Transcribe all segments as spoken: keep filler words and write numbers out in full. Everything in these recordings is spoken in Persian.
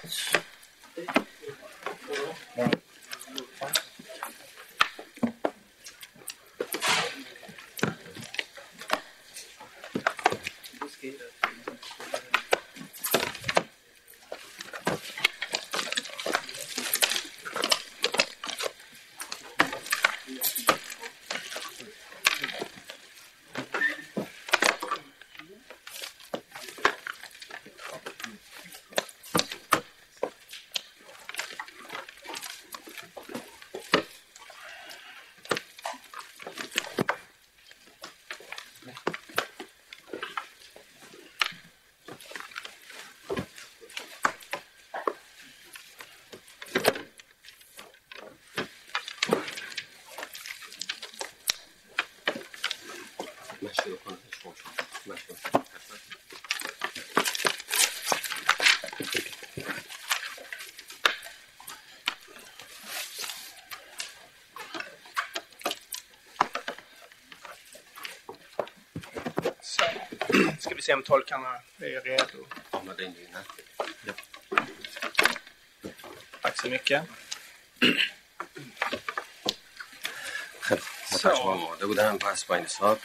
Ska vi se om tolkarna är redo. Ja. Tack så mycket. Så. Det bودن پس با این حساب.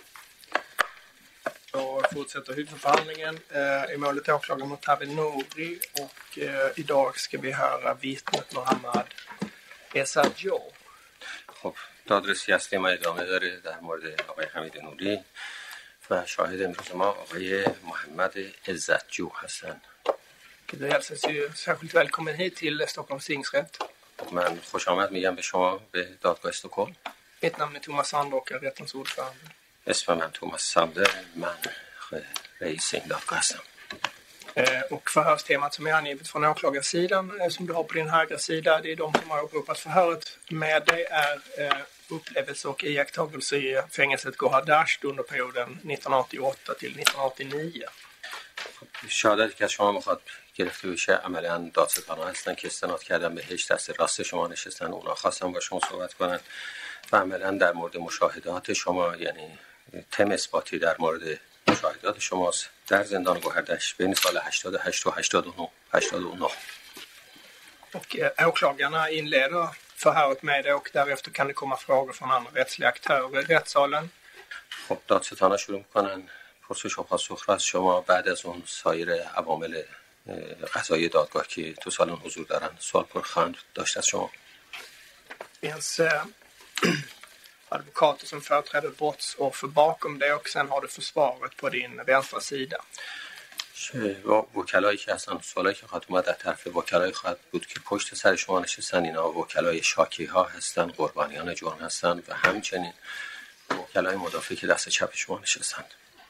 Då fortsätter huvudförhandlingen eh, i målet åklagaren mot Tawil Nouri och eh, idag ska vi höra vittnet Mohammad Ezzadjo. خب دادرسی اصلی ما ادامه داره در مورد آقای حمید نوری و شاهد امروز ما آقای محمد عزتجو هستند. Du hälsas ju särskilt välkommen hit till Stockholms tingsrätt. من خوش آمد میگم به شما به دادگاه استکهلم. Mitt namn är Thomas Sandrock och jag är rättens ordförande. اسم من توماس ساندر، من رئیس این دادگاه هستم. Eh, och förhörstemat som är angivet från åklagarsidan eh, som du har på din högra sida, det är de som har åberopat förhöret med dig är eh, upplevelse och iakttagelse i fängelset Gohardasht under perioden nittonhundraåttioåtta till nittonhundraåttionio. شهادتی که از شما میخواد گرفته بشه عملاً دادستانا هستن که استناد کردن بهش، دست راست شما نشستن، اونا خواستن با شما صحبت کنن و عملاً در مورد مشاهدات شما، یعنی تم اثباتی در مورد مشاهدات شماست در زندان گوهردشت بین سال هشتاد و هشت و هشتاد و نه. Och eh, åklagarna inleder förhöret med det och därefter kan det komma frågor från andra rättsliga aktörer i rättssalen. خب دادستانا شروع میکنن پرسش و پاسخ را از شما، بعد از اون سایر عوامل قضایی دادگاه که تو سالن حضور دارن سوال پرخواهند داشت از شما. finns eh, advokater som företräder brottsoffer bakom det och sen har du försvaret på din vänstra sida. وکلایی که هستن، سوالایی که خواهد اومد در طرف وکلای خواهد بود که پشت سر شما نشستن، اینا وکلای شاکی ها هستن، قربانیان جرم هستن و همچنین وکلای مدافع که دست چپ شما نشستن.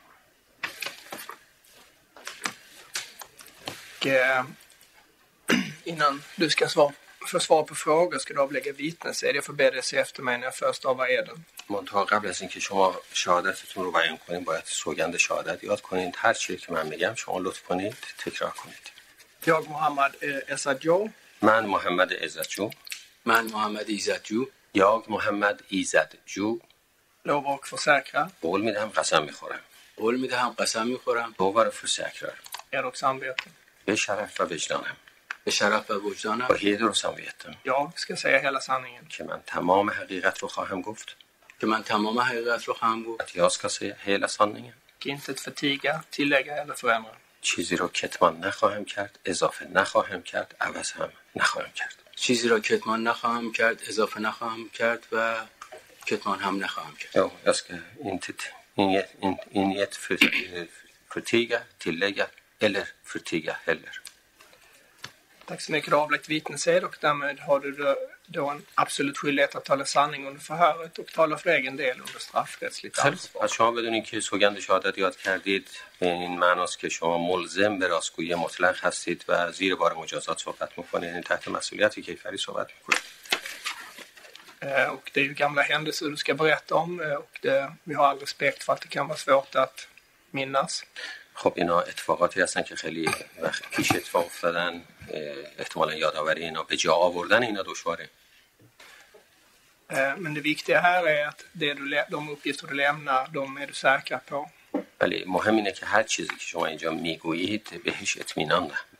Och, eh, innan du ska svara, få svar på frågor ska du avlägga vittnesed. Jag får be dig se efter mig när jag först avar eden. منتها قبل از اینکه شما شهادتتون رو بیان کنید باید سوگند شهادت یاد کنید. هر چیزی که من میگم شما لطف کنید تکرار کنید. Jag Mohammad eh, Ezzadjo. من محمد عزتجو. من محمد عزتجو. jag محمد عزتجو. lovar och försäkrar. قول میدم قسم میخورم. قول میدهم قسم میخورم. باور försäkrar. Ed och samvete. به شرف و وجدانم. به شرف و وجدانم. با heder och samveten. Jag ska säga hela sanningen. که من تمام حقیقت رو خواهم گفت. که من تمام حقیقت رو خواهم گفت. att jag ska säga hela sanningen. Intet förtiga, tillägga eller förändra. چیزی رو کتمان نخواهم کرد، اضافه نخواهم کرد، عوض هم نخواهم کرد. چیزی را کتمان نخواهم کرد، اضافه نخواهم کرد و کتمان هم نخواهم کرد. Ja, jag ska inte inget, in, inget för, förtiga, tillägga eller förtiga heller. Tack så mycket. Du har avlagt vittnesed och därmed har du då en absolut skyldighet att tala sanning under förhöret och tala för egen del under straffrättsligt ansvar. از شما بدونید که سوگند شهادت یاد کردید به این معناست که شما ملزم به راستگویی مطلق هستید و زیر بار مجازات صحبت میکنید، یعنی تحت مسئولیت کیفری صحبت میکنید. Och det är ju gamla händelser du ska berätta om och det, vi har all respekt för att det kan vara svårt att minnas. خب اینا اتفاقاتی هستن که خیلی وقت پیش اتفاق افتادن، احتمالا یادآوری اینا به جا آوردن اینا دشواره. Men det viktiga här är att det du, de uppgifter du lämnar, de är du säkra på. ولی مهم اینه که هر چیزی که شما اینجا میگویید بهش اطمینان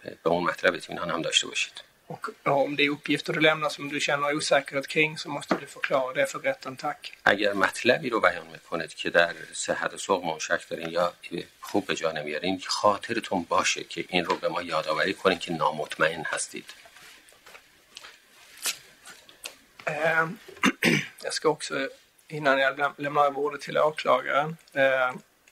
به اون مطلب اطمینان هم داشته باشید. Och om det är uppgifter du lämnar som du känner osäkerhet kring så måste du förklara det för rätten, tack. اگر مطلبی رو بیان میکنید که در صحت سقم شک دارین یا خوب به جا نمیارین، خاطرتون باشه که این رو به ما یادآوری کنین که نامطمئن هستید. Eh, jag ska också, innan jag lämnar över ordet till åklagaren, eh,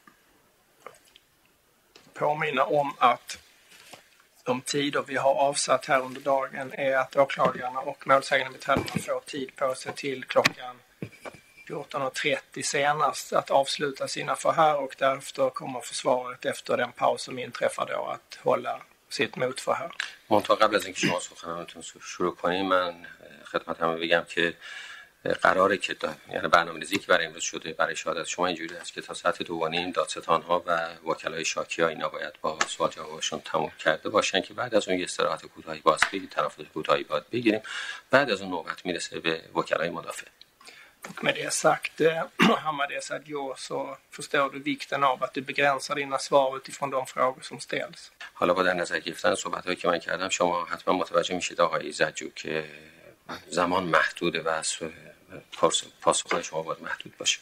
påminna om att de tider vi har avsatt här under dagen är att åklagarna och målsägande beträdarna får tid på sig till klockan fjorton trettio senast att avsluta sina förhör, och därefter kommer försvaret efter den paus som inträffar då att hålla sitt motförhör. منتها قبل از اینکه شما سخنرانیتون شروع کنید من خدمت همه بگم که قراره که دا... یعنی برنامه‌ریزی که برای امروز شده برای شهادت شما اینجوری است که تا ساعت دو و نیم دادستان‌ها و وکلای شاکی ها اینا باید با سوال جوابشون تموم کرده باشن که بعد از اون یه استراحت کوتاهی بازپگی تنفس کوتاهی باید بگیریم. بعد از اون نوبت میرسه به وکلای مدافع. Och med det sagt, Hammardes Adjo, så förstår du vikten av att du begränsar dina svar utifrån de frågor som ställs. حالا با در نظر گرفتن صحبت‌هایی که من کردم شما حتما متوجه میشید آقای زجو که زمان محدوده و پاسخهای شما باید محدود باشه.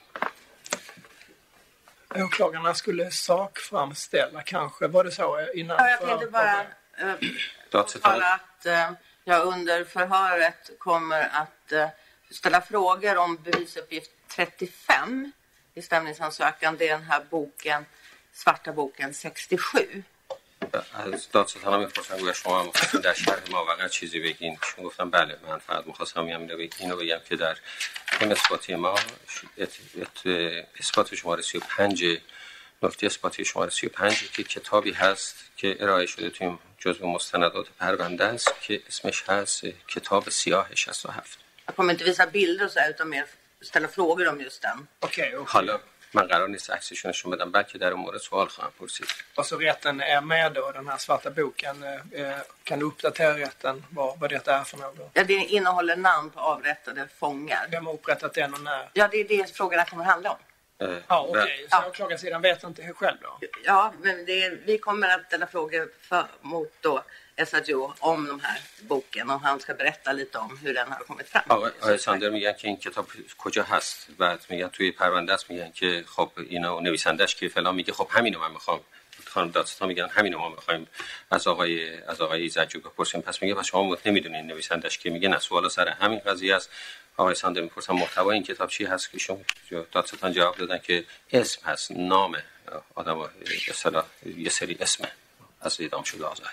Åklagarna skulle sakframställa kanske, var det så innan? Ja, jag tänkte bara påtala att eh, jag under förhöret kommer att eh, ställa frågor om bevisuppgift trettiofem i stämningsansökan. Det är den här boken, svarta boken sextiosju. از دادستانا میپرسن گویا شما میخواستین در شرح ما واقعا چیزی بگین. چون گفتم بله من فقط میخواستم اینو بگم که در این اثباتی ما اثبات شماره سی و پنج نکته اثباتی شماره سی و پنج که کتابی هست که ارائه شده توی جزو مستندات پرونده است که اسمش هست کتاب سیاه شصت و هفت. Jag kommer inte visa bilder och så här, utan mer ställa frågor om just den. Okej, okej. حالا من قرار نیست عکسشون نشون بدم بلکه در اون مورد سوال خواهم پرسید. Alltså rätten är med då, den här svarta boken. Kan du uppdatera rätten vad, vad det är för något? Ja, det innehåller namn på avrättade fångar. Vem har upprättat den och när? Ja, det är det frågorna kommer handla om. Uh, ja, okej. Okay. Så åklagarsidan vet inte själv då? Ja, men det är, vi kommer att ställa frågor för, mot då Essadjo om de här boken och han ska berätta lite om hur den har kommit fram. آقای ساندر میگن که این کتاب کجا هست و میگن توی پرونده است. میگن که خب اینا نویسندش که فلان میگه خب همینو من میخوام. خانم دادستان میگن همینو ما میخوایم از آقای از آقای زجو بپرسیم. پس میگه پس شما نمیدونین نویسندش که میگه نه سوال سر همین قضیه است. آقای ساندر میپرسن محتوای این کتاب چی هست که شما دادستان جواب دادن که اسم هست، نام آدم به اصطلاح یه سری اسمه از اعدام شده آزار.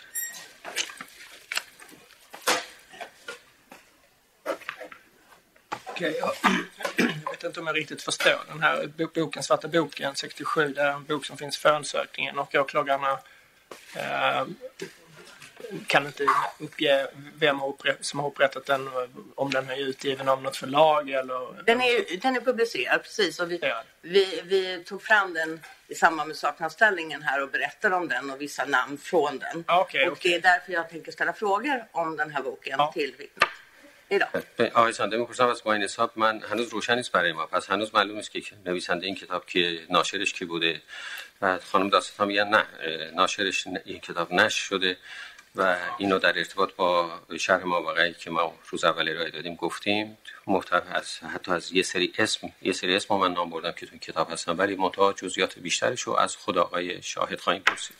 Okej, jag, jag vet inte om jag riktigt förstår den här boken, svarta boken sextiosju, det är en bok som finns i förundersökningen och åklagarna eh, kan inte uppge vem har upprätt, som har upprättat den, om den är utgiven av något förlag eller... Den är, den är publicerad, precis, och vi, ja. vi, vi tog fram den i samband med sakanställningen här och berättade om den och vissa namn från den. Okay, och okay. Det är därför jag tänker ställa frågor om den här boken ja. till vittnet. آقای ساندر میپرسم از با این حساب من هنوز روشن نیست برای ما، پس هنوز معلوم نیست که نویسنده این کتاب که ناشرش کی بوده. و خانم دادستان میگن نه ناشرش این کتاب نشر شده و اینو در ارتباط با شرح ماوقعی که ما روز اول ارائه دادیم گفتیم. محتوی از حتی از یه سری اسم یه سری اسم من نام بردم که تو این کتاب هستن، ولی منتها جزئیات بیشترش رو از خود آقای شاهد خواهیم پرسید.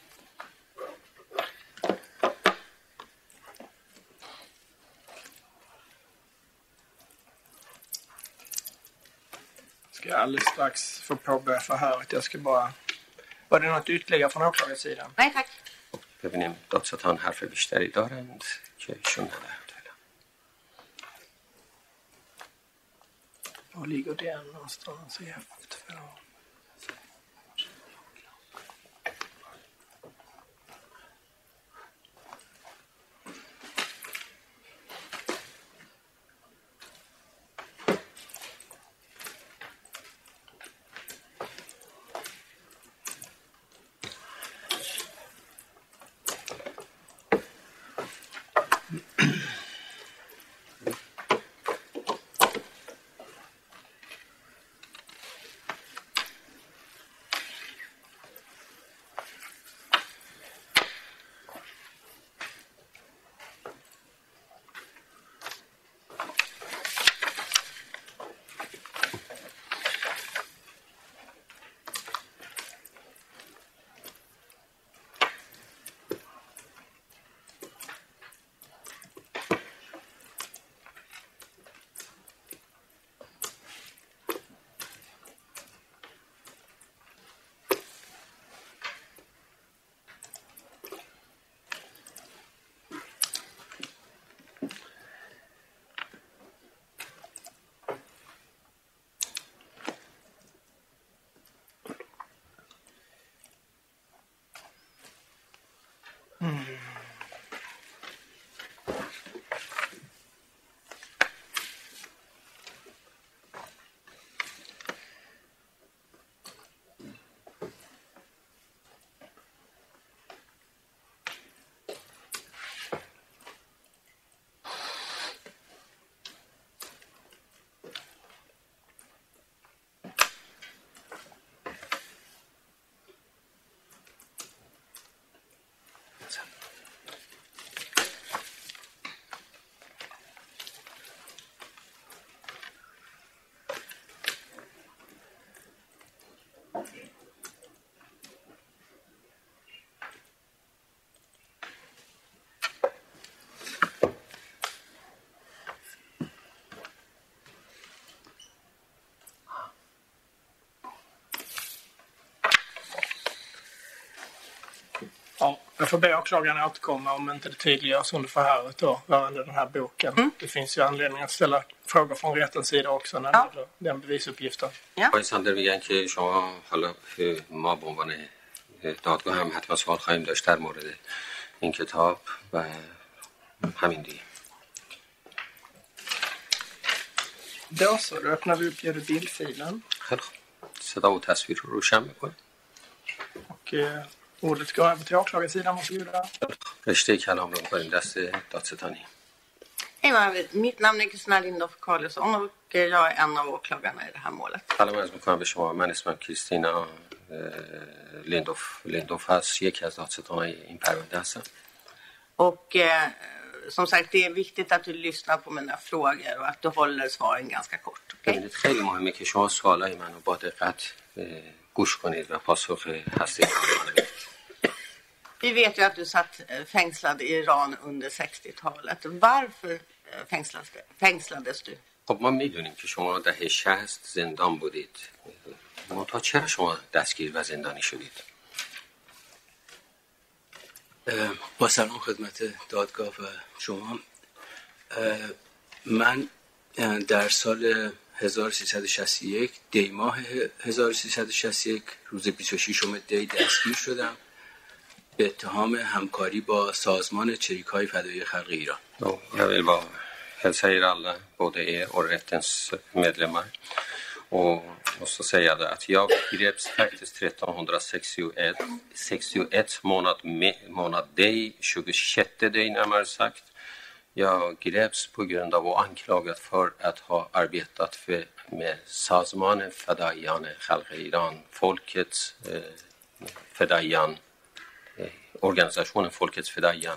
Jag ska alldeles strax få påbörja förhöret. Jag ska bara... Var det något ytterligare från åklagarsidan? Nej, tack. ببینیم دادستان حرف بیشتری دارند که ایشون ندارند. Var ligger den någonstans i efterfrågan? Ja, jag får be åklagaren återkomma om inte det tydliggörs under förhöret då, rörande den här boken. Mm. Det finns ju anledning att ställa frågor från rättens sida också när ja. det gäller den bevisuppgiften. آقای ساندر میگن که شما حالا ما به عنوان دادگاه هم حتما سوال خواهیم داشت در مورد این کتاب و همین دیگه. Då så, då öppnar vi upp bildfilen. خیلی خوب. صدا و تصویر رو روشن میکنیم. Och eh, ordet går över till åklagarsidan, varsågoda. رشته کلام رو میکنیم دست دادستانی. Hej, mitt namn är Kristina Lindorff Karlsson och jag är en av åklagarna i det här målet. سلام عرض میکنم به شما. من اسمم کریستینا لیندوف لیندوف هست، یکی از دادستانای این پرونده هستم. Och eh, som sagt, det är viktigt att du lyssnar på mina frågor och att du håller svaren ganska kort. Okay? خیلی مهمه که شما سوالای منو با دقت گوش کنید و پاسخ هستی کنید. Vi vet ju att du satt fängslad i Iran under sextiotalet. Varför fängslades, fängslades du? خب ما میدونیم که شما دهه شصت زندان بودید. منتها چرا شما دستگیر و زندانی شدید؟ با سلام خدمت دادگاه و شما. من در سال هزار و سیصد و شصت و یک دی ماه هزار و سیصد و شصت و یک روز بیست و ششم دی دستگیر شدم به اتهام همکاری با سازمان چریک‌های فدایی خلق ایران. Jag vill bara hälsa er alla, både er och rättens medlemmar. Och måste säga det att jag greps faktiskt trettonhundrasextioett månad, månad dig, tjugosjätte dig närmare sagt. Jag greps på grund av och anklagad för att ha arbetat för, med Sazman Fedaian Khalq Iran, folkets eh, Fedaian, eh, organisationen Folkets Fedaian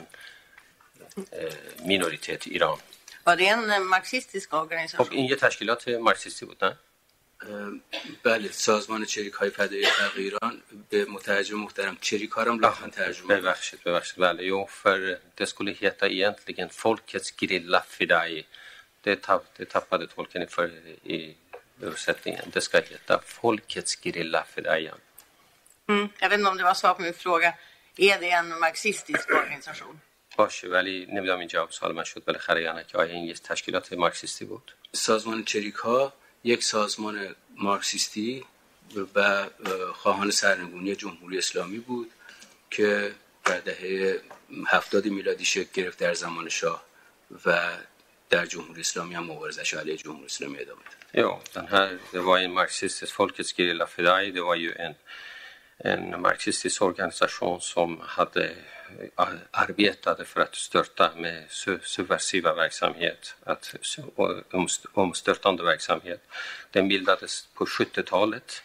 eh, minoritet i Iran. Var det en marxistisk organisation? خب این یه تشکیلات مارکسیستی بود نه؟ بله، سازمان چریک‌های فدایی خلق ایران به مترجم محترم چریک ها رو لطفاً ترجمه کنید. ببخشید ببخشید بله jo för det skulle heta egentligen Folkets Gerilla Fedai. Det tappade, det tappade tolken i, för, i översättningen. Det ska heta Folkets Gerilla Fedai. Mm, jag vet inte om det var svar på min fråga. Är det en marxistisk organisation? باشه ولی نمیدونم این جواب سوال من شد بالاخره یا نه که آیا این یه تشکیلات مارکسیستی بود؟ سازمان چریک ها یک سازمان مارکسیستی و خواهان سرنگونی جمهوری اسلامی بود که در دهه هفتاد میلادی شکل گرفت در زمان شاه و در جمهوری اسلامی هم مبارزش علیه جمهوری اسلامی ادامه داد. Ja, den här, det var en marxistisk Folkets Gerilla Fedai, det var ju en, en marxistisk organisation som hade arbetade för att störta med subversiva verksamhet, att omstörtande verksamhet. Den bildades på sjuttiotalet,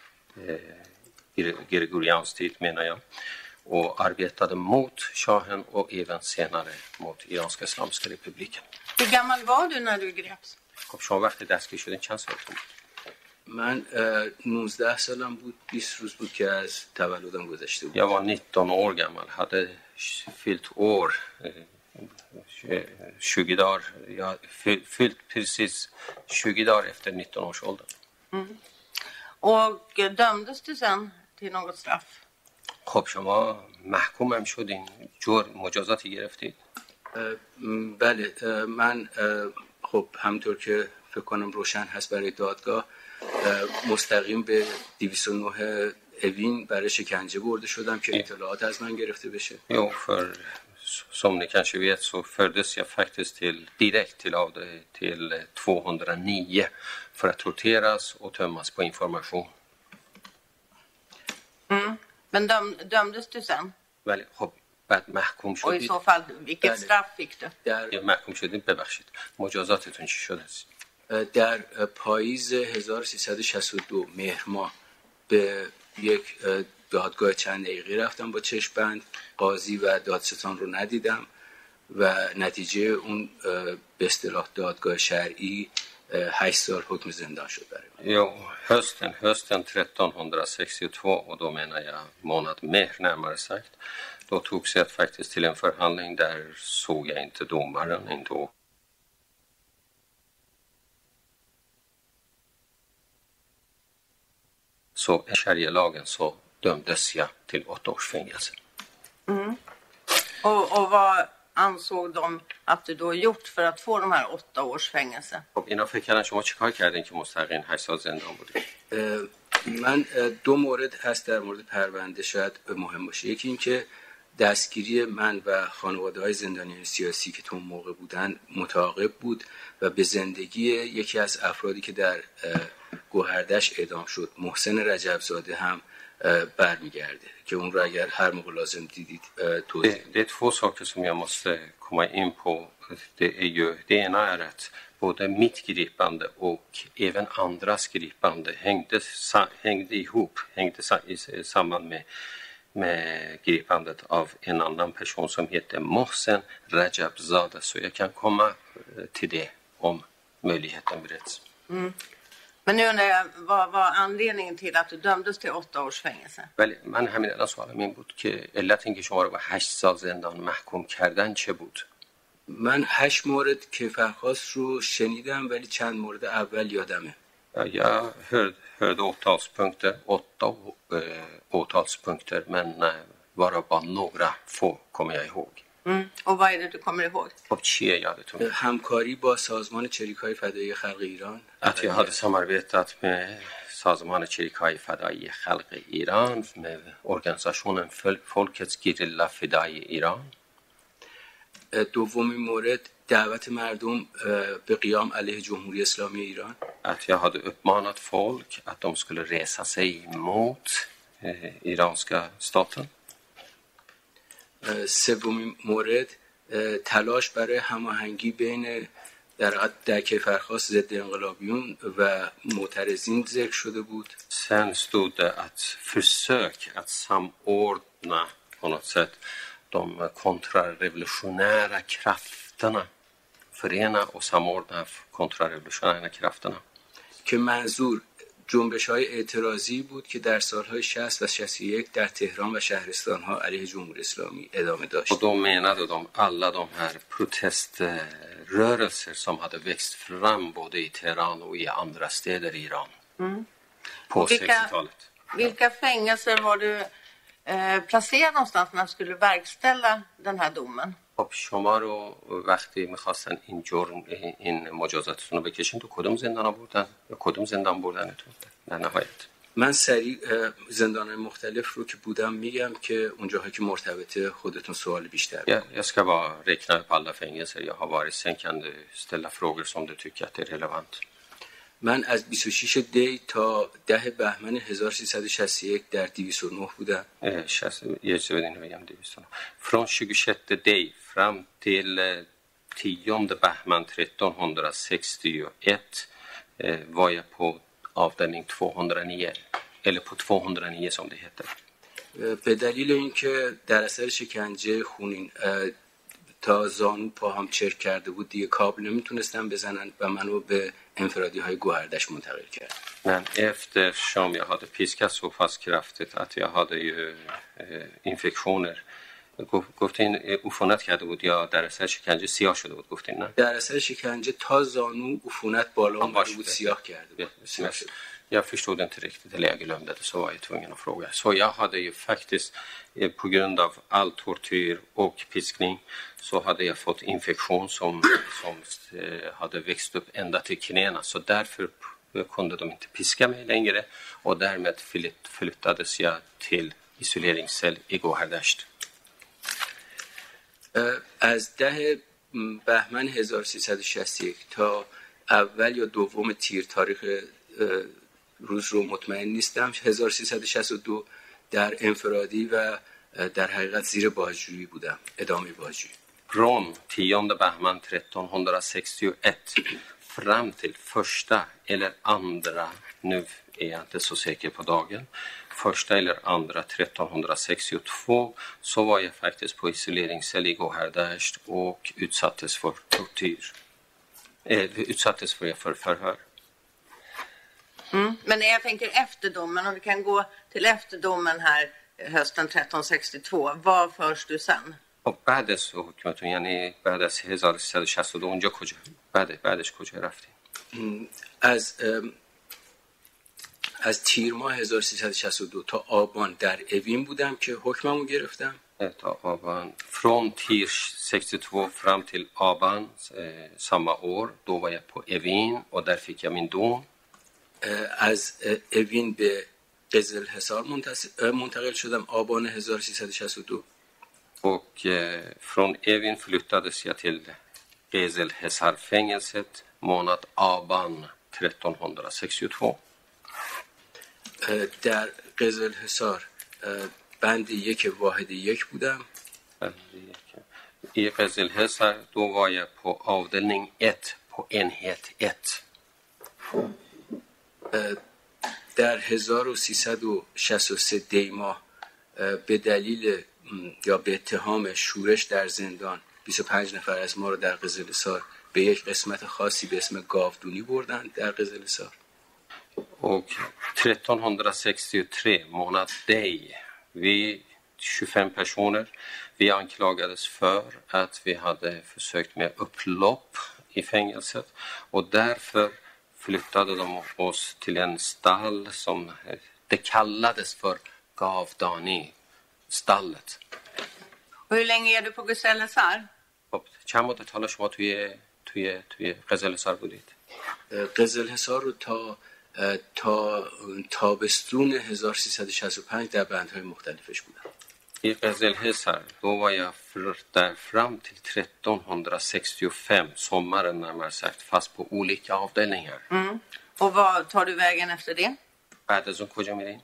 eh, Gregorians tid menar jag, och arbetade mot shahen och även senare mot Iranska Islamiska republiken. Hur gammal var du när du greps? خب شما وقتی دستگیر شدین چند سالتون بود؟ من نوزده سالم بود، بیست روز بود که از تولدم گذشته بود. Jag var nitton år gammal, hade fyllt år, tjugo dagar, jag fyllt precis tjugo dagar efter nitton års ålder. Mm. Och dömdes du sen till något straff? خب شما محکوم هم شدین، جور مجازاتی گرفتید؟ بله، من خب همطور که فکر کنم روشن هست برای دادگاه مستقیم به دویست و نه اوین برای شکنجه برده شدم که اطلاعات از من گرفته بشه. Jo, för som ni kanske vet så fördes jag faktiskt till, direkt till, av, till tvåhundranio för att torteras och tömmas på information. Mm. Men döm, dömdes du sen? ولی خب بعد محکوم Och i شدید. så fall, vilket straff fick du? در یا محکوم شدید ببخشید. مجازاتتون چی شده است؟ در پاییز هزار و سیصد و شصت و دو مهر ماه به یک دادگاه چند دقیقه رفتم با چشم‌بند. قاضی و دادستان رو ندیدم و نتیجه اون به اصطلاح دادگاه شرعی هشت سال حکم زندان شد برای من. Jo, hösten, hösten trettonhundrasextiotvå och då menar jag månad Mehr närmare sagt. Då togs jag faktiskt till en förhandling där såg jag inte domaren ändå. Så i sharia-lagen så dömdes jag till åtta års fängelse. Mm. Och, och vad ansåg de att du då gjort för att få de här åtta års fängelse? خب اینا فکر کردن شما چیکار کردین که مستقیم هشت سال زندان بودید؟ من دو مورد هست در مورد پرونده شاید مهم باشه. یکی این که دستگیری من و خانواده‌های زندانیان سیاسی که تو موقع بودن متعاقب بود و به زندگی یکی از افرادی که در گوهردش اعدام شد، محسن رجبزاده هم برمیگرده که اون رو اگر هر موقع لازم دیدید توضیح det, det är två saker som jag måste komma in på. Det är ju, det ena är att både mitt gripande och även andras gripande hängde, hängde ihop, hängde i samband med, med gripandet av en annan person som heter Mohsen Rajabzadeh. Så jag kan komma till det om möjligheten bereds. Mm. Men nu undrar jag, vad var anledningen till att du dömdes till åtta års fängelse? ولی من همین الان سوالم این بود که علت اینکه شما رو به هشت سال زندان محکوم کردن چه بود؟ من هشت مورد کیفرخواست رو شنیدم ولی چند مورد اول یادمه. Jag hörde, hörde åtalspunkter, åtta äh, åtalspunkter, men äh, bara bara några få kommer jag ihåg. Mm. Och vad är det du kommer ihåg? خب چیه یادتون؟ همکاری با سازمان چریک‌های فدایی خلق ایران. Att jag hade samarbetat med سازمان چریک‌های فدایی خلق ایران med organisationen Folkets Gerilla Fedai ایران. دومین مورد دعوت مردم به قیام علیه جمهوری اسلامی ایران. Att jag hade uppmanat folk att de skulle resa sig mot eh, iranska staten. سومین مورد تلاش برای هماهنگی بین در در کیفرخواست ضد انقلابیون و معترضین ذکر شده بود. Sen stod det att försök att samordna på något sätt de kontrarevolutionära krafterna, förena och samordna kontrarevolutionära krafterna. که منظور جنبش‌های اعتراضی بود که در سال‌های شصت و شصت و یک در تهران و شهرستان‌ها علیه جمهوری اسلامی ادامه داشت. Och då menade de alla de här proteströrelser som hade växt fram både i Teheran och i andra städer i Iran Mm. på vilka, sextiotalet. Vilka fängelser var du eh, placerad någonstans när du skulle verkställa den här domen? خب شما رو وقتی میخواستن این جرم این مجازاتتون رو بکشین تو کدوم زندان بردن یا کدوم زندان بردنتون در نهایت؟ من سریع زندان‌های مختلف رو که بودم میگم که اونجاها که مرتبطه خودتون سوال بیشتر. Ja, jag ska bara räkna upp alla fängelser jag har varit. Sen kan du ställa frågor som du tycker att är relevant. من از بیست و شش دی تا ده بهمن هزار و سیصد و شصت و یک در دویست و نه بودم. Från tjugosjätte dig fram till tionde Bahman trettonhundrasextioett var jag på avdelning tvåhundranio eller på tvåhundranio som det heter. به دلیل اینکه در اثر شکنجه خونین تا زانو پاهم چرک کرده بود دیگه کابل نمیتونستن بزنن و منو به انفرادی های گوهردش منتقل کرد. Men eftersom jag hade piskats så fast kraftigt att jag hade ju eh, infektioner گفتین عفونت کرده بود یا در اثر شکنجه سیاه شده بود گفتین نه؟ در اثر شکنجه تا زانو عفونت بالا اومده بود سیاه کرده بود. سیاه شد. Jag förstod inte riktigt, eller jag glömde det, så var jag tvungen att fråga. Så jag hade ju faktiskt, på grund av all tortyr och piskning, så hade jag fått infektion som, som hade växt upp ända till knäna. Så därför kunde de inte piska mig längre och därmed flyttades jag till isoleringscell i گوهردشت. از ده بهمن هزار و سیصد و شصت و یک تا اول یا دوم تیر تاریخ روز رو مطمئن نیستم هزار و سیصد و شصت و دو در انفرادی و در حقیقت زیر بازجویی بودم ادامه بازجویی. Från tionde Bahman trettonhundrasextioett fram till första eller andra, nu är jag inte så säker på dagen, första eller andra trettonhundrasextiotvå så var jag faktiskt på isoleringscell i گوهردشت och utsattes för tortyr. Eh, utsattes för, för förhör. Mm. Men jag tänker efter domen, om vi kan gå till efter domen här hösten tretton sextiotvå, vad förs du sen? خب بعد از حکمتون یعنی بعد از هزار و سیصد و شصت و دو اونجا کجا بعد بعدش کجا رفتیم؟ از از تیر ماه هزار و سیصد و شصت و دو تا آبان در اوین بودم که حکممو گرفتم. تا آبان från tir sextiotvå fram till Aban samma år då var jag på Evin och där fick jag min dom. از اوین به قزل حصار منتقل شدم آبان هزار و سیصد و شصت و دو. Och eh, från Evin flyttades jag till Gezelhesar-fängelset månad Aban trettonhundrasextiotvå. در قزل حصار بند یک واحد یک بودم. I Gezelhesar då var jag på avdelning ett på enhet ett. در هزار و سیصد و شصت و سه دیما به دلیل یا به اتهام شورش در زندان بیست و پنج نفر از ما رو در قزلحصار به یک قسمت خاصی به اسم گاودونی بردن در قزلحصار. Och trettonhundrasextiotre månad dig vi tjugofem personer vi anklagades för att vi hade försökt med upplopp i fängelset och därför flyttade de oss till en stall som det kallades för Gavdani stallet. Och hur länge är du på Gezelhesar? خب چند مدت حالا شما توی توی توی قزلحصار بودید؟ قزلحصار رو تا تا تابستون هزار و سیصد و شصت و پنج در بندهای مختلفش بودم. I Gezelhesar då var jag där fram till trettonhundrasextiofem sommaren närmare sagt fast på olika avdelningar. Mm. Och vad tar du vägen efter det? بعد از اون کجا میرین؟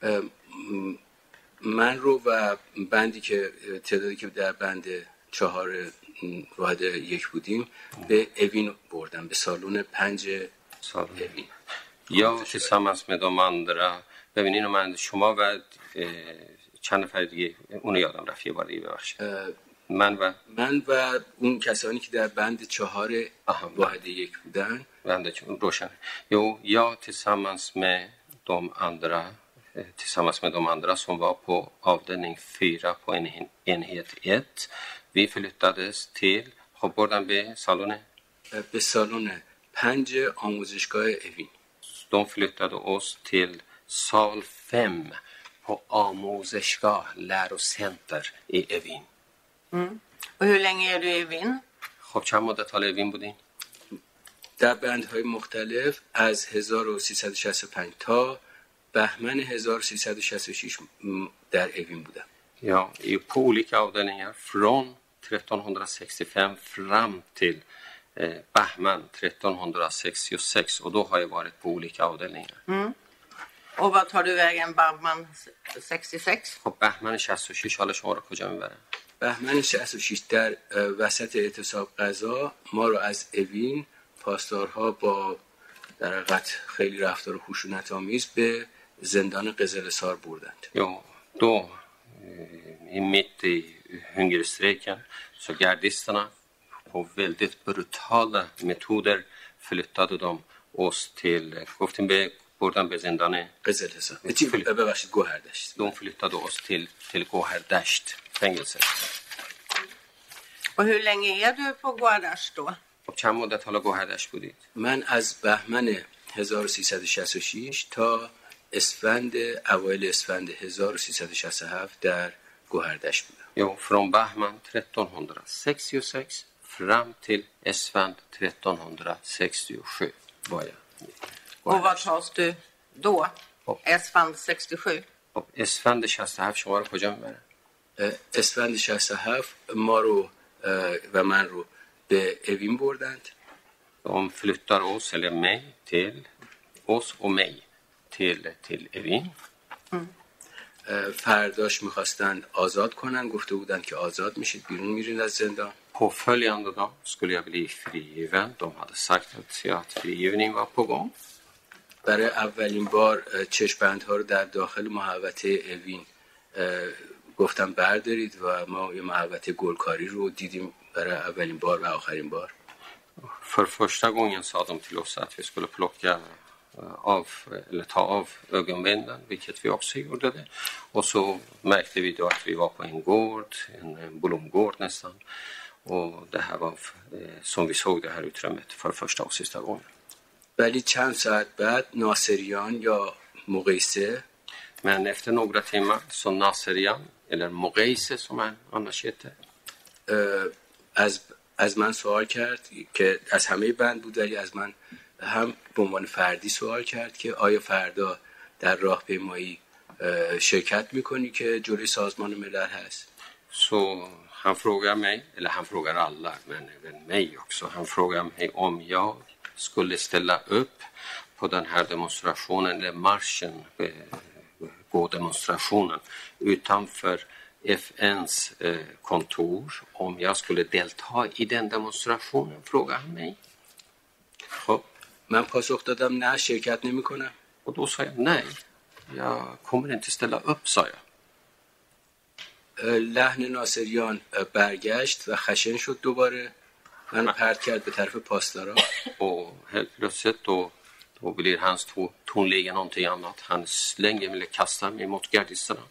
من رو و بندی که تعدادی که در بند چهار واحد یک بودیم به اوین بردم به سالن پنج اوین. یا tillsammans med de andra ببینین من شما و چند نفر دیگه اونو یادم رفت یه بار دیگه ببخشید. من و من و اون کسانی که در بند چهار واحد یک بودن بند روشن. Jo, jag tillsammans med de andra tillsammans med de andra som var på avdelning fyra på enhet ett. Vi flyttades till خب بردن به سالن به سالن پنج آموزشگاه اوین. De flyttade oss till sal fem på آموزشگاه lärocenter i Evin. Mm. Och hur länge är du i Evin? خب چند مدت حالا اوین بودین؟ در بندهای مختلف از هزار و سیصد و شصت و پنج تا بهمن هزار و سیصد و شصت و شش در اوین بودم. Ja, på olika avdelningar från trettonhundrasextiofem fram till eh, Bahman trettonhundrasextiosex och då har jag varit på olika avdelningar. Mm. Och vad tar du vägen Bahman sextiosex? خب بهمن شصت و شش حالا شما رو کجا میبرن؟ بهمن شصت و شش در وسط اعتصاب غذا ما رو از اوین پاسدارها با در حقیقت خیلی رفتار خشونت آمیز به زندان قزلحصار بردند. Jo, då i mitt i hungerstrejken så gardisterna på väldigt brutala metoder flyttade de oss till گفتیم به بردن به زندان قزلحصار. ببخشید گوهردشت. De flyttade oss till till گوهردشت fängelse. Och hur länge är du på Gouherdasht då? خب چند مدت حالا گوهردشت بودید؟ من از بهمن هزار و سیصد و شصت و شش تا اسفند اوایل اسفند هزار و سیصد و شصت و هفت در گوهردشت بودم. Jo, från Bahman trettonhundrasextiosex fram till Esfand trettonhundrasextiosju var jag. Och vad tas du då? اسفند شصت و هفت. خب اسفند شصت و هفت شما رو کجا میبره؟ اسفند شصت و هفت ما رو و من رو به اوین بردند. De flyttar oss eller mig till oss och mig till till Evin. فرداش میخواستن آزاد کنن، گفته بودن که آزاد میشید، بیرون میرین از زندان. Påföljande dag skulle jag bli frigiven. De hade sagt att, att frigivning var på gång. برای اولین بار چشم‌بندها رو در داخل محوطه اوین گفتم بردارید و ما یه محوطه گلکاری رو دیدیم برای اولین بار و آخرین بار. För första gången sa de till oss att vi skulle plocka av eller ta av ögonbindeln, vilket vi också gjorde det. Och så märkte vi då att vi var på en gård, en blomgård nästan. Och det här var som vi såg det här utrymmet för första och sista gången. ولی چند ساعت بعد ناصریان یا مقیسه Men efter några timmar så Naserian eller Mogeise som han annars heter از از من سوال کرد که از همه بند بود، ولی از من هم به عنوان فردی سوال کرد که آیا فردا در راهپیمایی شرکت میکنی که جلوی سازمان ملل هست. Så han frågar mig, eller han frågar alla, men även mig också. Han frågar mig om jag skulle ställa upp på den här demonstrationen, eller marschen, gå demonstrationen utanför F N:s kontor. Om jag skulle delta i den demonstrationen, frågar han mig. خب من پاسخ دادم نه، شرکت نمی کنم. Och då sa jag nej, jag kommer inte ställa upp, sa jag. لحن ناصریان برگشت و خشن شد دوباره. من پرت کرد به طرف پاسدارا. Och helt plötsligt då, då blir hans tonläge någonting annat. Han slänger eller kastar mig mot gardisterna.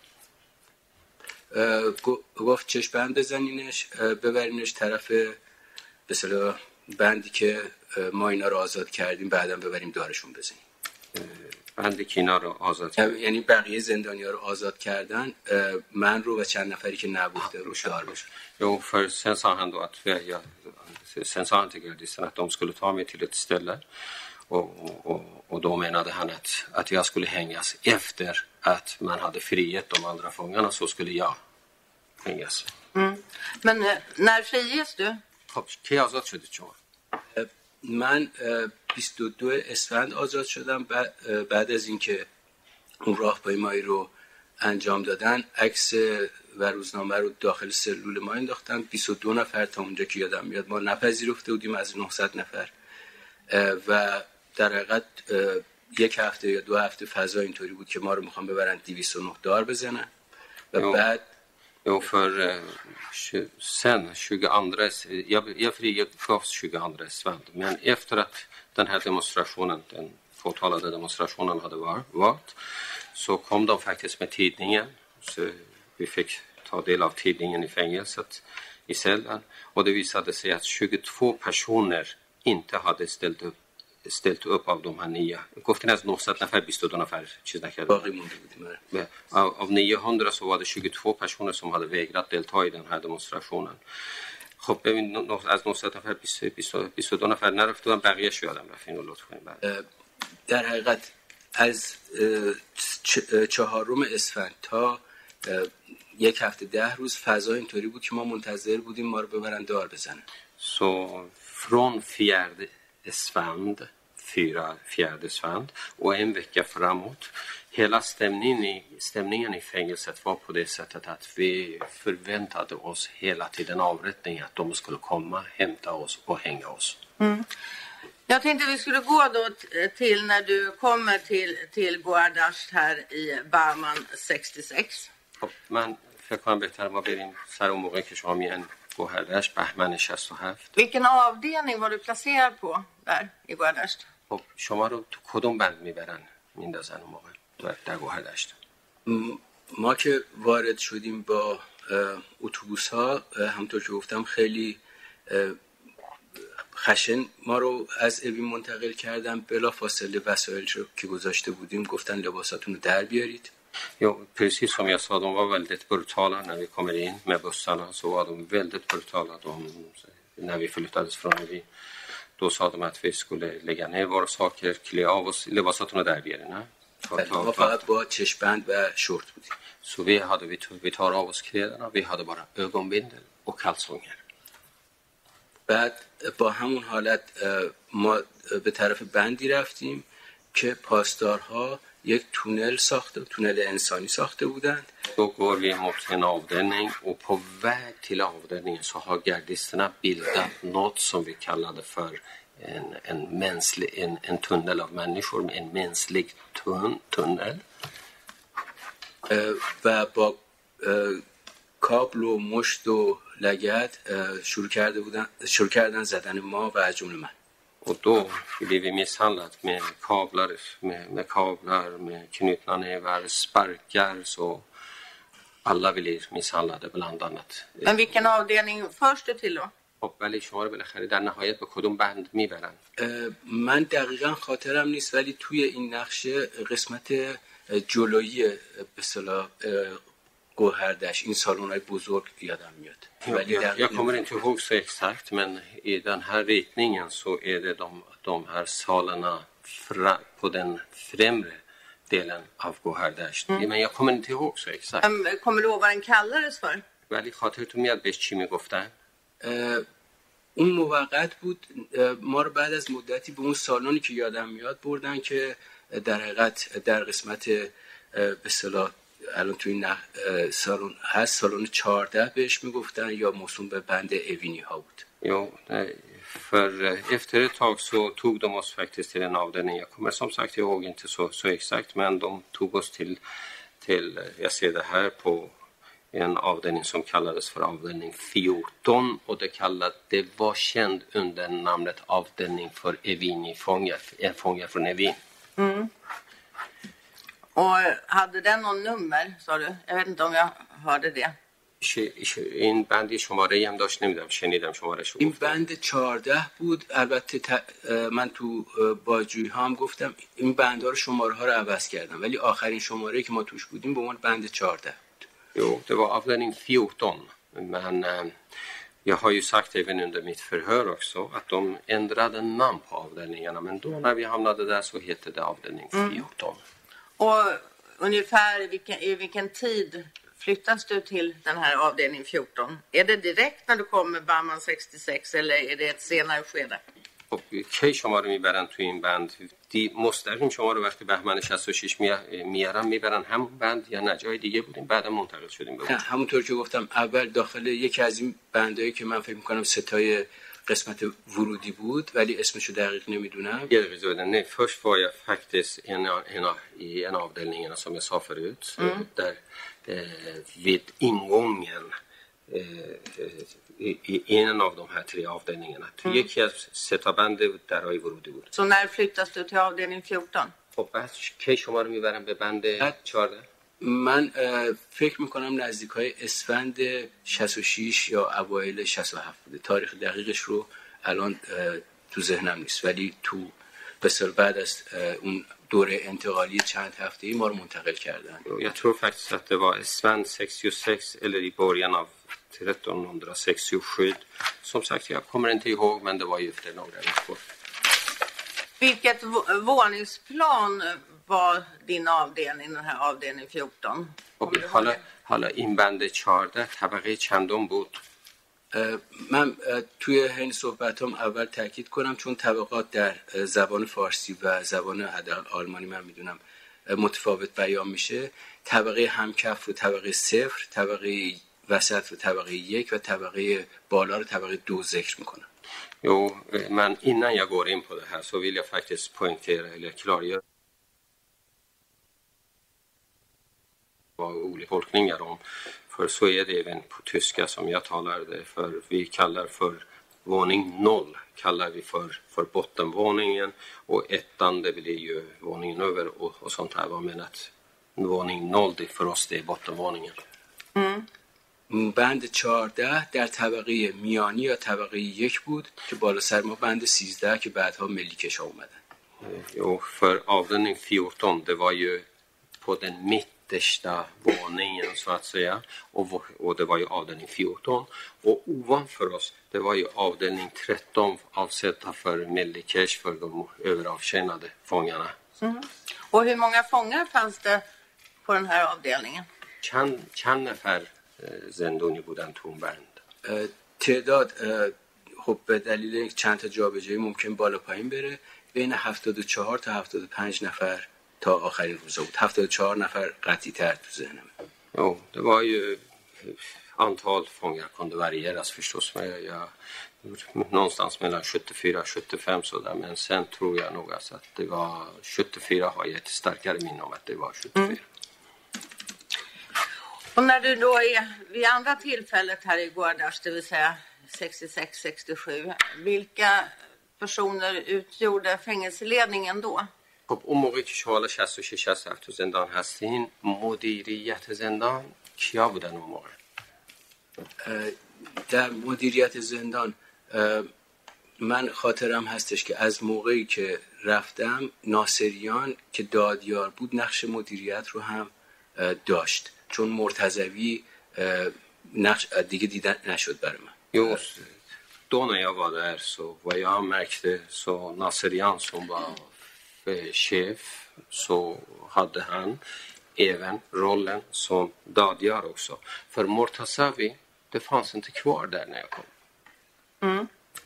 گفت چشم‌بند بزنینش، ببرینش طرف به اصطلاح بندی که ما اینا رو آزاد کردیم، بعداً ببریم دارشون بزنیم. بندی که اینا رو آزاد کردیم، یعنی بقیه زندانی‌ها رو آزاد کردن، من رو و چند نفری که نبوده رو دار بشن. Jo, för sen sa han då att jag, sen sa han till gardisterna att de skulle ta mig till ett ställe och, och, och då menade han att, att jag skulle hängas efter att man hade frihet de andra fångarna, så skulle jag hängas. Mm. Men när friges du? خب کی آزاد شدید شما؟ من بیست و دو اسفند آزاد شدم. بعد از اینکه اون راهپیمایی رو انجام دادن، عکس و روزنامه رو داخل سلول ما انداختن. بیست و دو نفر تا اونجا که یادم میاد ما نپذیرفته بودیم از نهصد نفر و در حقیقت یک هفته یا دو هفته فضا اینطوری بود که ما رو میخوان ببرن دویست و نه دار بزنن و jo. بعد Jo, för sen tjugoandra, jag, jag frigavs tjugoandra svänd, men efter att den här demonstrationen, den påtalade demonstrationen hade varit, så kom de faktiskt med tidningen, så vi fick ta del av tidningen i fängelset i cellen, och det visade sig att tjugotvå personer inte hade ställt upp ställt upp av de här nio. گفتین از نهصد نفر بیست و دو نفر چیز نکردن. باقی مونده بودیم. Av, av niohundra så var det tjugotvå personer som hade vägrat delta i den här demonstrationen. خب ببین از نهصد نفر بیست و دو نفر نرفته بودن، بقیه شو یادم رفت. اینو لطف کنید. در حقیقت از چهارم اسفند تا یک هفته ده روز فضا اینطوری بود که ما منتظر بودیم ما رو ببرن دار بزنن. Så från fjärde Svand, fyra fjärde svand och en vecka framåt. Hela stämningen i, stämningen i fängelset var på det sättet att vi förväntade oss hela tiden avrättning, att de skulle komma, hämta oss och hänga oss. Mm. Jag tänkte vi skulle gå då till när du kommer till, till Goardasht här i Barman sextiosex. من فکر کنم بهتر ما بریم سر اون موقع که شما میان گوهردشت، بهمن شصت و هفت. Vilken avdelning var du placerad på där i Goardasht? خب شما رو تو کدوم بند میبرن میندازن اون موقع در گوهردشت؟ ما که وارد شدیم با اتوبوس ها، همونطور که گفتم خیلی خشن ما رو از اوین منتقل کردن. بلا فاصله وسایل رو که گذاشته بودیم گفتن لباساتون رو در بیارید. Jo, precis som jag sa, de var väldigt brutala när vi kommer in med bussarna, så var de väldigt brutala de, när vi flyttades från vi. då sa de att vi skulle lägga ner våra saker, klä av oss, lebasatون رو در بیارین نه؟ ما فقط با چشم‌بند و شورت بودیم. Så vi hade vi, vi tar av oss kläderna, vi hade bara ögonbindel och kalsonger. بعد با همون حالت ما به طرف بندی رفتیم که پاسدارها یک تونل ساخته، تونل انسانی ساخته بودند. Då går vi mot en avdelning och på väg till avdelningen så har gardisterna bildat något som vi kallade för en, en, mänsklig, en, en tunnel av människor, en mänsklig tun, tunnel. و با کابل و مشت و لگد شروع کرده بودن شروع کردن زدن ما و از جمله من. Och då blev vi misshandlat med kablar, med, med kablar, med knutna nävar, sparkar, så alla blir misshandlade bland annat. Men vilken avdelning förs du till då? خب ولی شما رو بالاخره در نهایت به کدوم بند میبرن؟ من دقیقا خاطرم نیست، ولی توی این نقشه قسمت جلویی به اصطلاح گوهردشت این سالن‌های بزرگ یادم میاد. ولی jag, jag kommer inte ihåg så exakt, men i den här ritningen så är det de, de här salarna fra, på den främre delen av گوهردشت. Mm. Men jag kommer inte ihåg så exakt. Um, kommer du ihåg vad den kallades för? ولی خاطرتون میاد بهش چی میگفتن؟ اون موقت بود. ما رو بعد از مدتی به اون سالنی که یادم میاد بردن که در حقیقت در قسمت به اصطلاح الان توی این سالن هست، سالن چهارده بهش میگفتن یا موسوم به بند اوینی ها بود. Jo, för efter ett tag så tog de oss faktiskt till en avdelning. Jag kommer som sagt ihåg inte så, så exakt, men de tog oss till, till, jag ser det här på en avdelning som kallades för avdelning fjorton, och det kallade, det var känd under namnet avdelning för Evini-fångar, en fångar från Evin. Mm. Och hade den någon nummer, sa du? Jag vet inte om jag hörde det. این بند شماره هم داشت، نمیدونم شنیدم شماره شو. این بند چهارده بود. البته ت... من تو باجوی ها هم گفتم این بندها رو شماره ها رو عوض کردم، ولی آخرین شماره که ما توش بودیم به عنوان بند چهارده بود. Jo, det var avdelning fjorton, men eh, jag har ju sagt även under mitt förhör också att de ändrade namn på avdelningarna, men då när vi hamnade där så hette det avdelning fjorton. Mm. Och ungefär i vilken, i vilken tid flyttas du till den här avdelning fjorton? Är det direkt när du kommer Bahman sextiosex eller är det ett senare skede? خب کی شما رو میبرن تو این بند؟ دی مستقیم شما رو وقتی بهمن شصت و شش میارن میبرن همون بند یا نه جای دیگه بودیم بعدا منتقل شدیم به اون؟ همونطور که گفتم اول داخل یکی از این بندایی که من فکر میکنم ستای قسمت ورودی بود ولی اسمشو دقیق نمیدونم. یه دقیقه زودن. Nej, först var jag faktiskt en, en, i en avdelning som jag sa förut, mm. där eh, vid ingången i, i en av de här tre avdelningarna. Mm. یکی از ستا بند درای ورودی بود. Så när flyttas du till avdelning fjorton? خب بعد کی شما رو میبرن به بند چهارده؟ من فکر میکنم نزدیکای اسفند شصت و شش یا اوایل شصت و هفت بوده. تاریخ دقیقش رو الان تو ذهنم نیست، ولی تو بسیار بعد از اون دوره انتقالی چند هفته‌ای ما رو منتقل کردن. Jag tror faktiskt att det var اسفند sextiosex eller i början av trettonhundrasextiosju. Som sagt, jag kommer inte ihåg, men det var ju efter några veckor. Vilket våningsplan var din avdelning, den här avdelning fjorton? حالا حالا این بند چهارده طبقه چندم بود؟ من توی این صحبتام اول تاکید کنم چون طبقات در زبان فارسی و زبان آلمانی من میدونم متفاوت بیان میشه. طبقه همکف رو طبقه صفر، طبقه وسط رو طبقه یک و طبقه بالا رو طبقه دو ذکر میکنم. Jo, men innan jag går in på det här så vill jag faktiskt poängtera eller klargöra vad olika tolkningar om. För så är det även på tyska som jag talar det för. Vi kallar för våning noll kallar vi för, för bottenvåningen, och ettan det blir ju våningen över och, och sånt här. Vad menar att våning noll det för oss det är bottenvåningen. Mm. بند چهارده در طبقه میانی یا طبقه یک بود که بالا سر ما بند سیزده که بعدها ملیکش ها اومدن. Jo, för avdelning fjorton det var ju på den mitt nedersta våningen så att säga. Och, och det var ju avdelning fjorton. Och ovanför oss, det var ju avdelning tretton avsedda för Mellikesh, för de överavtjänade fångarna. Mm. Och hur många fångar fanns det på den här avdelningen? چند چند نفر زندانی بودن تو اون بند؟ تعداد خب به دلیل چند تا جابجایی ممکن بالا پایین بره، بین هفتاد و چهار تا هفتاد و پنج نفر تا آخرین روزا بود. هفتاد و چهار نفر قطعی تر تو ذهنم. Jo, det var ju antal fångar kunde varieras förstås, men jag, jag någonstans mellan sjuttiofyra och sjuttiofem sådär, men sen tror jag nog alltså att det var sjuttiofyra, har jag ett starkare minne om att det var sjuttiofyra. Mm. Och när du då är vid andra tillfället här i Gohardast, det vill säga sextiosex sextiosju, vilka personer utgjorde fängelseledningen då? خب اون موقعی که شما شصت و شش شصت تو زندان هستین، مدیریت زندان کیا بودن اون موقع؟ در مدیریت زندان من خاطرم هستش که از موقعی که رفتم ناصریان که دادیار بود نقش مدیریت رو هم داشت، چون مرتضوی نقش دیگه دیدن نشد برای من. Just då när jag var där så vad jag märkte så Nasserian som var chef så hade han även rollen som dadjar också. För Mortazavi, det fanns inte kvar där när jag kom. Mm.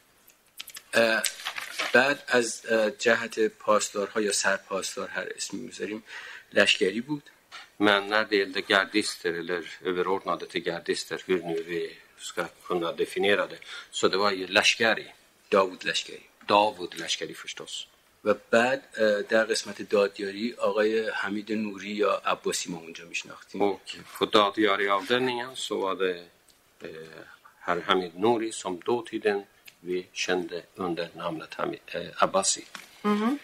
بعد از جهت پاسدارها یا سرپاسدار هر اسمی میذاریم لشکری بود. Men när det gällde gardister eller överordnade till gardister, hur nu vi ska kunna definiera det, så det var ju Lashkari. داوود لشکری. داوود لشکری förstås. و بعد در قسمت دادیاری آقای حمید نوری یا عباسی ما اونجا میشناختیم. Och på dadjari-avdelningen så var det eh, herr Hamid Nouri som dåtiden vi kände under namnet Hamid, eh, Abbasi. Mm.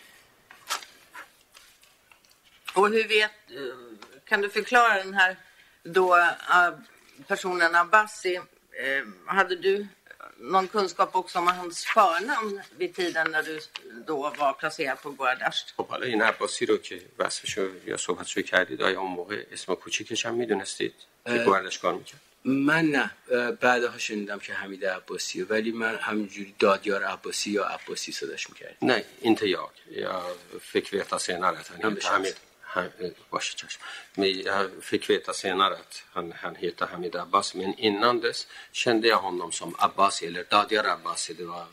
Och hur vet, kan du förklara den här då personen Abbasi, eh, hade du någon kunskap också om hans förnamn vid tiden när du då var placerad på Gohardast? خب حالا این عباسی رو که وصفشو یا صحبتشو کردید آیا اون موقع اسم کوچیکش هم میدونستید که گوهردشت کار میکرد؟ من نه، بعدها شنیدم که حمید عباسیه، ولی من همینجوری دادیار عباسی یا عباسی صداش میکردم. Nej, inte jag. Jag fick veta senare att han heter Hamid. Han, men jag fick veta senare att han, han heter Hamid Abbas, men innan dess kände jag honom som Abbasi eller Dadjar Abbasi. Det var...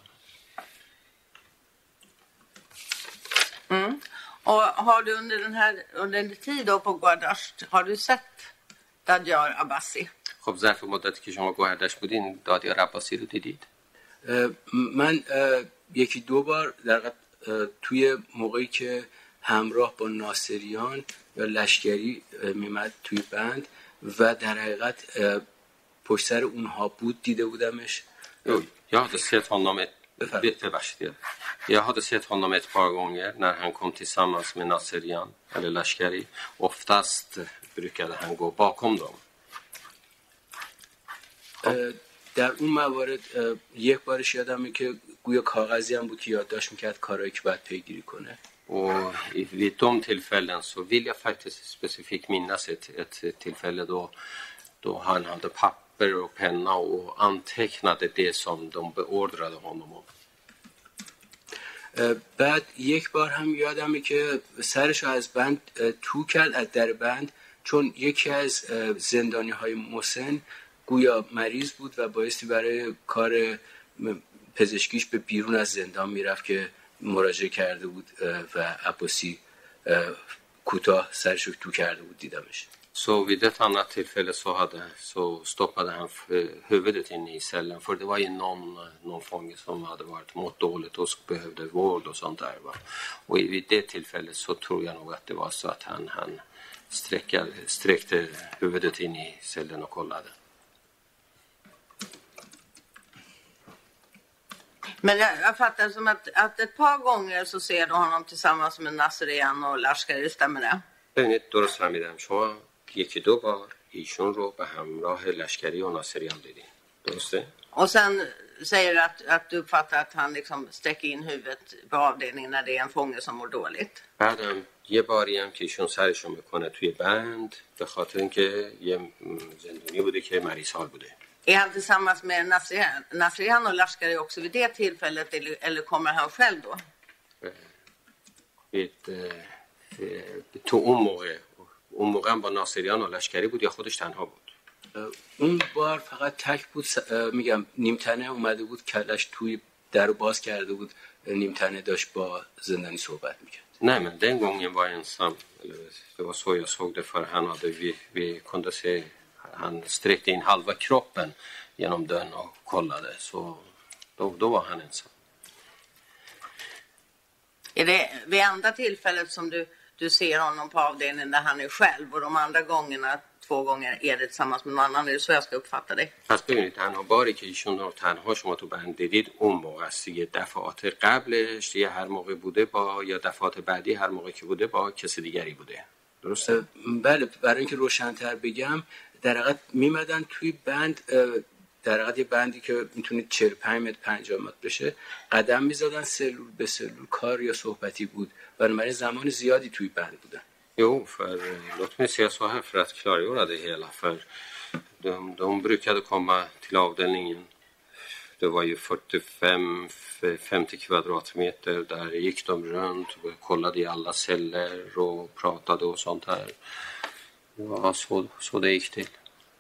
Mm. Och har du under den här under en tid då på Gohardast, har du sett Dadjar Abbasi? خب ظرف مدتی که شما گوهردشت بودین دادیار عباسی رو دیدید؟ من یکی دو بار در توی موقعی که همراه با ناصریان یا لشکری میمد توی بند و در حقیقت پشت سر اونها بود دیده بودمش. Jag hade sett honom ett, jag hade sett honom ett par gånger när han kom tillsammans med Nasserian eller Lashkari. Oftast brukade han gå bakom dem. در اون موارد یک بارش یادمه که گویا کاغذی هم بود که یادداشت میکرد کارهایی که باید پیگیری کنه. Och vid de tillfällen så vill jag faktiskt specifikt minnas ett, ett tillfälle då, då han hade papper och penna och antecknade det som de beordrade honom om. بعد یک بار هم یادمه که سرشو از بند تو کرد، از در بند، چون یکی از زندانی های مسن گویا مریض بود و بایستی برای کار پزشکیش به بیرون از زندان میرفت که مراجعه کرده بود و عباسی کوتاه سرشو تو کرده بود دیدمش. Så vid ett annat tillfälle så, hade, så stoppade han huvudet in i cellen, för det var ju någon, någon fånge som hade varit mått dåligt och behövde vård och sånt där. Va? Och vid det tillfället så tror jag nog att det var så att han, han sträckade, sträckte huvudet in i cellen och kollade. Men jag, jag fattar som att, att ett par gånger så ser du honom tillsammans med Nasserian och Lashkari, stämmer det? ببینید درست فهمیدم شما یکی دو بار ایشون رو به همراه لشکری و ناصریان دیدین، درسته؟ Och sen säger att, att du uppfattar att han liksom sträcker in huvudet på avdelningen när det är en fånge som mår dåligt. بعدم یه باری هم که ایشون سرشو میکنه توی بند به خاطر اینکه یه زندانی بوده که مریض حال بوده. Är han tillsammans med Nasrian, Nasrian och Lashkari också vid det tillfället eller, eller kommer han själv då? تو اون موقع اون موقع هم با ناصریان و لشکری بود یا خودش تنها بود؟ اون بار فقط تک بود. میگم نیمتنه اومده بود کلش توی در باز کرده بود، نیمتنه داشت با زندانی صحبت میکرد. Nej, men den gången var jag ensam. Det var så jag såg det, för han hade, vi, vi kunde se, han sträckte in halva kroppen genom dörren och kollade. Så då, då var han ensam. Är det vid andra tillfället som du, du ser honom på avdelningen där han är själv och de andra gångerna, två gånger, är det tillsammans med någon annan? Är det så jag ska uppfatta det? پس ببینید تنها باری که ایشون رو تنها شما تو بند دیدید اون موقع است دیگه. دفعات قبلش یه هر موقع بوده با، یا دفعات بعدی هر موقع که بوده با کسی دیگری بوده. درسته؟ بله، برای اینکه روشن‌تر بگم، در حقیقت میمدن توی بند، در حقیقت یه بندی که میتونید چهل و پنج متر پنجاه متر بشه، قدم میزدن سلول به سلول، کار یا صحبتی بود، برای زمان زیادی توی بند بودن. Jo, för låt mig säga så här för att klargöra det hela. För de, de brukade komma till avdelningen. Det var ju fyrtiofem till femtio kvadratmeter. Där gick de runt och kollade i alla celler och pratade och sånt här. Det var så, så det gick till.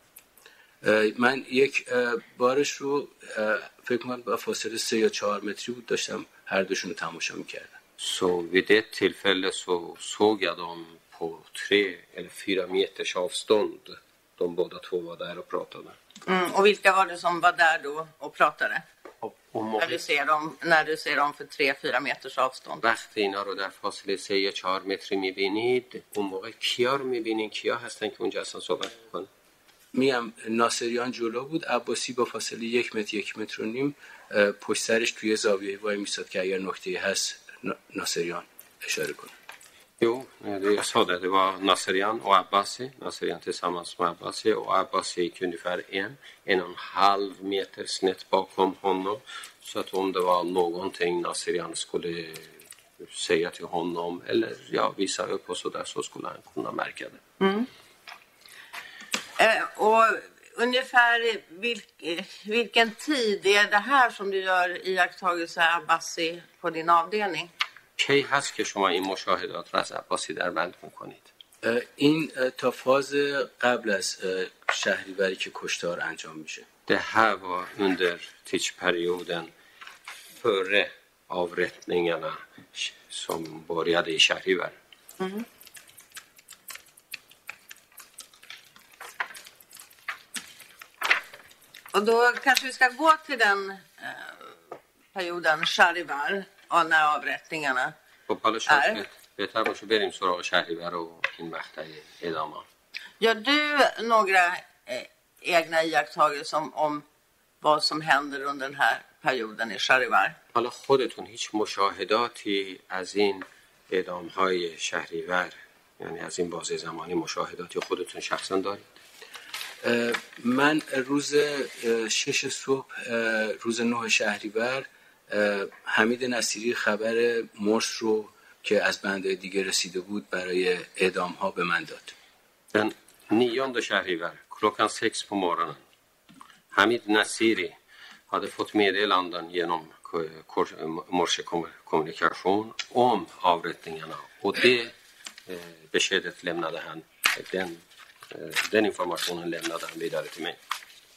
من یک بارش رو فکر کنم با فاصله سه یا چهار متری بود داشتم هر دوشون رو تماشا میکردم. Så vid det tillfälle så såg jag dem på tre eller fyra meters avstånd. De båda två var där och pratade. Mm, och vilka var det som var där då och pratade? Och, och när, du ser dem, när du ser dem för tre fyra meters avstånd. وقتی اینا رو در فاصله سه یا چهار متری میبینید، اون موقع کیا رو میبینید؟ کیا هستن که اونجا اصلا صحبت میکنن؟ میم ناصریان جلو بود، عباسی با فاصله یک متر یک متر و نیم پشت سرش توی زاویه وای میساد که اگر نکته هست ناصریان اشاره کنه. Jo, det jag sa det, det var Nasrian och Abbasi. Nasrian tillsammans med Abbasi, och Abbasi gick ungefär en, en och en halv meter snett bakom honom. Så att om det var någonting Nasrian skulle säga till honom eller ja, visa upp och så där, så skulle han kunna märka det. Mm. Eh, och ungefär vilk, vilken tid är det här som du gör iakttagelse Abbasi på din avdelning? کی هست که شما این مشاهدات را از عباسی در بند میکنید؟ این تا فاز قبل از شهریوری که کشتار انجام میشه. Det här var under tidsperioden före avrättningarna som började i Shahrivar. Mm. Och då kanske vi ska gå till den eh, perioden Shahrivar och när avrättningarna خب حالا شاید بهتر باشه بریم سراغ شهریور و این مقطع ادامه. Gör du några eh, egna iakttagelser om, om vad som händer under den här perioden i Shahrivar? حالا خودتون هیچ مشاهداتی از این اعدام‌های شهریور، یعنی از این بازه زمانی مشاهداتی خودتون شخصا دارید؟ من روز شش صبح روز نه شهریور حمید نصیری خبر مرس رو که از بندهای دیگه رسیده بود برای اعدام ها به من داد. Den nionde Shahrivar klockan sex på morgonen. Hamid Nasiri hade fått meddelanden genom morsekommunikation om avrättningarna, och det eh, beskedet lämnade han, den, eh, den informationen lämnade han vidare till mig.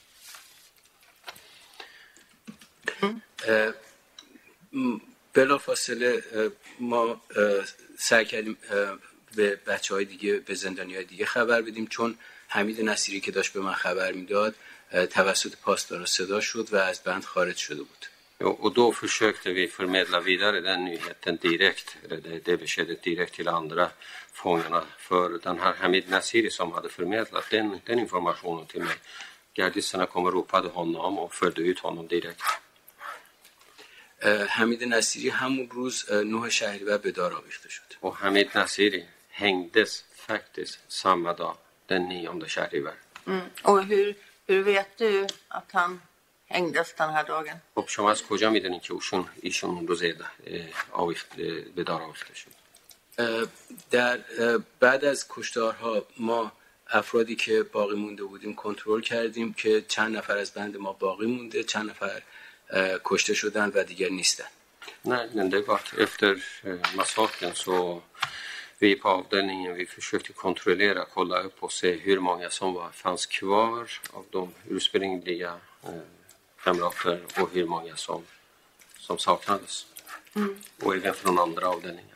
Mm. بلا فاصله ما سعی کردیم به بچه های دیگه، به زندانی های دیگه خبر بدیم، چون حمید نصیری که داشت به من خبر میداد توسط پاسدارا صدا شد و از بند خارج شده بود. Och då försökte vi förmedla vidare den nyheten direkt, eller det, det beskedet direkt till andra fångarna. För den här Hamid Nasiri som hade förmedlat den, den informationen till mig, gardisterna kom och ropade honom och förde ut honom direkt. حمید نصیری همون روز نه شهریور به دار آویخته شد. Och Hamid Nasiri hängdes faktiskt samma dag, den nionde Shahrivar. Mm. Och hur, hur vet du att han hängdes den här dagen. خب شما از کجا میدونین که اوشون ایشون اون روز آویخت به دار آویخته شد؟ در بعد از کشتارها ما افرادی که باقی مونده بودیم کنترل کردیم که چند نفر از بند ما باقی مونده، چند نفر کشته شدن و دیگر نیستن. Nej, men det var efter massakern så vi på avdelningen vi försökte kontrollera, kolla upp och se hur många som var, fanns kvar av de ursprungliga eh, kamrater och hur många som, som saknades. Mm. Och även från andra avdelningar.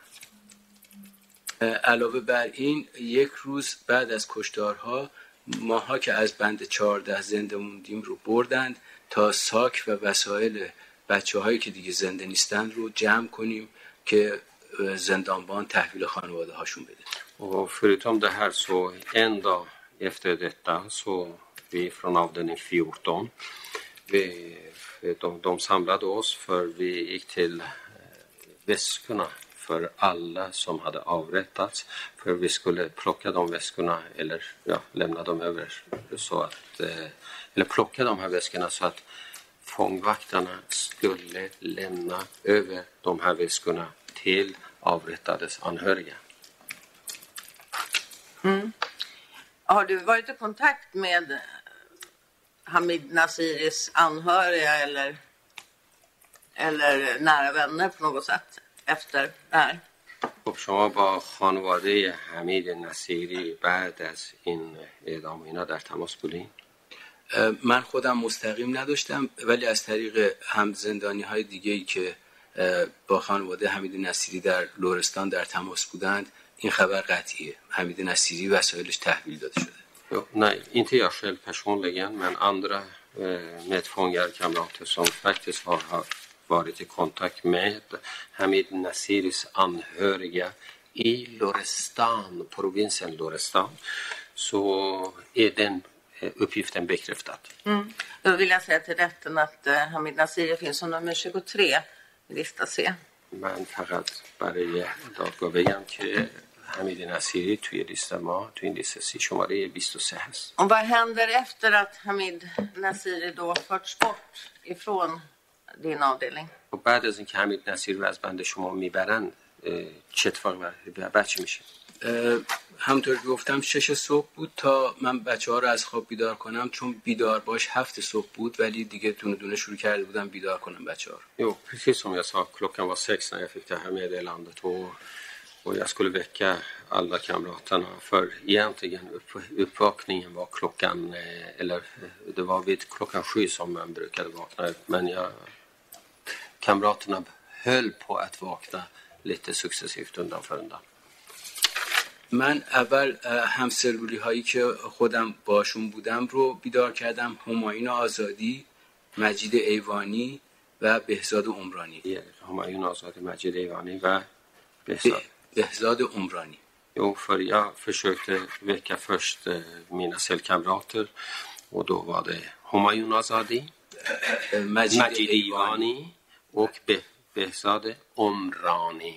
علاوه بر این یک روز بعد از کشتارها ماها که از بند چهارده زنده موندیم رو بردند تا ساک و وسایل بچه هایی که دیگه زنده نیستن رو جمع کنیم که زندانبان تحویل خانواده هاشون بده. Och förutom det här så en dag efter detta så vi från avdelning fjorton vi, de, de samlade oss för vi gick till väskorna för alla som hade avrättats för vi skulle plocka de väskorna eller ja, lämna dem över så att eller plocka de här väskorna så att fångvaktarna skulle lämna över de här väskorna till avrättades anhöriga. Mm. Har du varit i kontakt med Hamid Naziris anhöriga eller, eller nära vänner på något sätt efter det här? خب شما با خانواده حمید نصیری بعد از این اعدام اینا در تماس بودین؟ من خودم مستقیم نداشتم ولی از طریق هم زندانی های دیگه‌ای که با خانواده حمید نصیری در لرستان در تماس بودند این خبر قطعیه. حمید نصیری وسایلش تحویل داده شده. Jo, nej, inte jag själv personligen, men andra eh, medfångar, kamrater som faktiskt har varit i kontakt med Hamid Nasiris anhöriga i Lorestan, provinsen Lorestan, så är den uppgiften bekräftad. Mm. Då vill jag säga till rätten att uh, Hamid Nasiri finns som nummer tjugotre i lista C. من فقط برای دادگاه بگم که حمید نصیری توی لیست ما توی این لیست سی شماره بیست و سه هست. Och vad händer efter att Hamid Nasiri då förts bort ifrån din avdelning? و بعد از اینکه حمید نصیری رو از بند شما میبرن چه اتفاقی بعد چی میشه؟ همونطور که گفتم شش صبح بود تا من بچه ها رو از خواب بیدار کنم چون بیدار باش هفت صبح بود ولی دیگه دونه دونه شروع کرده بودم بیدار کنم بچه ها رو. Jo, precis som jag sa, klockan var sex när jag fick det här meddelandet och, och jag skulle väcka alla kamraterna för egentligen upp, uppvakningen var klockan, eller det var vid klockan sju som man brukade vakna upp men jag, kamraterna höll på att vakna lite successivt undan för undan. من اول همسلولی هایی که خودم باشون بودم رو بیدار کردم. همایون آزادی، مجید ایوانی و بهزاد عمرانی. همایون آزادی، مجید ایوانی و بهزاد, بهزاد عمرانی. Jo, för jag försökte väcka först mina cellkamrater och då var det Humayun Azadi, Majid, Majid Ivani och Be- Behzad Omrani.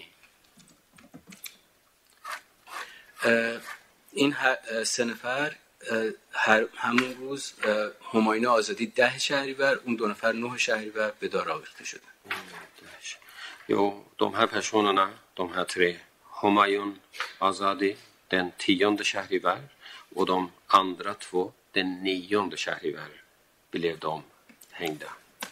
این سه نفر هر همون روز همایون آزادی ده شهریور اون دو نفر نه شهریور به دار آویخته شدن. Jo, de här personerna, de här tre, Humayun Azadi den tionde shahrivar och de andra två den nionde shahrivar blev de hängda.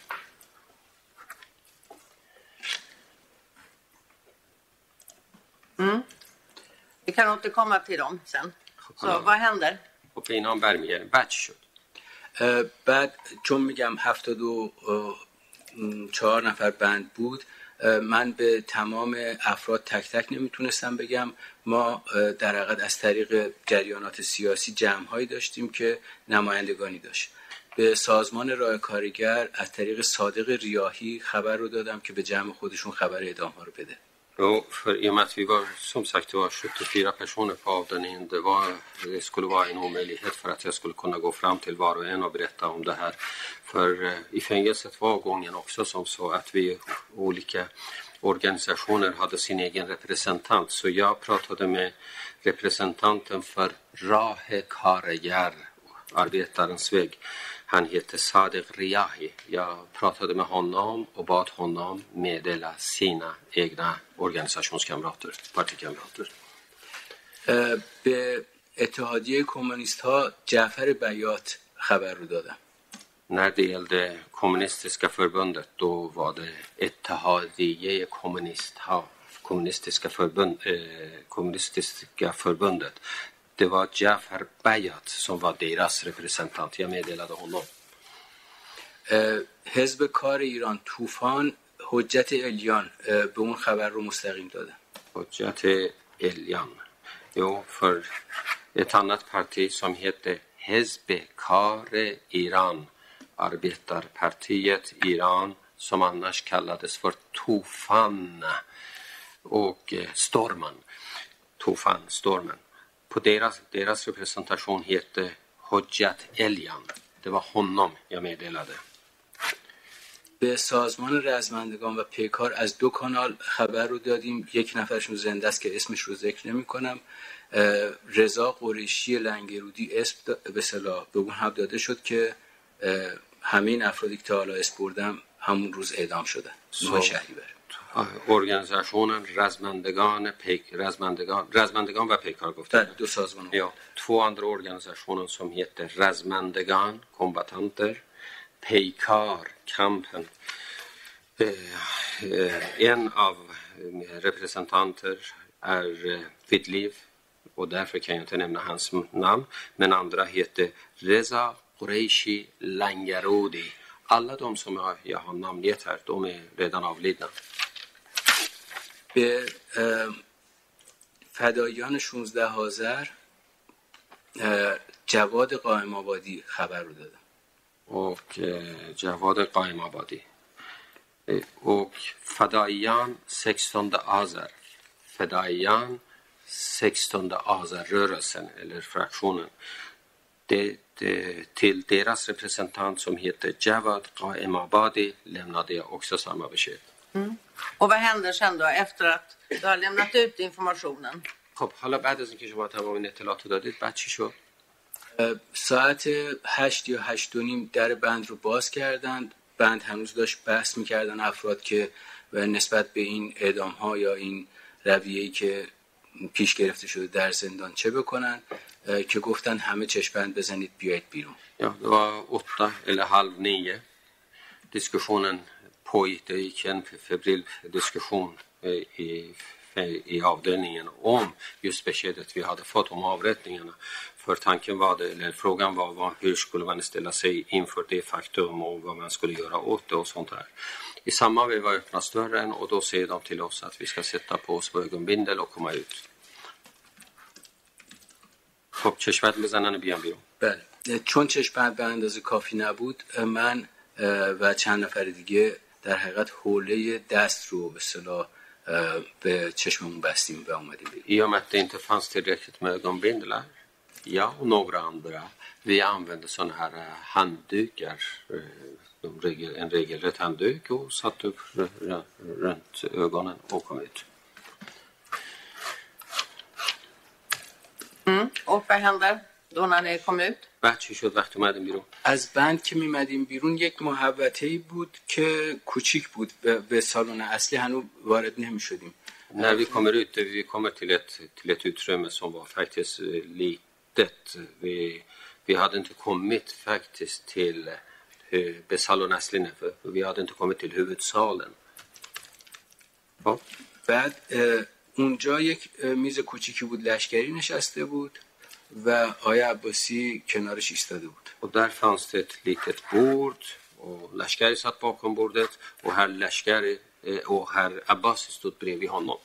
Mm. Vi kan återkomma till dem sen. Så vad händer? Och innan برمیگردیم بعد چی شد؟ بعد چون میگم هفتاد و چهار نفر بند بود من به تمام افراد تک تک نمیتونستم بگم. ما در حقیقت از طریق جریانات سیاسی جمع‌هایی داشتیم که نمایندگانی داشت. به سازمان راه کارگر از طریق صادق ریاحی خبر رو دادم که به جمع خودشون خبر اعدام ها رو بده. Jo, för i och med att vi var, som sagt, det var sjuttiofyra personer på avdelningen. Det, var, det skulle vara en omöjlighet för att jag skulle kunna gå fram till var och en och berätta om det här. För eh, i fängelset var gången också som så att vi olika organisationer hade sin egen representant. Så jag pratade med representanten för Rahe Karager, arbetarens väg. Han heter Sadiq Riyahi. Jag pratade med honom och bad honom meddela sina egna organisationskamrater, partikamrater. به اتحادیه کمونیست ها جعفر بیات خبر رو دادم. När det gällde kommunistiska förbundet, då var det Ettehadiyye kommunist, ha, kommunistiska, förbund, eh, kommunistiska förbundet. Det var Jafar Bayat som var deras representant. Jag meddelade honom. حزب کار ایران طوفان حجت الیان به اون خبر رو مستقیم داده. حجت الیان. Jo, för ett annat parti som heter Hezb Kar Iran, arbetarpartiet Iran, som annars kallades för Tufan och Stormen. Tufan, Stormen. På deras, deras representation heter Hojjat Elian. Det var honom jag meddelade. به سازمان رزمندگان و پیکار از دو کانال خبر رو دادیم. یک نفرشون زنده است که اسمش رو ذکر نمی کنم. رضا قریشی لنگرودی اسم به اصطلاح به اون هم داده شد که همه این افرادی که حالا اسم بردم همون روز اعدام شدن. Så, organisationen Razmandegan, Pek, Razmandegan, Razmandegan و پیکار گفتن. دو سازمان. Ja, två andra organisationer som heter Razmandegan, kombatanter, Peikar, kampen. Eh, eh, en av representanter är eh, vid liv och därför kan jag inte nämna hans namn. Men andra heter Reza Qureishi Langarodi. Alla de som jag, jag har namngett här, de är redan avlidna. به فدایان شانزده آذر جواد قائم آبادی خبر رو دادم. Och eh, Javad Qaim Abadi. Eh, och Fadaiyan sextonde Azar. Fadaiyan sextonde Azar-rörelsen eller fraktionen. Det, det, till deras representant som heter Javad Qaim Abadi lämnade jag också samma besked. Mm. Och vad händer sen då efter att du har lämnat ut informationen? خب حالا بعد از اینکه شما تمام این اطلاعات دادید بعد چی شد؟ ساعت هشت یا هشت و نیم در بند رو باز کردند. بند هنوز داشت بحث میکردن افراد که نسبت به این اعدام ها یا این رویه‌ای که پیش گرفته شده در زندان چه بکنن که گفتن همه چشم‌بند بزنید بیایید بیرون. Ja, det var åtta eller halv nio. Diskussionen pågick. Det gick en febril diskussion i, i avdelningen om just beskedet vi hade fått om avrättningarna. För tanken var det, eller frågan var vad, hur skulle man ställa sig inför det faktum och vad man skulle göra åt det och sånt här. I samma veva öppnas dörren och då säger de till oss att vi ska sätta på oss ögonbindel och komma ut. خب چشمت بزنن بیان بیرون. بله چون چشمت به اندازه کافی نبود من و چند نفر دیگه در حقیقت حوله دست رو به اصطلاح به چشممون بستیم و اومدیم بیرون. I och med att det inte fanns tillräckligt med ögonbindlar, jag och några andra, vi använde sådana här handdukar, en regelrätt handduk och satte upp runt ögonen och kom ut. Mm. Och vad händer då när ni kom ut? بعد چی شد وقتی اومدیم بیرون؟ از بند که میمدیم بیرون یک محوطه‌ای بود که کوچیک بود به سالن اصلی هنوز وارد نمی‌شدیم. När vi kommer ut, vi kommer till ett, till ett utrymme som var faktiskt litet. Vi, vi hade inte kommit faktiskt till به سالن اصلی نه. Vi hade inte kommit till huvudsalen. Ja. بعد اونجا یک میز کوچیکی بود لشکری نشسته بود و آقای عباسی کنارش ایستاده بود. Och där fanns det ett litet bord och Lashkari satt bakom bordet och herr Lashkari och herr Abbasi stod bredvid honom.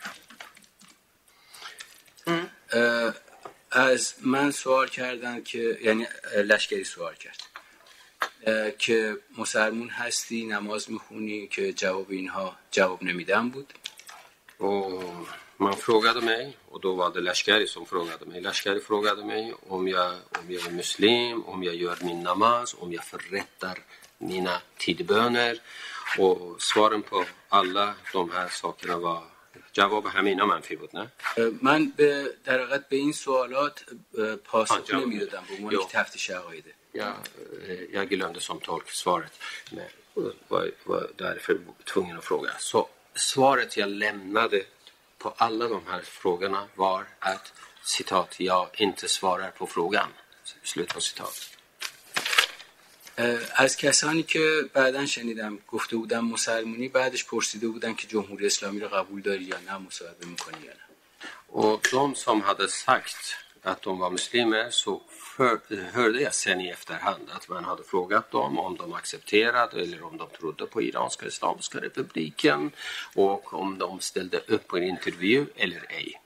Mm. از من سوال کردن که یعنی لشکری سوال کرد که مسلمون هستی نماز میخونی که جواب اینها جواب نمیدم بود. Och man frågade mig och då var det Lashkari som frågade mig. Lashkari frågade mig om jag, om jag är muslim, om jag gör min namaz, om jag förrättar mina tidböner. Och svaren på alla de här sakerna var جواب همینا منفی بود نه؟ من به در حقیقت به این سوالات پاسخ نمیدادم به عنوان یک تفتیش عقایده. jag, jag glömde som tolk svaret, men var, var därför tvungen att fråga. Så svaret jag lämnade på alla de här frågorna var att citat, jag inte svarar på frågan. Slut på citat. از کسانی که بعداً شنیدم گفته بودن مسلمونی، بعدش پرسیده بودن که جمهوری اسلامی رو قبول داری یا نه، مصاحبه میکنی یا نه. Och de som hade sagt att de var muslimer, så för, hörde jag sen i efterhand att man hade frågat dem om de accepterade eller om de trodde på Iranska Islamiska republiken och om de ställde upp på en intervju eller ej.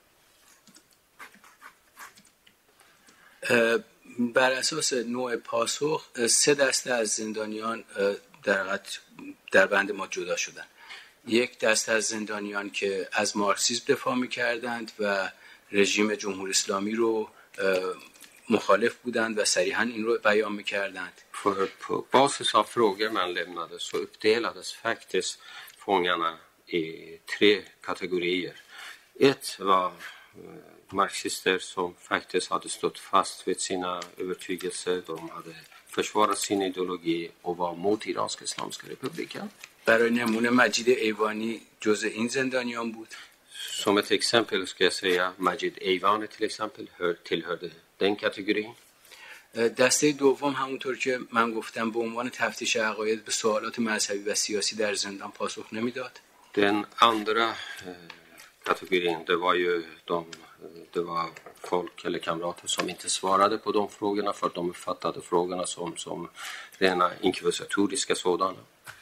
بر اساس نوع پاسخ سه دسته از زندانیان در در بند ما جدا شدن. یک دسته از زندانیان که از مارکسیسم دفاع می‌کردند و رژیم جمهوری اسلامی رو مخالف بودند و صریحاً این رو بیان می‌کردند. För på basis av frågor man lämnade så uppdelades faktiskt fångarna i tre kategorier. Ett var marxister som faktiskt hade stått fast vid sina övertygelser. De hade försvarat sin ideologi och var mot Iranska Islamiska republiken. برای نمونه مجید ایوانی جزء این زندانیان بود. Som ett exempel ska jag säga Majid Eivani till exempel hör, tillhörde den kategorin. دسته دوم همونطور که من گفتم به عنوان تفتیش عقاید به سوالات مذهبی و سیاسی در زندان پاسخ نمیداد. Den andra eh, kategorin, det var ju de, det var folk eller kamrater som inte svarade på de frågorna för att de uppfattade frågorna som, som rena inkvisitoriska sådana.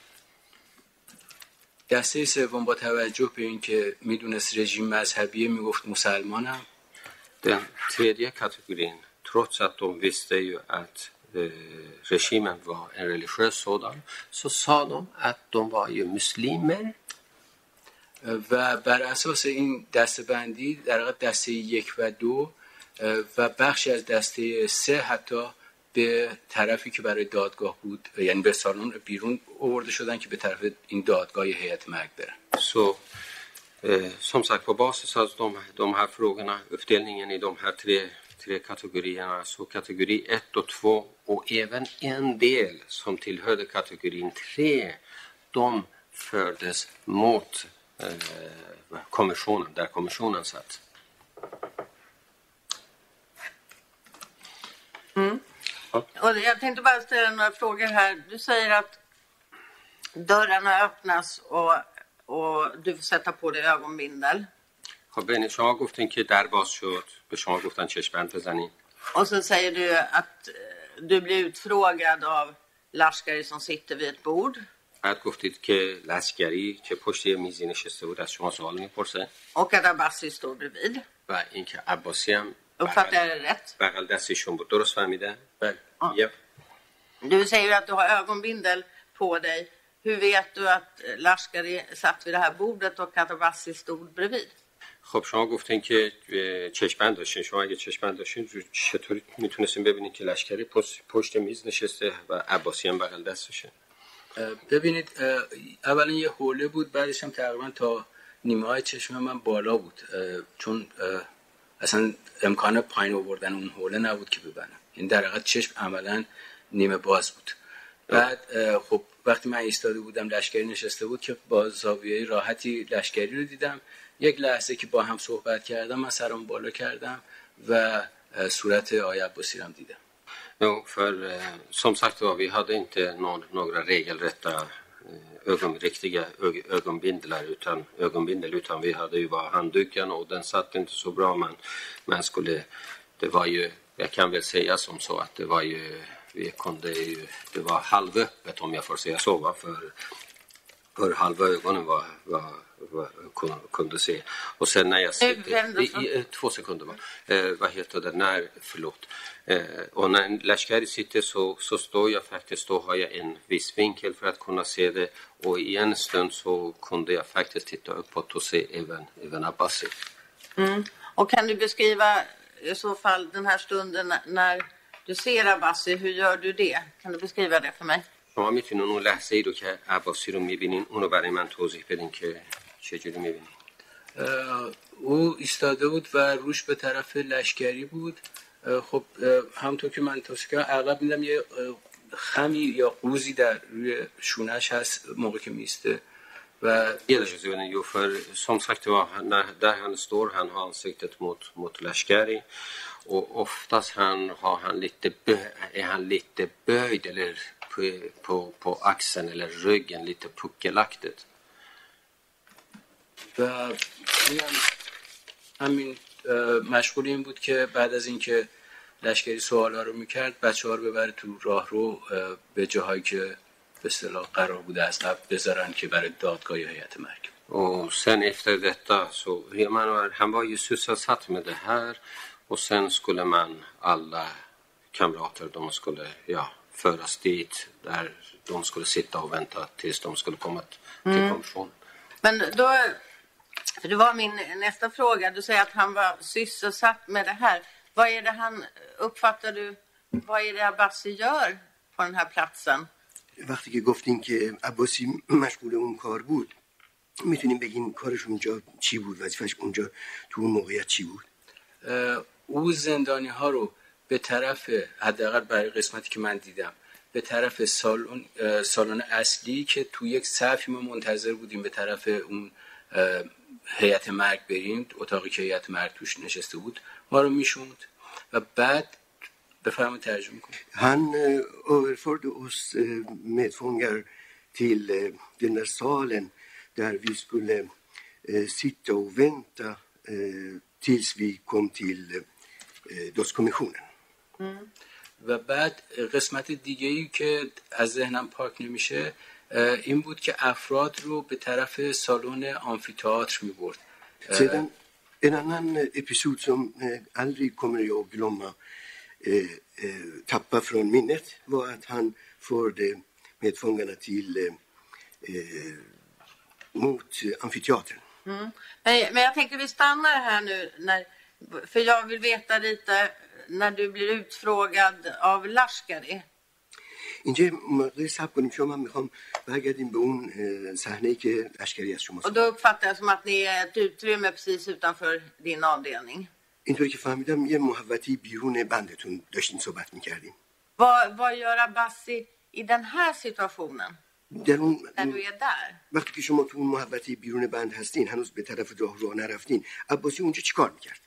دسته سوم با توجه به اینکه میدونست رژیم مذهبیه میگفت مسلمانم. Den tredje kategorin, trots att de visste ju att eh, regimen var en religiös sådan, så sa de att de var ju muslimer. و بر اساس این دسته‌بندی در واقع دسته یک و دو و بخشی از دسته سه حتی به طرفی که برای دادگاه بود، یعنی به سالن بیرون آورده شدن که به طرف این دادگاه هیئت مرگ برن. Så eh, som sagt på basis av de, de här frågorna, uppdelningen i de här tre, tre kategorierna, så kategori ett och två och även en del som tillhörde kategorin tre, de fördes mot eh, kommissionen, där kommissionen satt. Mm. Och jag tänkte bara ställa några frågor här. Du säger att dörrarna öppnas och, och du får sätta på dig ögonbindel. خب بین شما گفتین که در باز شد، به شما گفتن چشم‌بند بزنین. Och så säger du att du blir utfrågad av Lashkari som sitter vid ett bord. بعد گفتید که لشکری که پشت یه میزی نشسته بود از شما سوال میپرسه. Och att Abbasi står bredvid. و اینکه عباسی هم Uppfattar jag det rätt? بغل دستشون بود. درست فهمیده؟ بله. Ja. Du säger ju att du har ögonbindel på dig. Hur vet du att Lashkari satt vid det här bordet och att Abbasi stod bredvid? خب شما گفتین که چشم‌بند داشتین. شما اگه چشم‌بند داشتین چطوری میتونستین ببینید که لشکری پشت, پشت میز نشسته و عباسی هم بغل دستشه؟ ببینید اولا یه حوله بود، بعدش هم تقریبا تا نیمه های چشم من بالا بود، چون اصلا امکان پایین آوردن اون حوله نبود که ببینم. این در حقیقت چشم عملا نیمه باز بود. بعد خب وقتی من ایستاده بودم لشکری نشسته بود که با زاویه راحتی لشکری رو دیدم. یک لحظه که با هم صحبت kardam, من سرم بالا کردم و صورت آقای عباسی رو دیدم. Jo, för eh, som sagt var, vi hade inte någon, några regelrätta ögon, riktiga ög, ögonbindlar utan, ögonbindel, utan vi hade ju bara handduken och den satt inte så bra. Men man skulle, det var ju, jag kan väl säga som så att det var ju, vi kunde ju, det var halvöppet om jag får säga så, va? För, för halva ögonen var, var kunde se. Och sen när jag sitter, i, i, två sekunder va, eh, vad heter det, när, förlåt, eh, och när Lashkari sitter så, så står jag faktiskt, då har jag en viss vinkel för att kunna se det, och i en stund så kunde jag faktiskt titta uppåt och se även, även Abbasi. Mm. Och kan du beskriva i så fall den här stunden när du ser Abbasi, hur gör du det? Kan du beskriva det för mig? شما میتونین اون لحظه ای رو که عباسی رو میبینین اونو برای من توضیح بدین که چجوری میبینین؟ او ایستاده بود و روش به طرف لشکری بود خب همونطور که من توصیه کردم اغلب میدم یه خمی یا قوزی در روی شونش hast موقع که میسته و Hedersutövningen jo för som sagt var när där han står han har ansiktet mot mot Lashkari och oftast han har han lite bö, är han lite böjd eller på på på axeln eller ryggen lite puckelaktigt. و همین مشغول این بود که بعد از اینکه لشکری سوالا رو میکرد بچه‌ها رو ببره تو راهرو به جاهایی که به اصطلاح قرار بوده از قبل بذارن که برای دادگاه یا هیئت محکمه. Och sen efter detta så man var, han var ju sysselsatt med det här och sen skulle man alla kamrater de skulle ja föras dit där de skulle sitta och vänta tills de skulle komma till kommissionen. Men då, för det var min nästa fråga, du säger att han var sysselsatt med det här. Vad är det han, uppfattar du, vad är det Abbasi gör på den här platsen? وقتی که گفتین که عباسی مشغول اون کار بود میتونیم بگین کارش اونجا چی بود، وظیفش اونجا تو اون موقعیت چی بود؟ او زندانی ها رو به طرف حداقل برای قسمتی که من دیدم به طرف سالن سالن اصلی که تو یک صفی ما منتظر بودیم به طرف اون هیئت مرگ بریم، اتاقی که هیئت مرگ توش نشسته بود ما رو میشوند و بعد بفرمایید ترجمه کنید. Han överförde oss medfångar till den där salen där vi skulle sitta och vänta tills vi kom till dödskommissionen. و بعد قسمت دیگه‌ای که از ذهنم پاک نمیشه این بود که افراد رو به طرف سالن آمفی‌تئاتر می‌برد. Sedan en annan episod som aldrig kommer jag att glömma eh, eh, tappa från minnet var att han förde medfångarna till eh, mot amfiteatern. Mm. Men, men jag tänker vi stannar här nu när, för jag vill veta lite när du blir utfrågad av Lashkari. اینجا مقداری صبر کنیم، شما من میخوام برگردیم به اون صحنه‌ای که لشکری از شما. Och då uppfattar jag som att ni är ett utrymme precis utanför din avdelning. اینطوری که فهمیدم یه محوطی بیرون بندتون داشتین صحبت میکردیم. Vad, vad gör Abbasi i den här situationen? در اون När du är där? وقتی که شما تو اون محوطی بیرون بند هستین، هنوز به طرف راه رو نرفتین، عباسی اونجا چیکار میکرد؟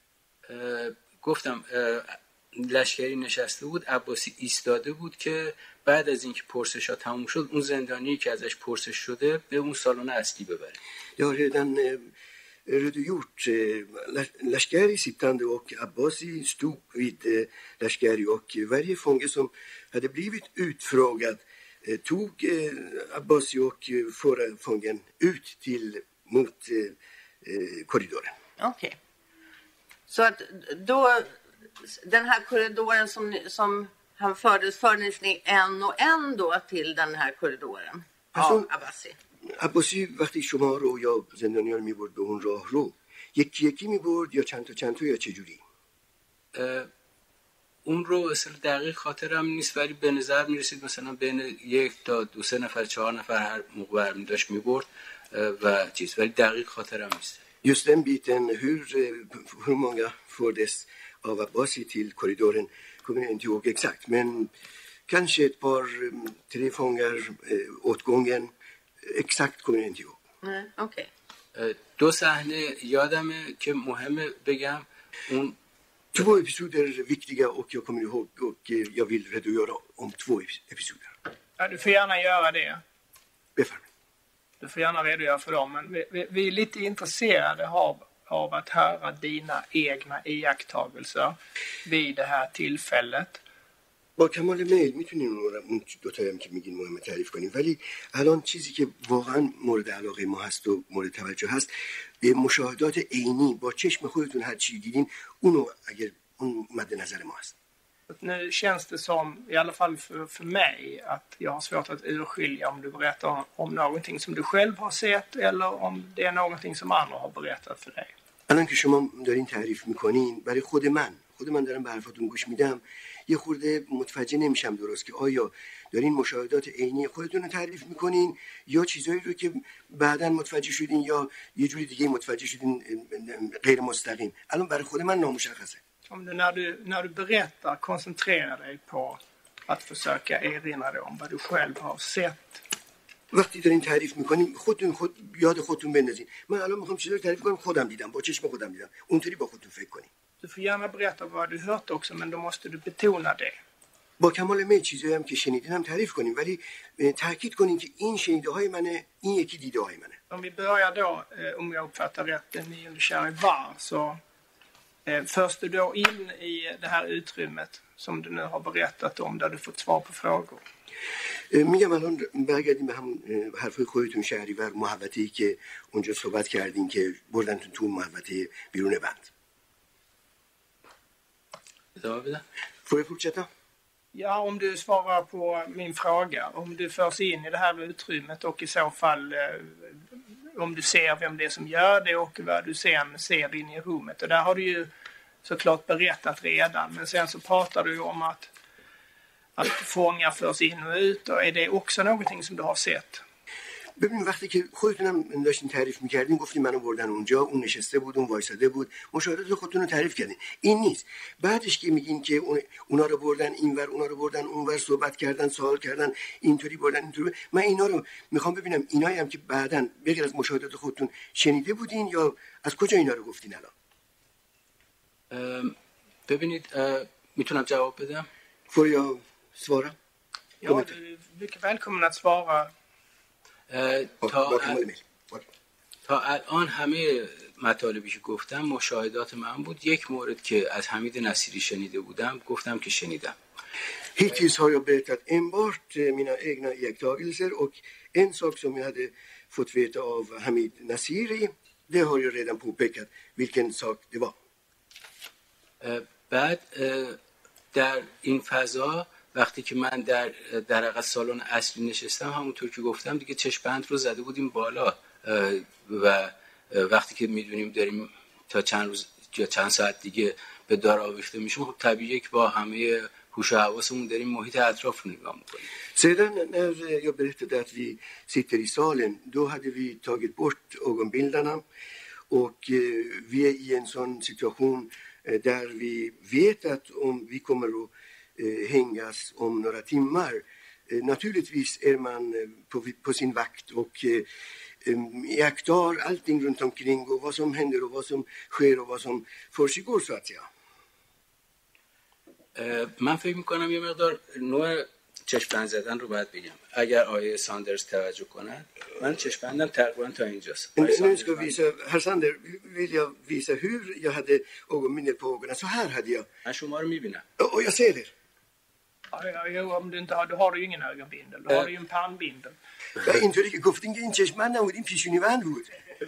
گفتم لشکری نشسته بود، عباسی ایستاده بود که بعد از اینکه پرسش‌ها تموم شد اون زندانی که ازش پرسش شده به اون سالن اصلی ببره. Jag har redan redogjort. Lashkari sittande och Abbasi stod vid Lashkari och varje fånge som hade blivit utfrågad tog Abbasi och förde fången ut till mot korridoren. Okej. Okay. Så att då den här korridoren som som han fördes fördes ni en och en då till den här korridoren av Abbasi. عباسی وقتی شما رو یا زندانیان میبرد به اون راه رو یکی یکی میبرد یا چند تا چند تا یا چه جوری؟ اون رو اصلا دقیق خاطرم نیست ولی به نظر میرسید مثلا bین یک تا دو سه نفر چهار نفر هر موقع برمی داشت میبرد و چیز، ولی دقیق خاطرم نیست. Just den biten, hur, hur många fördes av Abbasi till korridoren kommer jag inte ihåg exakt, men kanske ett par, tre fångar åt gången. exakt kommer jag inte ihåg. Nej, okej. Okay. دو صحنه یادمه که مهمه بگم. اون två episoder viktiga och jag kommer ihåg och jag vill redogöra om två episoder. Ja, du får gärna göra det. Befärmning. Du får gärna redogöra för dem, men vi, vi, vi är lite intresserade av, av att höra dina egna iakttagelser vid det här tillfället. با کمال میل میتونیم اون دو تایی هم که میگین مهمه تعریف کنیم، ولی الان چیزی که واقعا مورد علاقه ما هست و مورد توجه هست به مشاهدات عینی با چشم خودتون هر چی دیدین اونو اگر اون مد نظر ما هست. Nu känns det som, i alla fall för, för mig, att jag har svårt att urskilja om du berättar om, om någonting som du själv har sett eller om det är någonting som andra har berättat för dig. الان که شما دارین تعریف میکنین برای خود من خود من دارم به حرفاتون گوش میدم یه خورده متوجه نمیشم درست که آیا دارین مشاهدات عینی خودتون رو تعریف میکنین یا چیزایی رو که بعداً متوجه شدین یا یه جوری دیگه متوجه شدین غیر مستقیم. الان برای خود من نامشخصه. Om du när, du när du berättar koncentrerar dig på att försöka erinra dig om vad du själv har sett. وقتی دارین تعریف میکنیم خودتون خود یاد خودتون بندازین. من الان میخوام چیزا رو تعریف کنم خودم دیدم، با چشم خودم دیدم. اونطوری با خودتون فکر کنین. Du får gärna berätta vad du hört också, men då måste du betona det. با کمال میل چیزایی هم که شنیدین هم تعریف کنیم، ولی تاکید کنین که این شنیده های منه، این یکی دیده های منه. Om vi börjar då, om jag uppfattar rätt, den nionde Charivar, så eh, förs du då in i det här utrymmet som du nu har berättat om, där du fått svar på frågor. میگم الان برگردیم به همون حرفای خودتون شهریور محوطه‌ای که اونجا صحبت کردین که بردنتون تو محوطه بیرون بند. ادامه بدم؟ Får jag fortsätta? Ja, om du svarar på min fråga. Om du förs in i det här utrymmet och i så fall eh, om du ser vem det är som gör det och vad du sen ser in i rummet. Och där har du ju såklart berättat redan. Men sen så pratar du ju om att, att fångar förs in och ut. Och är det också någonting som du har sett? ببین وقتی که خودتونم داشتین تعریف میکردین گفتین منو بردن اونجا، اون نشسته بود، اون وایساده بود، مشاهدات خودتون رو تعریف کردین. این نیست. بعدش که میگین که اونا رو بردن اینور، اونا رو بردن اونور، صحبت کردن، سوال کردن، اینطوری بردن اینطوری، من اینا رو میخوام ببینم اینایی هم که بعداً بغیر از مشاهدات خودتون شنیده بودین یا از kojā اینا رو گفتین الان؟ ببینید میتونم جواب بدم؟ Får jag svara? Ja, du är mycket välkommen att svara. تا, تا الان همه مطالبی که گفتم مشاهدات من بود. یک مورد که از حمید نصیری شنیده بودم گفتم که شنیدم. Hittills har jag berättat enbart mina egna iakttagelser och en sak som jag hade fått veta av Hamid Nasiri, det har jag redan påpekat vilken sak det var. بعد در این فضا وقتی که من در در سالن اصلی نشستم همونطور که گفتم دیگه چشم‌بند رو زده بودیم بالا و وقتی که میدونیم داریم تا چند روز یا چند ساعت دیگه به دار آویخته میشیم خب طبیعیه که با همه هوش و حواسمون داریم محیط اطراف رو نگاه میکنیم. Sedan när jag berättade att vi sitter i salen då hade vi tagit bort ögonbindarna och vi är i en sån situation där vi vet att om vi kommer att hängas om några timmar. Naturligtvis är man på, på sin vakt och iakttar allting runt omkring och vad som händer och vad som sker och vad som försiggår så att säga. من فکر میکنم یه مقدار نوع چشم‌بند زدن رو باید بگم. اگر آیه ساندرز توجه کنن من چشم‌بندم تقریبا تا اینجاست. Nu ska visa, herr Sander vill jag visa hur jag hade ögonbindel på ögonen. Så här hade jag. من شما رو میبینم. Och jag ser er. Jo, om du inte har, då har du ju ingen ögonbindel. Då har du ju en pannbindel. اینطوری که گفتین که این چشم‌بند نبود، این پیشونی بند بود.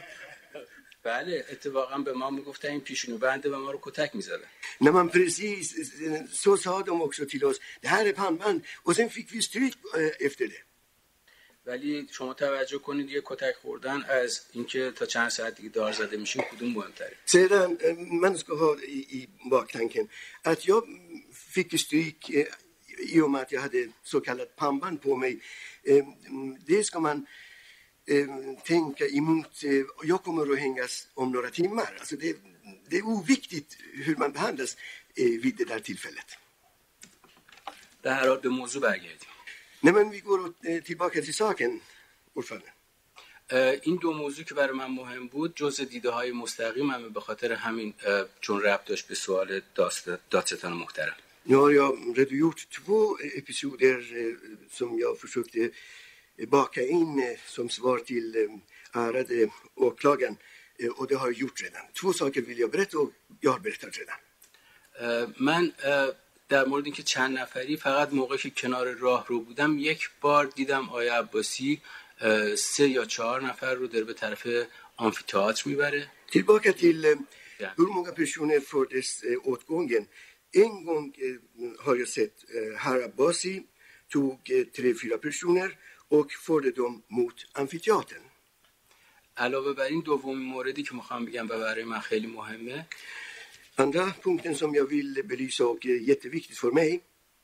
بله اتفاقا به ما میگفتن این پیشونی بنده و ما رو کتک میزدن. När man precis så sa de också till oss, det här är pannband och sen fick vi stryk efter det. ولی شما توجه کنید یه کتک خوردن از اینکه تا چند ساعت دیگه دار زده میشیم کدوم مهمتره؟ Sedan man ska ha i, i baktanken att jag fick stryk i och med att jag hade så kallat pannband på mig. Det ska man tänka emot. Jag kommer att hängas om några timmar. Alltså det, det är oviktigt hur man behandlas vid det där tillfället. در هر حال به موضوع برگردیم. Nej, men vi går tillbaka till saken, ordförande. این دو موضوع که برای من مهم بود جزء دیده های مستقیم همه به خاطر همین چون ربط داشت به سوال دادستان محترم. Nu har jag redogjort två episoder som jag försökte baka in som svar till ärade åklagaren och det har jag gjort redan. Två saker vill jag berätta och jag har berättat redan. من در مورد اینکه چند نفری فقط موقعی که کنار راه رو بودم یک بار دیدم آیه عباسی سه یا چهار نفر رو در به طرف آمفی‌تئاتر میبره. Tillbaka till hur många personer fördes åt gången. En gång har jag sett herr Abbasi tog tre, fyra personer och förde dem mot amfiteatern. علاوه بر این دومین موردی که میخوام بگم و برای من خیلی مهمه. Andra punkten som jag vill belysa och är jätteviktigt för mig.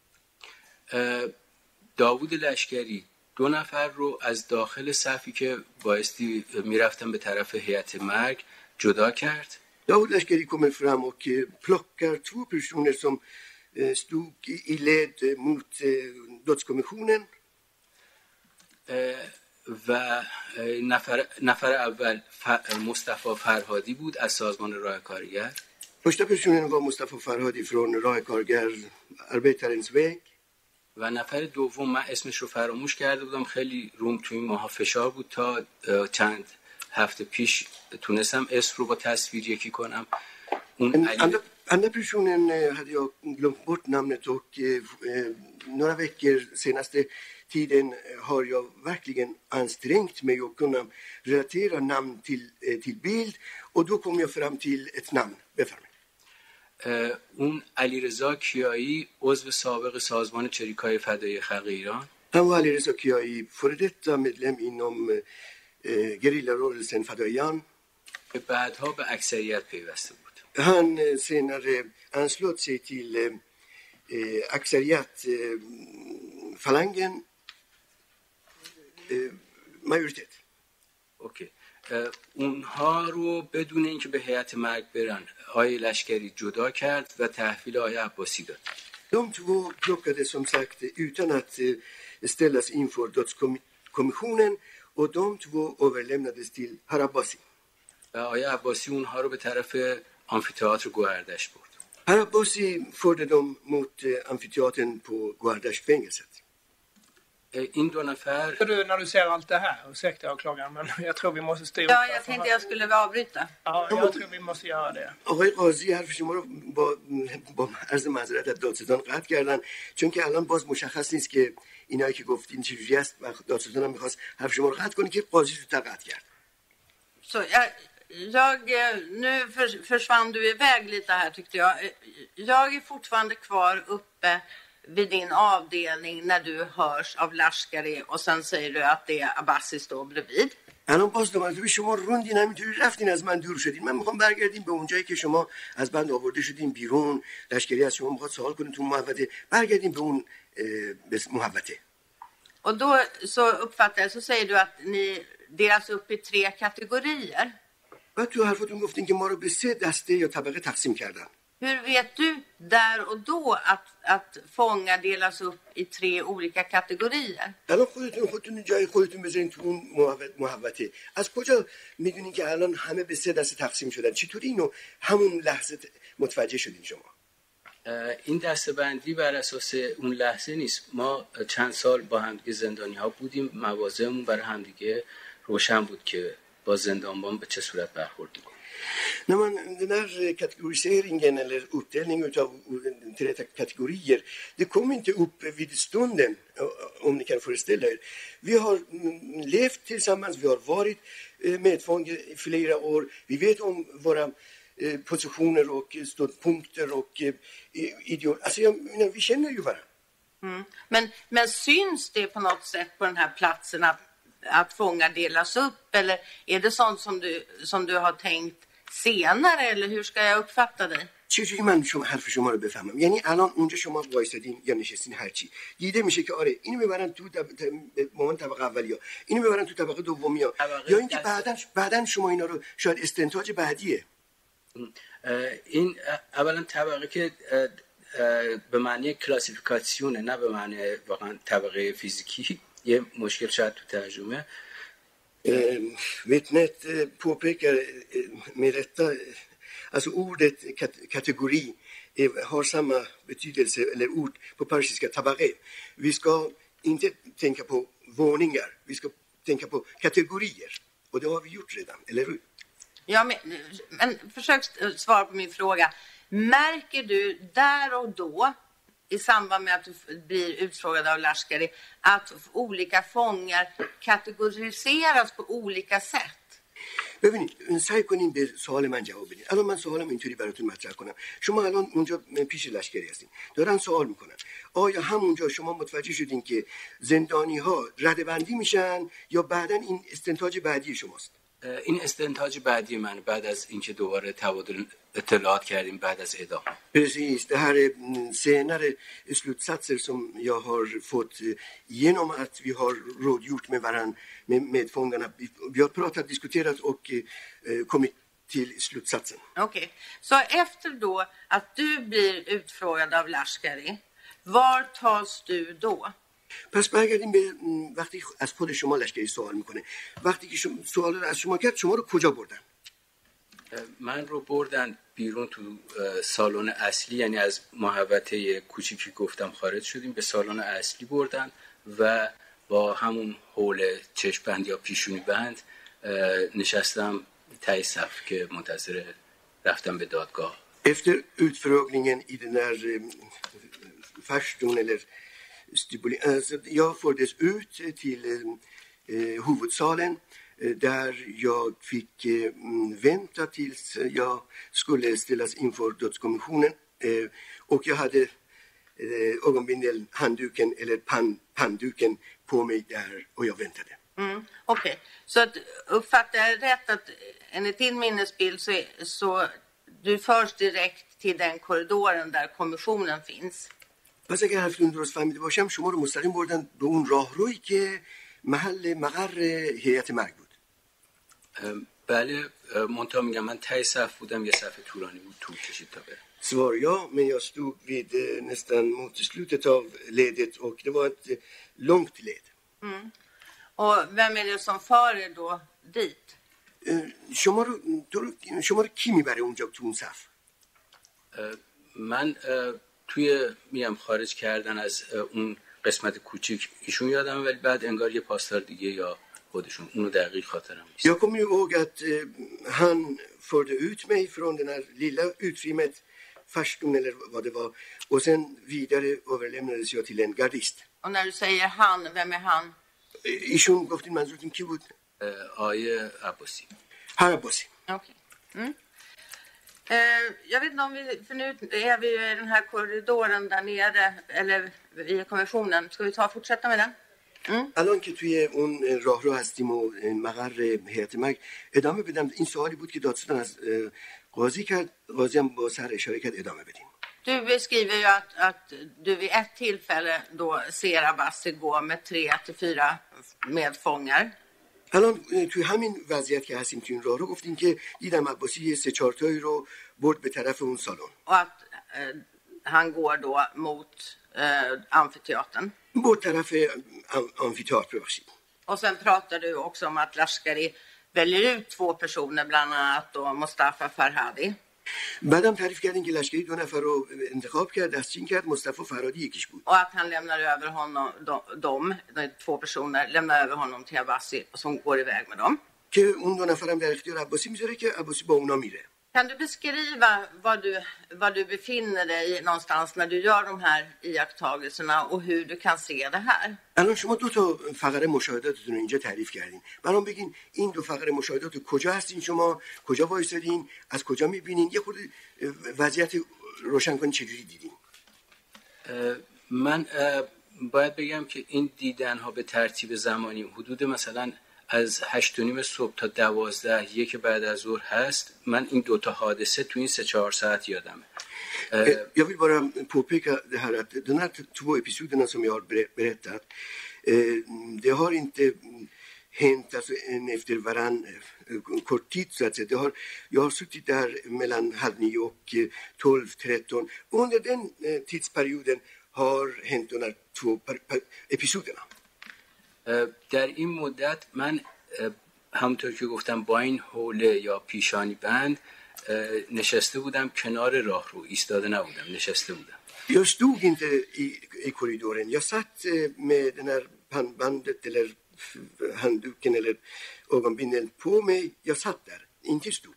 داوود لشکری دو نفر رو از داخل صفی که بایستی میرفتن به طرف هیئت مرگ جدا کرد. Daoud Lashkari kommer fram och plockar två personer som stod i led mot dödskommissionen. و نفر نفر اول مصطفی فرهادی بود از سازمان راه کارگر. Första personen var Mustafa Farhadi från Rah Kargar, Arbetarens väg. و نفر دوم من اسمش رو فراموش کرده بودم، خیلی روم توی این ماها فشار بود تا چند hafte پیش تونستم اسم رو با تصویر یکی کنم. اون andra, andra personen hade jag glömt bort namnet och eh, några veckor senaste tiden har jag verkligen ansträngt mig att kunna relatera namn till, eh, till bild och då kom jag fram till ett namn. Befärmig. اون علیرضا کیایی عضو سابق سازمان چریکای فدایی خلق ایران. Han var Alireza Kiai, före detta medlem inom eh, gerillarörelsen Fadaian. که بعدها به اکثریت پیوسته بود. Han eh, senare anslöt sig till eh, Aksariyat eh, falangen eh, majoritet. اوکی. اونها رو بدون اینکه به هیئت مرگ برن آقای لشکری جدا کرد و تحویل آقای عباسی داد. De två plockades som sagt utan att eh, ställas inför dödskommissionen och de två överlämnades till herr Abbasi. و آقای عباسی اونها رو به طرف آمفی‌تئاتر گوهردش برد. Herr Abbasi förde dem mot eh, amfiteatern på Guardashfängelset. این دو نفر Du, när du ser allt det här, ursäkta åklagaren, men jag tror vi måste styra upp. Ja, jag tänkte jag skulle avbryta. Ja, jag tror vi måste göra det. آقای قاضی حرف شما رو با با عرض معذرت از دادستان قطع کردن، چون که الان باز مشخص نیست که اینایی که گفتین چجوری است و دادستان هم می‌خواست حرف شما رو قطع کنه که قاضی رو قطع کرد. Så jag, jag, nu för, försvann du iväg lite här tyckte jag. Jag är fortfarande kvar uppe vid din avdelning när du hörs av Lashkari och sen säger du att det är Abbasi står bredvid. الان باز دوباره شما روندین همینطوری رفتین از من دور شدین. من میخوام برگردیم به اونجایی که شما از بند آورده شدین بیرون، لشکری از شما میخواد سوال کنه تو محوطه، برگردیم به اون محوطه. Och då så uppfattar jag så säger du att ni delas upp i tre kategorier. بعد تو حرفتون گفتین که ما رو به سه دسته یا طبقه تقسیم کردن. Hur vet du där och då att, att fångar delas upp i tre olika kategorier? الان خودتون خودتون جای خودتون بذارین تو اون محوطه. از کجا میدونین که الان همه به سه دسته تقسیم شدن؟ چطوری اینو همون لحظه متوجه شدین شما؟ این دسته‌بندی بر اساس اون لحظه نیست. ما چند سال با همدیگه زندانی‌ها بودیم، مواضعمون برای همدیگه روشن بود که با زندانبان به چه صورت برخورد می‌کنیم. När man, den här kategoriseringen eller uppdelningen av tre kategorier, det kom inte upp vid stunden, om ni kan föreställa er. Vi har levt tillsammans, vi har varit medfångar i flera år, vi vet om våra positioner och ståndpunkter och ideologier. Alltså, jag, vi känner ju varandra. Mm. Men, men syns det på något sätt på den här platsen att, att fångar delas upp? Eller är det sånt som du, som du har tänkt senare, eller hur ska jag uppfatta dig? چجوری من شما حرف شما رو بفهمم؟ یعنی الان اونجا شما وایسادین یا نشستین هرچی دیده میشه که آره اینو میبرن تو مامان طبقه اولیا، اینو میبرن تو طبقه دومیا، یا اینکه بعدن بعدن شما اینا رو شاید استنتاج بعدیه. این اولا طبقه که به معنی کلاسیفیکاسیونه، نه به معنی واقعا طبقه فیزیکی. یه مشکل شاید تو ترجمه. Vittnet påpekar med rätta, alltså ordet kategori har samma betydelse, eller ord på persiska tabaqe. Vi ska inte tänka på våningar, vi ska tänka på kategorier. Och det har vi gjort redan, eller hur? Ja, men, men försök svara på min fråga. Märker du där och då i samband med att du blir utfrågad av Lashkari att olika fångar kategoriseras på olika sätt? ببینید سعی کنین به سوال من جواب بدین. الان من سوالم اینطوری براتون مطرح کنم. شما الان اونجا پیش لشکری هستین، دارن سوال میکنن آیا همونجا شما متوجه شدین که زندانی ها ردبندی میشن یا بعدن این استنتاج بعدی شماست؟ این استنتاج بعدی من بعد از اینکه دوباره تبادل اطلاعات کردیم بعد از اعدام. Precis, det här är senare slutsatser som jag har fått genom att vi har rådgjort med varann, med medfångarna. Vi har pratat, diskuterat och kommit till slutsatsen. Okej, okay. Så efter då att du blir utfrågad av Lashkari, var tas du då? پس برگردیم به وقتی از خود شما لشکری سوال میکنه. وقتی که شما سوال رو از شما کرد، شما رو کجا بردن؟ من رو بردن بیرون تو سالن اصلی، یعنی از محوطه کوچیکی گفتم خارج شدیم، به سالن اصلی بردن و با همون حول چشم بند یا پیشونی بند نشستم تای صف که منتظر رفتم به دادگاه. Efter utfrågningen i den här farstun eller stipuleringen, alltså jag fördes ut till eh, huvudsalen där jag fick eh, vänta tills jag skulle ställas inför dödskommissionen eh, och jag hade eh, ögonbindel, handduken eller pan, pannduken på mig där och jag väntade. Mm, Okej, okay. Så att, uppfattar jag rätt att enligt din minnesbild så, så du förs direkt till den korridoren där kommissionen finns? پس اگر حرفتون درست فهمیده باشم شما رو مستقیم بردن به اون راهرویی که محل مقر هیئت مرگ بود. بله، منتها میگم من ته صف بودم، یه صف طولانی بود، طول کشید تا برم. Svar ja, men jag stod vid nästan mot slutet av ledet och det var ett långt led. Mm. Och vem är det som för er då dit? شما رو شما رو کی میبره اونجا تو اون صف؟ من توی میم خارج کردن از اون قسمت کوچیک ایشون یادم، ولی بعد انگار یه پاسدار دیگه یا خودشون، اونو دقیق خاطرم نیست. Jag kommer ihåg att han förde ut mig från den här lilla utrymmet, farstun eller vad det var, och sen vidare överlämnades jag till en gardist. Och när du säger han, vem är han? ایشون گفتین منظورتون کی بود؟ آیه عباسی. هر عباسی. Okej. Mm. Jag vet inte om vi, för nu är vi i den här korridoren där nere, eller i kommissionen. Ska vi ta och fortsätta med den? Mm. الان که توی اون راهرو هستیم و مقر هیئت مرگ، ادامه بدم. این سوالی بود که دادستان از قاضی کرد، قاضی هم با سر اشاره کرد ادامه بدیم. Du beskriver ju att, att du vid ett tillfälle då ser Abbasi gå med tre till fyra medfångar. الان توی همین وضعیت که هستیم توی این راهرو گفتیم که دیدم عباسی یه سه چهار تایی رو برد به طرف اون سالن. Och att eh, han går då mot eh, amfiteatern. برد طرف amfiteatern ببخشید. Och sen pratar du också om att Lashkari väljer ut två personer, bland annat då Mustafa Farhadi. بعدم تعریف کردین که لشکری دو نفر رو انتخاب کرد، دستچین کرد، مصطفی فرهادی یکیش بود. Och att han lämnar över honom, de, de två personer lämnar över honom till Abbasi som går iväg med dem. که اون دو نفرم در اختیار عباسی میذاره که عباسی با اونا میره. Kan du beskriva var du, var du befinner dig någonstans när du gör de här iakttagelserna och hur du kan se det här? الان شما دو تا فقره مشاهداتتون رو اینجا تعریف کردین. برام بگین این دو فقره مشاهدات کجا هستین شما؟ کجا وایسادین؟ از کجا میبینین؟ یه خورده وضعیت روشن کنین چجوری دیدین؟ من باید بگم که این دیدن ها به ترتیب زمانی حدود مثلا از هشت و نیم صبح تا دوازده یک بعد از ظهر هست. من این دوتا حادثه تو این سه چهار saatt gör Jag vill bara påpeka det här att de här två episoderna som jag har berättat, det har inte hänt alltså en efter varann kort tid så att säga. Det har, jag har suttit där mellan halv nio och tolv tretton. Under den tidsperioden har hänt de här två episoderna. در این مدت من همونطور که گفتم با این حوله یا پیشانی بند نشسته بودم کنار راهرو، ایستاده نبودم، نشسته بودم. Jag stod inte i, i korridoren. Jag satt med den här pannbandet eller handduken eller ögonbindeln på mig. Jag satt där, inte stod.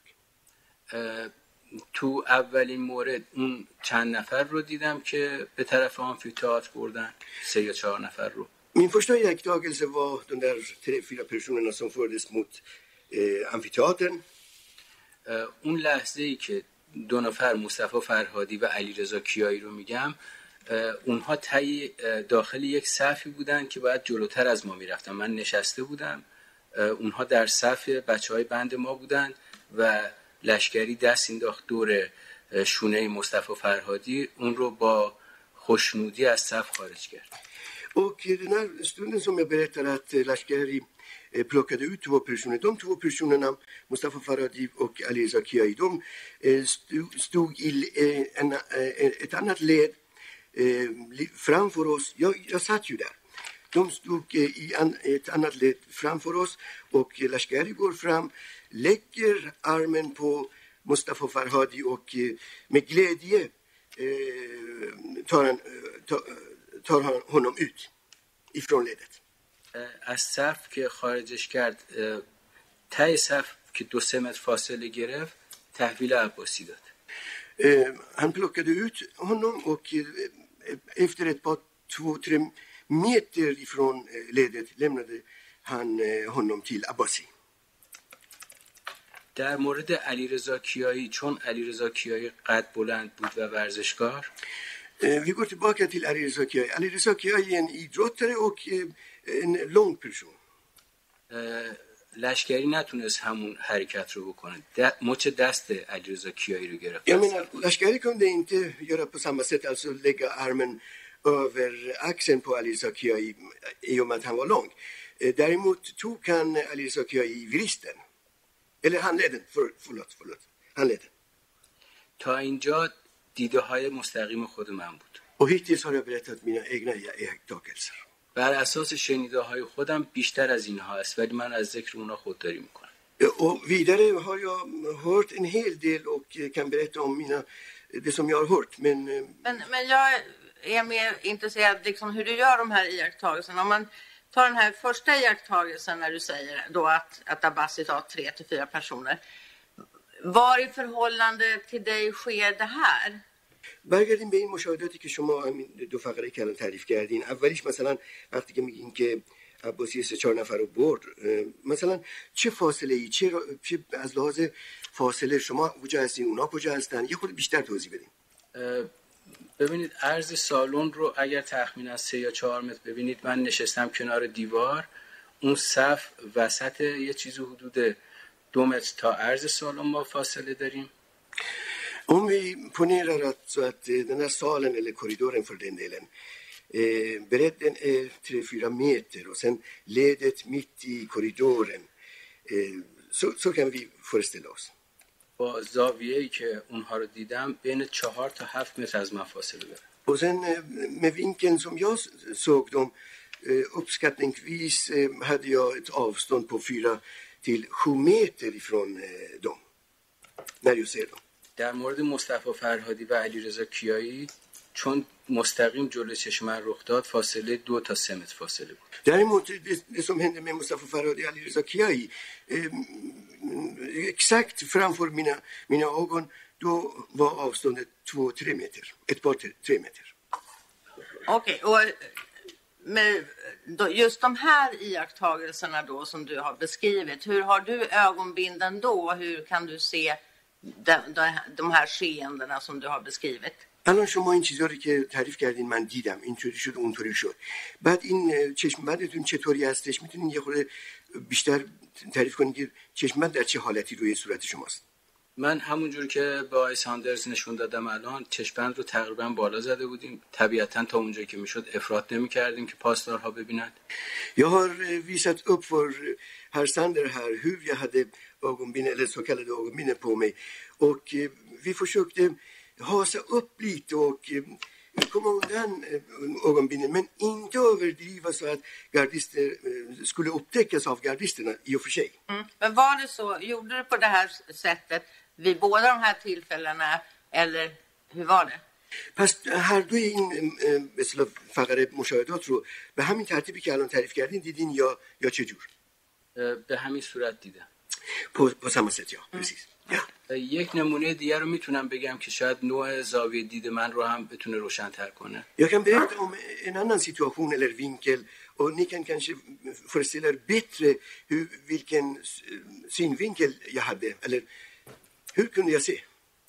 تو اولین مورد اون چند نفر رو دیدم که به طرف آمفی‌تئاتر بردن، سه یا چهار نفر رو. Min första iakttagelse var de där tre, fyra personerna som fördes mot eh, amfiteatern. اون لحظه ای که دو نفر مصطفی فرهادی و علیرضا کیایی رو میگم، اونها تای داخل یک صفی بودن که باید جلوتر از ما میرفتن. من نشسته بودم، اونها در صف بچهای بند ما بودن و لشکری دست انداخت دور شونه مصطفی فرهادی، اون رو با خوشنودی از صف خارج کرد. Och den här stunden som jag berättar att Lashkari plockade ut två personer. De två personerna, Mustafa Farhadi och Alireza Kiai, de stod i en, ett annat led framför oss. Jag, jag satt ju där. De stod i an, ett annat led framför oss och Lashkari går fram, lägger armen på Mustafa Farhadi och med glädje eh, tar, han, tar, tar han honom ut ifrån ledet. از صف که خارجش کرد تای صف که دو سه متر فاصله گرفت تحویل عباسی داد. Han plockade ut honom och efter ett par två tre meter ifrån ledet lämnade han honom till Abbasi. در مورد علیرضا کیایی چون علیرضا کیایی قد بلند بود و ورزشکار Vi går tillbaka till Alireza Kiai. Alireza Kiai är en idrottare och en lång person. لشکری نتونست همون حرکت رو بکنه. مچ دست علیرضا کیایی رو گرفت. Jag menar, Lashkari kunde inte göra på samma sätt, alltså lägga armen över axeln på Alireza Kiai i och med att han var lång. Däremot tog han Alireza Kiai i vristen. Eller handleden, för, förlåt, förlåt. Handleden. تا اینجا دیده های مستقیم خود من بود. Och hittills har jag berättat mina egna iakttagelser. بر اساس شنیده های خودم بیشتر از اینها است ولی من از ذکر اونها خودداری میکنم. Och vidare har jag hört en hel del och kan berätta om mina, det som jag har hört. Men, men, men jag är mer intresserad liksom hur du gör de här iakttagelserna. Om man tar den här första iakttagelsen när du säger då att, att Abbasi tar tre till fyra personer. Var i förhållande till dig sker det här? برگردیم به این مشاهداتی که شما همین دو فقره که الان تعریف کردین. اولیش مثلا وقتی که میگین که عباسی سه چهار نفر رو برد، مثلا چه فاصله ای، چه, چه از لحاظ فاصله شما کجا هستین، اونا کجا هستن، یه خورده بیشتر توضیح بدین. ببینید عرض سالن رو اگر تخمینا سه یا چهار متر ببینید، من نشستم کنار دیوار، اون صف وسط یه چیزی حدود دو متر تا عرض سالن ما فاصله داریم. Om vi ponerar att, så att den här salen eller korridoren för den delen, eh, bredden är tre fyra meter och sen ledet mitt i korridoren, eh, så, så kan vi föreställa oss. با زاویه‌ای که اونها رو دیدم بین چهار تا هفت متر از من فاصله داره. Och sen eh, med vinkeln som jag såg dem, eh, uppskattningsvis eh, hade jag ett avstånd på fyra till sju meter ifrån eh, dem, när jag ser dem. در مورد مصطفی فرهادی و علیرضا کیایی چون مستقیم جلوی چشم من رخ داد فاصله دو تا سه متر فاصله بود. Däremot det, det som hände med Mustafa Farhadi och Alireza Kiai, eh, exakt framför mina, mina ögon, då var avståndet två tre meter, ett par tre meter. Okej, okay, och med då, just de här iakttagelserna då som du har beskrivit, hur har du ögonbinden då? Hur kan du se de, de, de här skeendena som du har beskrivit? الان شما این چیزا رو که تعریف کردین من دیدم، اینطوری شد اونطوری شد. بعد این چشم بندتون چطوری هستش؟ میتونین یه خورده بیشتر تعریف کنین که چشم بند در چه حالتی روی صورت شماست؟ من همونجور که با آقای ساندرز نشون دادم الان چشم بند رو taqriban بالا زده بودیم. طبیعتاً تا اونجایی که میشد افراط نمی‌کردیم که پاسدارها ببینند. Jag har visat upp för herr Sander här hur jag hade ögonbindel eller så kallade ögonbindel på mig och vi försökte hasa upp lite och komma undan ögonbindeln men inte överdriva så att gardister skulle upptäckas av gardisterna i och för sig. Mm. Men var det så, gjorde du på det här sättet vid båda de här tillfällena eller hur var det؟ پس هر دوی این به اصطلاح فقره مشاهدات رو به همین ترتیبی که الان تعریف کردین دیدین یا یا چه جور؟ به همین صورت دیدم. på på samma sätt ja, precis. Ja. یک نمونه دیگر رو میتونم بگم که شاید نوع زاویه دید من رو هم بتونه روشن‌تر کنه. Jag kan berätta om en annan situation eller vinkel och ni kan kanske föreställa er bättre hur vilken synvinkel jag hade eller hur kunde jag se?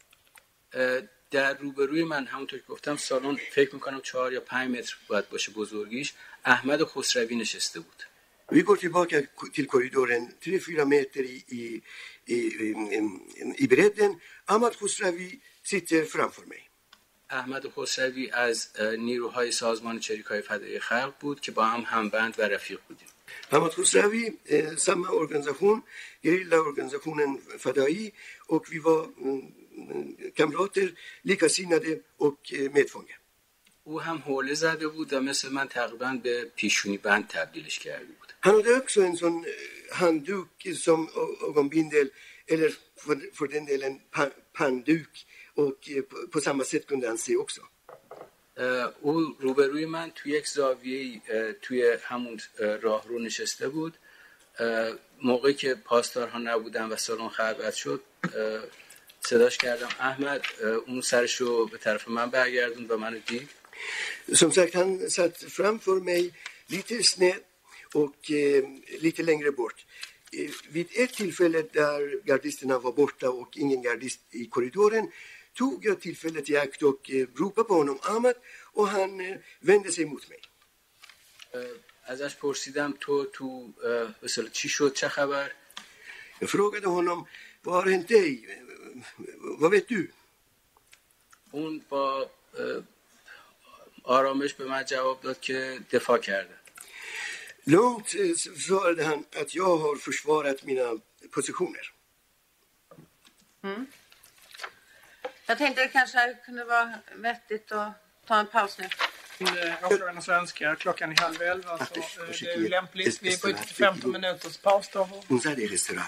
در روبروی من همونطور که گفتم سالن فکر میکنم چهار یا پنج متر باید باشه بزرگیش احمد خسروی نشسته بود. Vi går tillbaka till korridoren tre fyra meter i, i, i, i bredden. Ahmad Khosravi sitter framför mig. احمد خسروی از نیروهای سازمان چریک‌های فدایی خلق بود که با هم همبند و رفیق بودیم. Hamad Khosravi, eh, samma organisation, gerillaorganisationen Fadai, och vi var mm, kamrater, likasinnade och eh, medfångar. او هم حوله زده بود و مثل من تقریبا به پیشونی بند تبدیلش کرده بود. Han hade också en sån handduk som ögonbindel, eller för, för den delen pa, pannduk, och eh, på, på samma sätt kunde han se också. او روبروی من توی یک زاویه توی همون راه رو نشسته بود. موقعی که پاسدارها نبودن و سالن خلوت شد صداش کردم احمد، اون سرش رو به طرف من برگردوند و منو دید. Som sagt, han satt framför mig lite snett och eh, lite längre bort. Eh, vid ett tillfälle där gardisterna var borta och ingen gardist i korridoren tog jag tillfället i akt och eh, ropade på honom Ahmad, och han eh, vände sig mot mig. ازش پرسیدم تو تو مثلا چی شد، چه خبر؟ Jag frågade honom, vad har hänt dig? Vad vet du? اون با آرامش به من جواب داد که دفاع کرده. Långt eh, svarade han att jag har försvarat mina positioner. Mm. Jag tänkte det kanske kunde vara vettigt att ta en paus nu. Åklagarna svenska, klockan är halv elva, så det är ju lämpligt. Vi bryter till femton minuters paus då. Unzade restaurang.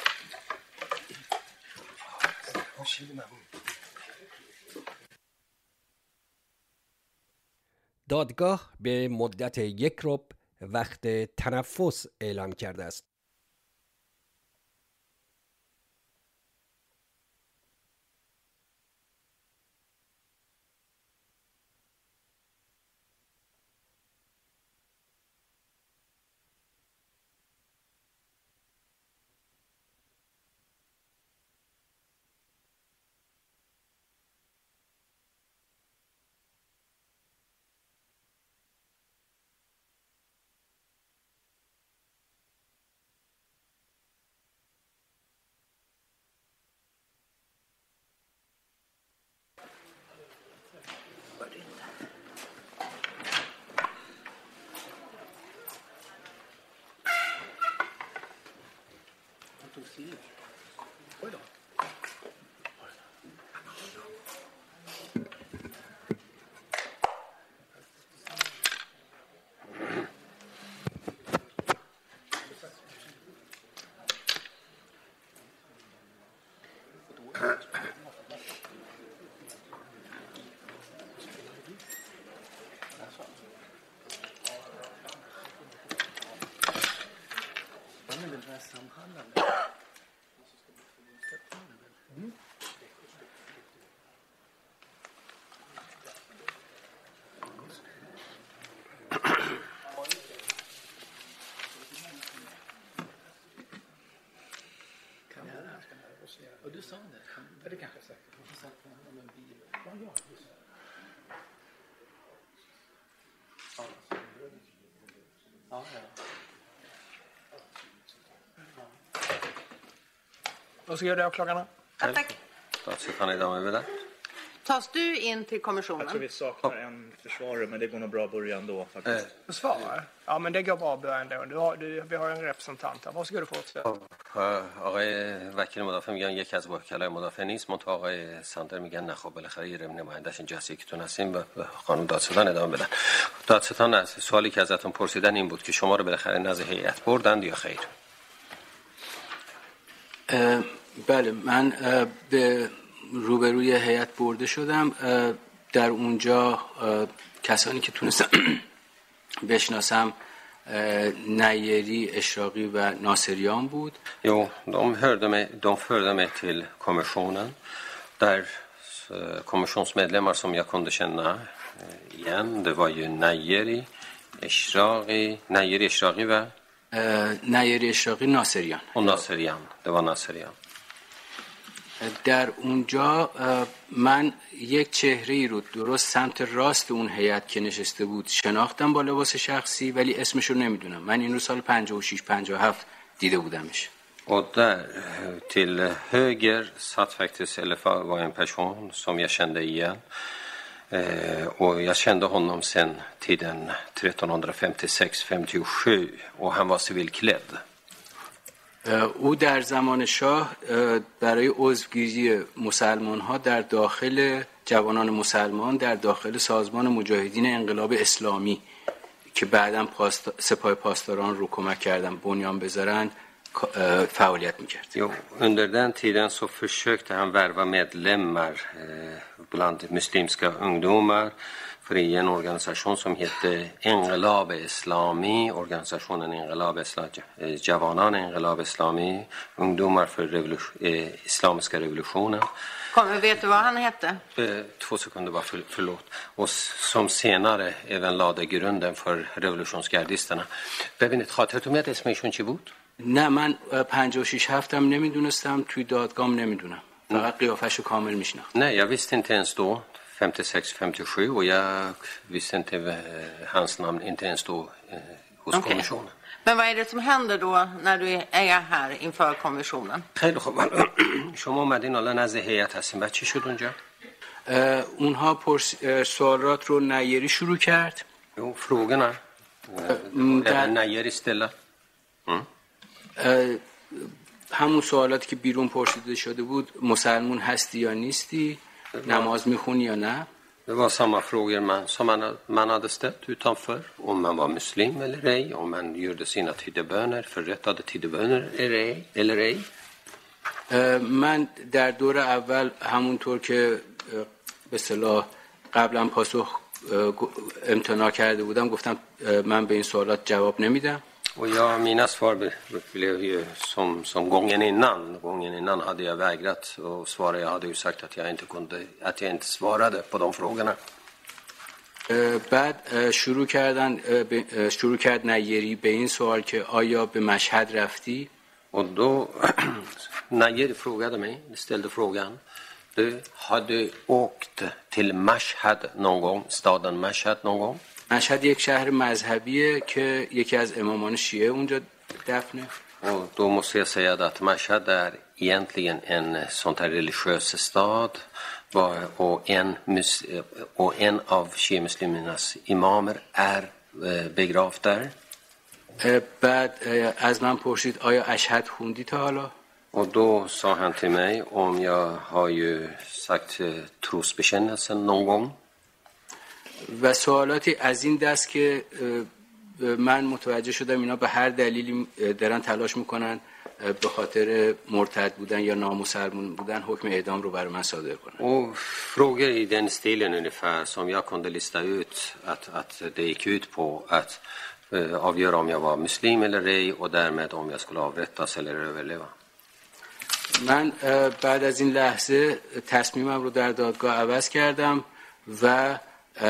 دادگاه به مدت یک ربع وقت تنفس اعلام کرده است. Och du sa det, för det kanske säkert. Du sa att om en bil. Vad gör du? Ja, ja. Vad ska jag göra åklagarna? Ja, tack. دادستان ادامه بدن. Tas du in till kommissionen? Jag tror vi saknar en försvarare, men det går nog bra att börja ändå faktiskt. Försvarare? Ja, men det går bra att börja ändå. Du har, du, vi har en representant här. Varsågod och fortsätt. آقای وکیل مدافع میگن یکی از وکلای مدافع نیست، منتها آقای ساندر میگن نه، خب بالاخره یه نماینده‌اش اینجا هست، یکیتون هستیم و خانم دادستان ادامه بدن. دادستان از سوالی که ازتون پرسیدن این بود که شما رو بالاخره نزد هیئت بردند یا خیر؟ بله، من به روبروی هیئت برده شدم. در اونجا کسانی که تونستم بشناسم نیری، اشراقی و ناصریان بود. Jo, de hörde mig, de förde mig till kommissionen där kommissionsmedlemmar som jag kunde känna igen, det var ju Najeri, Eshraqi, Najeri, Eshraqi و نیری، اشراقی، ناصریان. och Naserian, det var Naserian. در اونجا من یک چهره‌ای رو درست سمت راست اون هیئت که نشسته بود شناختم با لباس شخصی، ولی اسمش رو نمیدونم. من این رو سال پنجاه و شش پنجاه و هفت دیده بودمش. Och där till höger satt faktiskt, eller var en person som jag kände igen. Och jag kände honom sen tiden tretton femtiosex femtiosju och han var civilklädd. او در زمان شاه برای عضوگیری مسلمان ها در داخل جوانان مسلمان در داخل سازمان مجاهدین انقلاب اسلامی که بعداً پاست... سپاه پاسداران رو کمک کردن بنیان بذارن فعالیت میکرد. Jo, under den tiden så försökte han värva medlemmar bland muslimska ungdomar för i en organisation som hette Engelab Islami, organisationen Engelab Islami, Javanan Engelab Islami, ungdomar för revolution, eh, islamiska revolutionen. Kom, vet du vad han hette? Eh, två sekunder bara, för, förlåt. Och som senare även lade grunden för revolutionsgardisterna. ببینید خاطرتون میاد اسمشون چی بود؟ نه من پنجاه و شش هفتم نمیدونستم توی دادگام نمیدونم فقط قیافشو کامل میشناختم. Nej, jag visste inte ens då femtiosex femtiosju och jag visste inte hans namn inte ens då eh, hos okay. kommissionen. Men vad är det som händer då när du är här inför kommissionen? خیلی خوب. شما اومدین الان نزد هیئت هستین. بعد چی شد اونجا؟ اونها پرس... سوالات رو نیری شروع کرد. Jo, frågorna. Även Najeri ställa. همون سوالاتی که بیرون پرسیده شده بود مسلمون هستی یا نیستی نماز میخونی یا نه Det var samma frågor man, som man, man hade ställt utanför. Om man var muslim eller ej. Om man gjorde sina tiddeböner, förrättade tiddeböner eller ej. من در دور اول همونطور که به اصطلاح قبلا پاسخ امتناع کرده بودم گفتم من به این سوالات جواب نمیدم. Och jag, mina svar blev ju som, som gången innan. Gången innan hade jag vägrat och svara. Jag hade ju sagt att jag inte kunde, att jag inte svarade på de frågorna. بعد شروع کردن شروع کرد نیری به این سوال که آیا به مشهد رفتی؟ Och då Najeri frågade mig, ställde frågan. Du, har du åkt till Mashhad någon gång, staden Mashhad någon gång? مشهد یک شهر مذهبیه که یکی از امامان شیعه اونجا دفنه. Och då måste jag säga att Mashhad är egentligen en sån här religiös stad och en, och en av shia-muslimernas imamer är begravd där. بعد از من پرسید آیا اشهد خوندی تا حالا؟ Och då sa han till mig om jag har ju sagt trosbekännelsen någon gång. و سوالاتی از این دست که من متوجه شدم اینا به هر دلیلی دارن تلاش میکنن به خاطر مرتد بودن یا نامسلمون بودن حکم اعدام رو برای من صادر کنن. Och frågor i den stilen ungefär som jag kunde lista ut att, att det gick ut på att uh, avgöra om jag var muslim eller ej och därmed om jag skulle avrättas eller överleva. من بعد از این لحظه تصمیمم رو در دادگاه عوض کردم و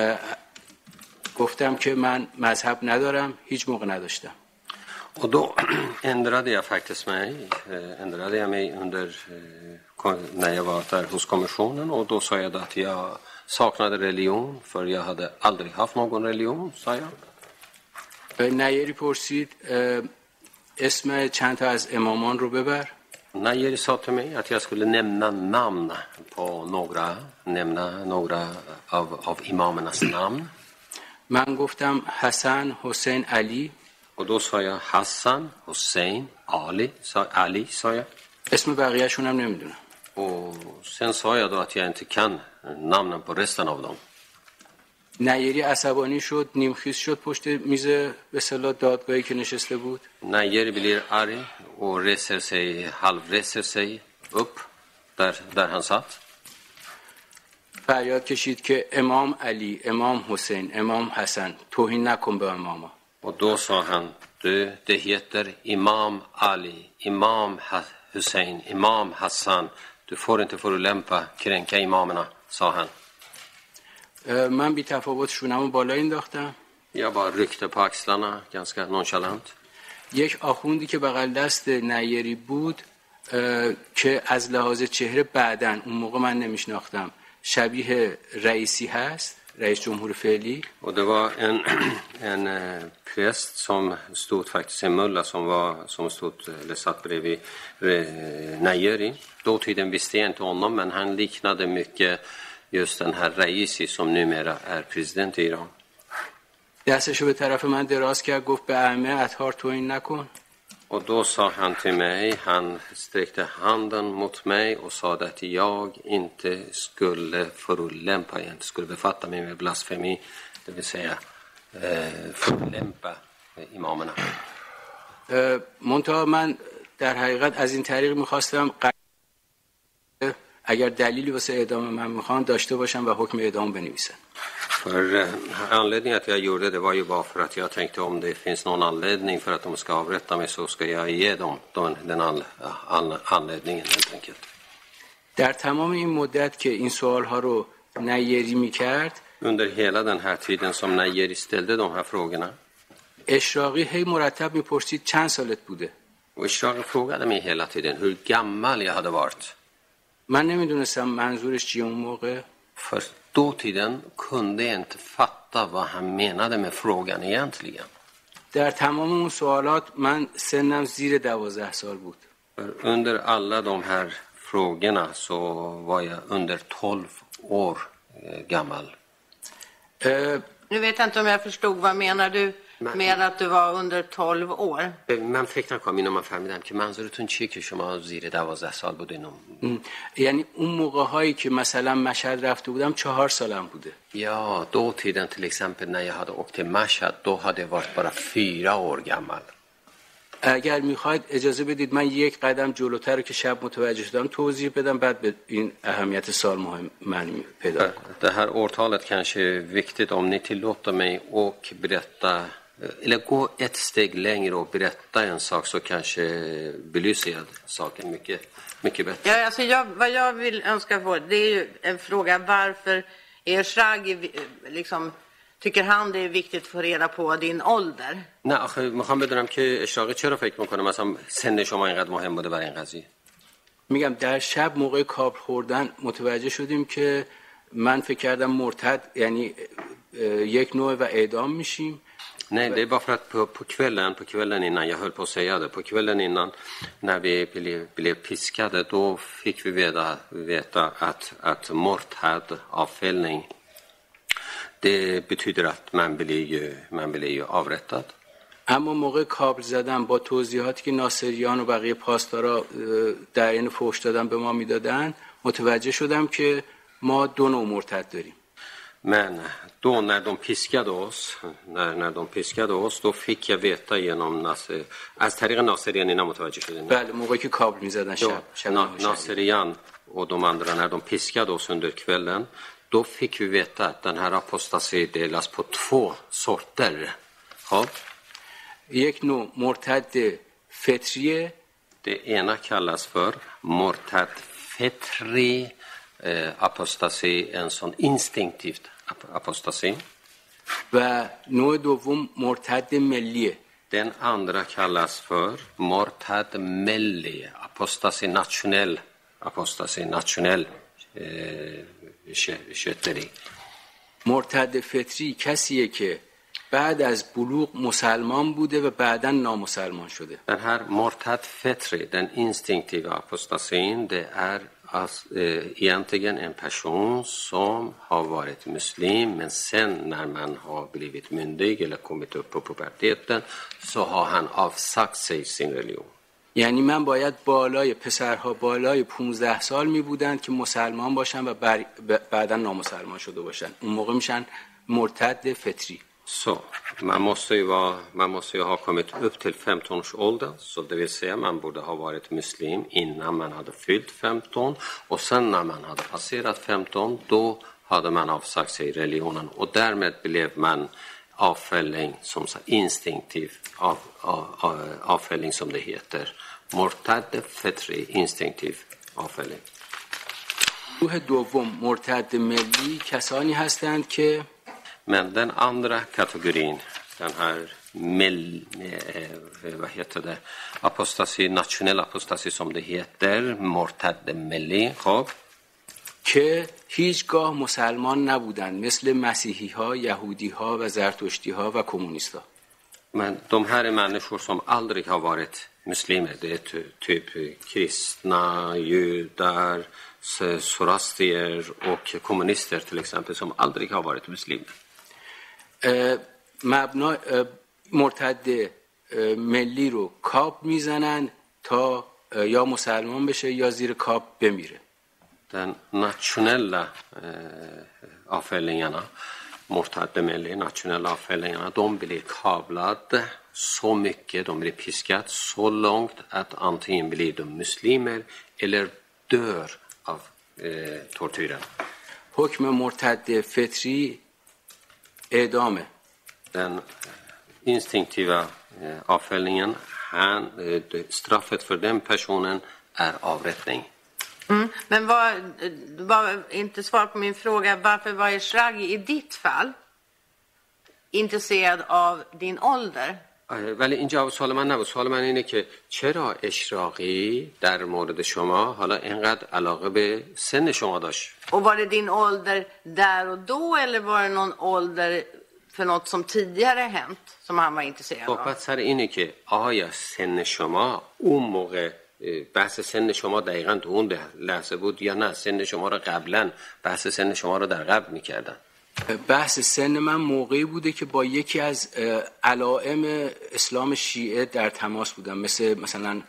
گفتم که من مذهب ندارم هیچ موقع نداشتم. Och då ändrade jag faktiskt mig, ändrade jag mig under när jag var där hos kommissionen och då sa jag att jag saknade religion för jag hade aldrig haft någon religion, sa jag. نیری پرسید اسم چند تا از امامان رو ببر. Najeri sa till mig att jag skulle nämna namn på några, nämna några av, av imamernas namn. من گفتم حسن، حسین، علی. Och då sa jag Hassan, Hussein, Ali, sa, Ali sa jag. اسم بقیه‌شون هم نمیدونم. Och sen sa jag då att jag inte kan namnen på resten av dem. نیری عصبانی شد، نیمخیز شد پشت میز به اصطلاح دادگاهی که نشسته بود. Najeri blir arg och reser sig, halvreser sig upp där, där han satt. فریاد کشید که امام علی، امام حسین، امام حسن توهین نکن به اماما. Och då sa han, du, det heter Imam Ali, Imam Hussein, Imam Hassan. Du får inte förolämpa, kränka imamerna, sa han. من بی تفاوت شونمو بالا انداختم. Jag bara ryckte på axlarna, ganska nonchalant. یک آخوندی که بغل دست نیری بود که از لحاظ چهره بعدن اون موقع من نمیشناختم شبیه رئیسی هست، رئیس جمهور فعلی. Och det var en, en präst som stod faktiskt en mulla som var som stod eller satt bredvid Najeri. Dåtiden visste jag inte honom men han liknade mycket just den här Raisi som numera är president i Iran. دستشو به طرف من دراز کرد گفت به ائمه اطهار توهین نکن. Och då sa han till mig, han sträckte handen mot mig och sa att jag inte skulle förolämpa, jag inte skulle befatta mig med blasfemi, det vill säga eh, förolämpa imamerna. منتها من در حقیقت از این طریق میخواستم اگر دلیلی واسه اعدام من میخوان داشته باشم و حکم اعدام بنویسن. För anledningen att jag gjorde det var ju bara för att jag tänkte om det finns någon anledning för att de ska avrätta mig så ska jag ge dem den anledningen helt enkelt. در تمام این مدت که این سوالها رو نیری میکرد Under hela den här tiden som Nayeri ställde de här frågorna اشراقی هی مرتب میپرسید چند سالت بوده. och Eshraqi frågade mig hela tiden hur gammal jag hade varit. من نمیدونستم منظورش چیه اون موقع. För dåtiden kunde jag inte fatta vad han menade med frågan egentligen. در تمام اون سوالات من سنم زیر دوازده سال بود. Under alla de här frågorna så var jag under tolv år gammal. Uh, nu vet jag inte om jag förstod, vad menar du med att du var under tolv år؟ من فکر نکنم اینو من فهمیدم که منظورتون چیه که شما زیر دوازده سال بودین. یعنی اون موقع هایی که مثلا مشهد رفته بودم چهار سالم بوده. Ja, då tiden till exempel när jag hade åkt till Mashhad, då hade jag varit bara fyra år gammal. اگر میخواید اجازه بدید من یک قدم جلوتر رو که شب متوجه شدم توضیح بدم بعد به این اهمیت سال مهم معنی پیدا کنم. Det här årtalet kanske är viktigt om ni tillåter mig och berätta eller gå ett steg längre och berätta en sak så kanske belyser jag saken mycket mycket bättre. Ja, alltså jag, vad jag vill önska få, det är ju en fråga varför Eshraqi liksom tycker han det är viktigt att få reda på din ålder. نه آخه میخوام بدونم که اشراقی چرا فکر میکنه مثلا سن شما اینقدر مهم بوده برای این قضیه. میگم در شب موقع کابل خوردن متوجه شدیم که من فکر کردم مرتد یعنی یک نوع و اعدام میشیم. Nej, det är bara för att på, på kvällen, på kvällen innan, jag höll på att säga det, på kvällen innan när vi blev, blev piskade, då fick vi veta, veta att, att morthad, avfällning, det betyder att man blir ju, man blir ju avrättad. اما موقع کابل زدن با توضیحاتی که ناصریان و بقیه پاسدارا در این فحش دادن به ما میدادن متوجه شدم که ما دو نوع مرتد داریم. Men då när de piskade oss, när, när de piskade oss, då fick jag veta genom Nasser, از طریق ناصریان اینا متوجه شدیم. بله موقعی که کابل میزدن شب شب ناصریان och de andra när de piskade oss under kvällen, då fick vi veta att den här apostasi delas på två sorter. Ja. یک نوع مرتد فطریه. Det ena kallas för mortad fetri eh, apostasi, en sån instinktivt apostasi. و نوع دوم مرتد ملیه. Den andra kallas för mortad melli, apostasi nationell, apostasi nationell kötteri. مرتد فطری کسیه که بعد از بلوغ مسلمان بوده و بعداً نامسلمان شده. Den här mortad fetri, den instinktiva apostasin, det är alltså, eh, egentligen en person som har varit muslim, men sen när man har blivit myndig eller kommit upp på puberteten så har han avsagt sig sin religion. یعنی من باید بالای پسرها بالای پانزده سال می بودن که مسلمان باشن و بر... بعدا نامسلمان شده باشن. اون موقع میشن مرتد فطری. Så man måste ju vara, man måste ju ha kommit upp till femton års ålder, så det vill säga man borde ha varit muslim innan man hade fyllt femton, och sen när man hade passerat femton då hade man avsagt sig religionen och därmed blev man avfälling som så instinktiv av, av, av, avfälling som det heter. مرتد فطری instinktiv avfälling. گروه دوم مرتد ملی کسانی هستند که Men den andra kategorin, den här mell, eh, vad heter det, apostasi, nationell apostasi som det heter, mortad melli, خب که هیچگاه مسلمان نبودند مثل مسیحی ها، یهودی ها و زرتشتی ها و کمونیست ها. Men de här är människor som aldrig har varit muslimer. Det är typ kristna, judar, zoroastrier och kommunister till exempel som aldrig har varit muslimer. مبنا مرتد ملی رو کاپ میزنن تا یا مسلمان بشه یا زیر کاپ بمیره. Den nationella eh, avfällningarna, mortadde melli, nationella avfällningarna, de blir kablade så mycket, de blir piskat så långt att antingen blir de muslimer eller dör av eh, tortyren. حکم مرتد فطری اعدامه. Den instinktiva eh, avfällningen, han, eh, straffet för den personen är avrättning. Mm. Men var, var inte svar på min fråga, varför var Eshraghi i ditt fall intresserad av din ålder? ولی این جواب سوال من نبود. سوال من اینه که چرا اشراقی در مورد شما حالا اینقدر علاقه به سن شما داشت؟ Och var det din ålder där och då eller var det någon ålder för något som tidigare hänt som han var intresserad av? صحبت سر اینه که آیا سن شما اون موقع بحث سن شما دقیقاً تو اون لحظه بود یا نه سن شما رو قبلا بحث سن شما رو در قبل میکردن؟ بحث سن من موقعی بوده که با یکی از علائم اسلام شیعه در تماس بودم، مثل مثلا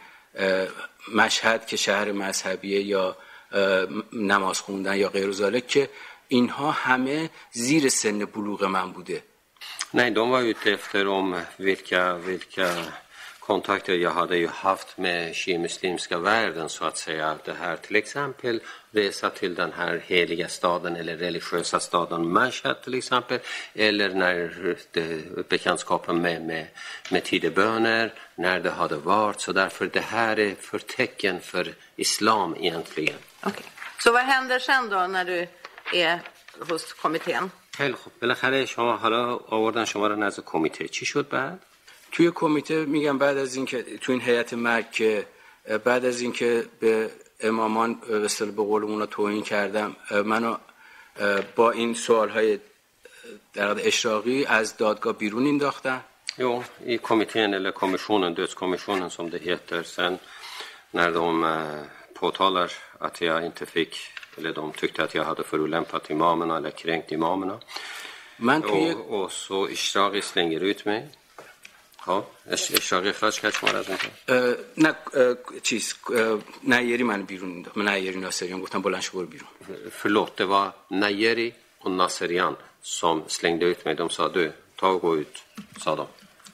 مشهد که شهر مذهبیه یا نماز خوندن یا غیر ذالک، که اینها همه زیر سن بلوغ من بوده. Nej, de var ute efter om vilka, vilka kontakter jag hade ju haft med shiamuslimska världen så att säga. Det här till exempel resa till den här heliga staden eller religiösa staden Mashhad till exempel. Eller när det, bekantskapen med, med, med tideböner, när det hade varit. Så därför det här är för tecken för islam egentligen. Okay. Så vad händer sen då när du är hos kommittén? خیلی خوب. بالاخره شما حالا آوردن شما رو نزد کمیته. چی شد بعد؟ توی کمیته میگم بعد از اینکه تو این هیئت مرگ که بعد از اینکه به امامان به اصطلاح به قولمون توهین کردم، منو با این سوالهای در واقع اشراقی از دادگاه بیرون انداختن. Jo, i kommittén eller kommissionen, dödskommissionen som det heter, sen när de påtalar att jag inte fick, eller de tyckte att jag hade förolämpat imamerna eller kränkt imamerna. من توی och, och så Eshraghi slänger ut mig. خب اشراقی اخراج کرد شما را از اینجا؟ نه چیز نیری من بیرون انداخت. من نیری ناصریان گفتم بلند شو برو بیرون. Förlåt, det var Nayeri och Nasserian som slängde ut mig. De sa du, ta och gå ut, sa de.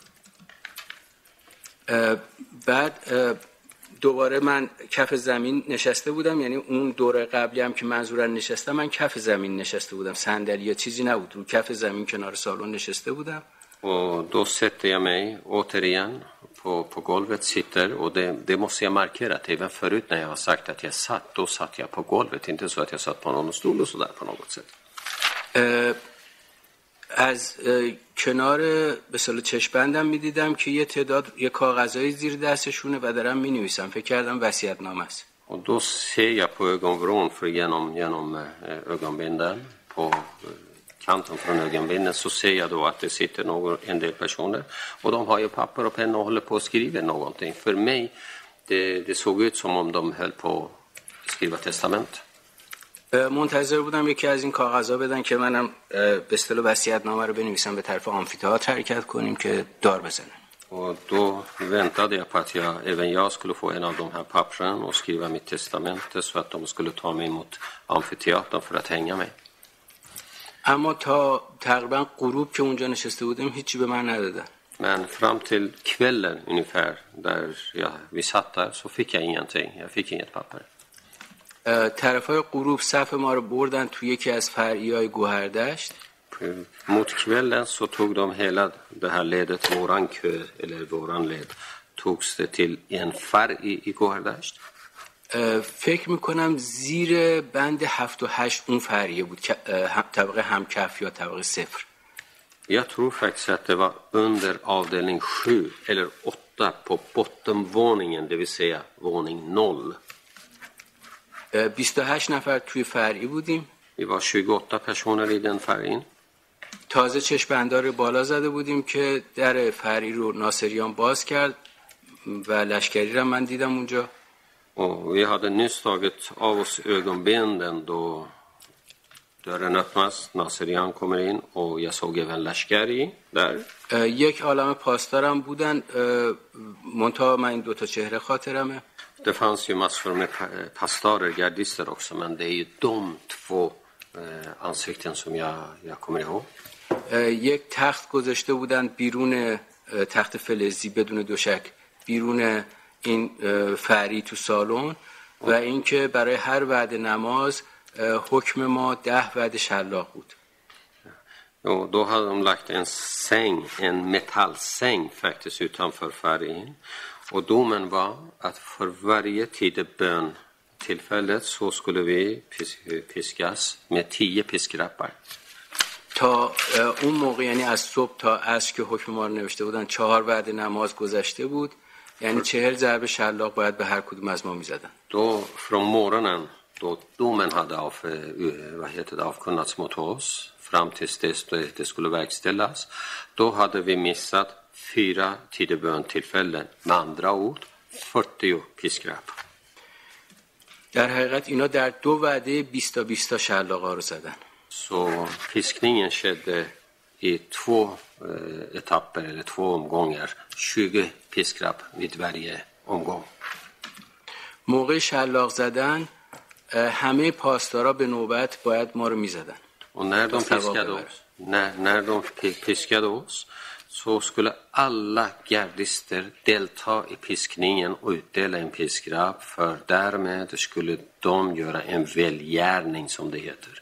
بعد دوباره من کف زمین نشسته بودم، یعنی اون دوره قبلی هم که منظورن نشستم من کف زمین نشسته بودم، صندلی یا چیزی نبود، رو کف زمین کنار سالن نشسته بودم. Och då sätter jag mig återigen på, på golvet, sitter, och det, det måste jag markera att även förut när jag har sagt att jag satt, då satt jag på golvet, inte så att jag satt på någon stol och sådär på något sätt. از کنار به اصطلاح چشم‌بندم می‌دیدم که یه تعداد یه کاغذای زیر دستشونه و دارم می‌نویسم، فکر کردم وصیت‌نامه است. Och då ser jag på ögonvrån för genom, genom ögonbinden på kanten från ögonbinden, så ser jag då att det sitter någon, en del personer och de har ju papper och penna och håller på att skriva någonting. För mig det, det såg ut som om de höll på att skriva testament. منتظر بودم یکی از این کاغذها بدن که منم به اصطلاح وصیت‌نامه رو بنویسم، به طرف آمفی‌تئاتر حرکت کنیم که دار بزنن. Och då väntade jag på att jag, även jag skulle få en av de här pappren och skriva mitt testamente så att de skulle ta mig mot amfiteatern för att hänga mig. اما تا تقریبا غروب که اونجا نشسته بودیم هیچی به من ندادن. Men fram till kvällen ungefär där jag, vi satt där så fick jag ingenting. Jag fick inget papper. طرفای غروب صف ما رو بردن توی یکی از فرعیای گوهردشت. Mot kvällen så tog de hela det här ledet, våran kö eller våran led, togs det till en färg i, i Gohardasht. فکر میکنم زیر بند هفت و هشت اون فریه بود، طبقه همکف یا طبقه صفر. Jag tror faktiskt att det var under avdelning sju eller åtta på bottenvåningen, det vill säga våning noll. بیست و هشت نفر توی فرعی بودیم. Vi var tjugoåtta personer i den färgen. تازه چشم‌بندار رو بالا زده بودیم که در فرعی رو ناصریان باز کرد و لشکری رو من دیدم اونجا. Och vi hade nyss tagit av oss ögonbindel då dörren öppnas, Naserian kommer in och jag såg även Lashkari där. یک عالم پاسدارم بودن منتها من این دو تا چهره خاطرمه. Det fanns ju massor med pastorer, gardister också, men det är ju de två ansikten som jag, jag kommer ihåg. یک تخت گذاشته بودن بیرون تخت فلزی بدون دوشک بیرون این فری تو سالن و اینکه برای هر وعده نماز حکم ما ده وعده شلاق بود. Och då hade de lagt en säng, en metallsäng faktiskt utanför färgen. Och domen var att för varje tidebön tillfället så skulle vi piskas med tio piskrappar. تا اون موقع یعنی از صبح تا عصر که حکم ما رو نوشته بودن چهار وعده نماز گذشته بود یعنی چهل ضربه شلاق باید به هر کدوم از ما میزدن. Då från morgonen då domen hade av, vad heter det, avkunnats mot oss fram tills dess det skulle verkställas, då hade vi missat fyra tidebön-tillfällen, med andra ord fyrtio piskrapp. در حقیقت اینا در دو وعده بیست تا بیست تا شلاقا رو زدن. Så piskningen skedde i två eh, etapper eller två omgångar, tjugo piskrapp vid varje omgång. موقع شلاق زدن همه پاسدارا به نوبت باید ما رو میزدن. Och när de piskade oss, när, när de piskade oss så skulle alla gardister delta i piskningen och utdela en piskrapp, för därmed skulle de göra en välgärning som det heter.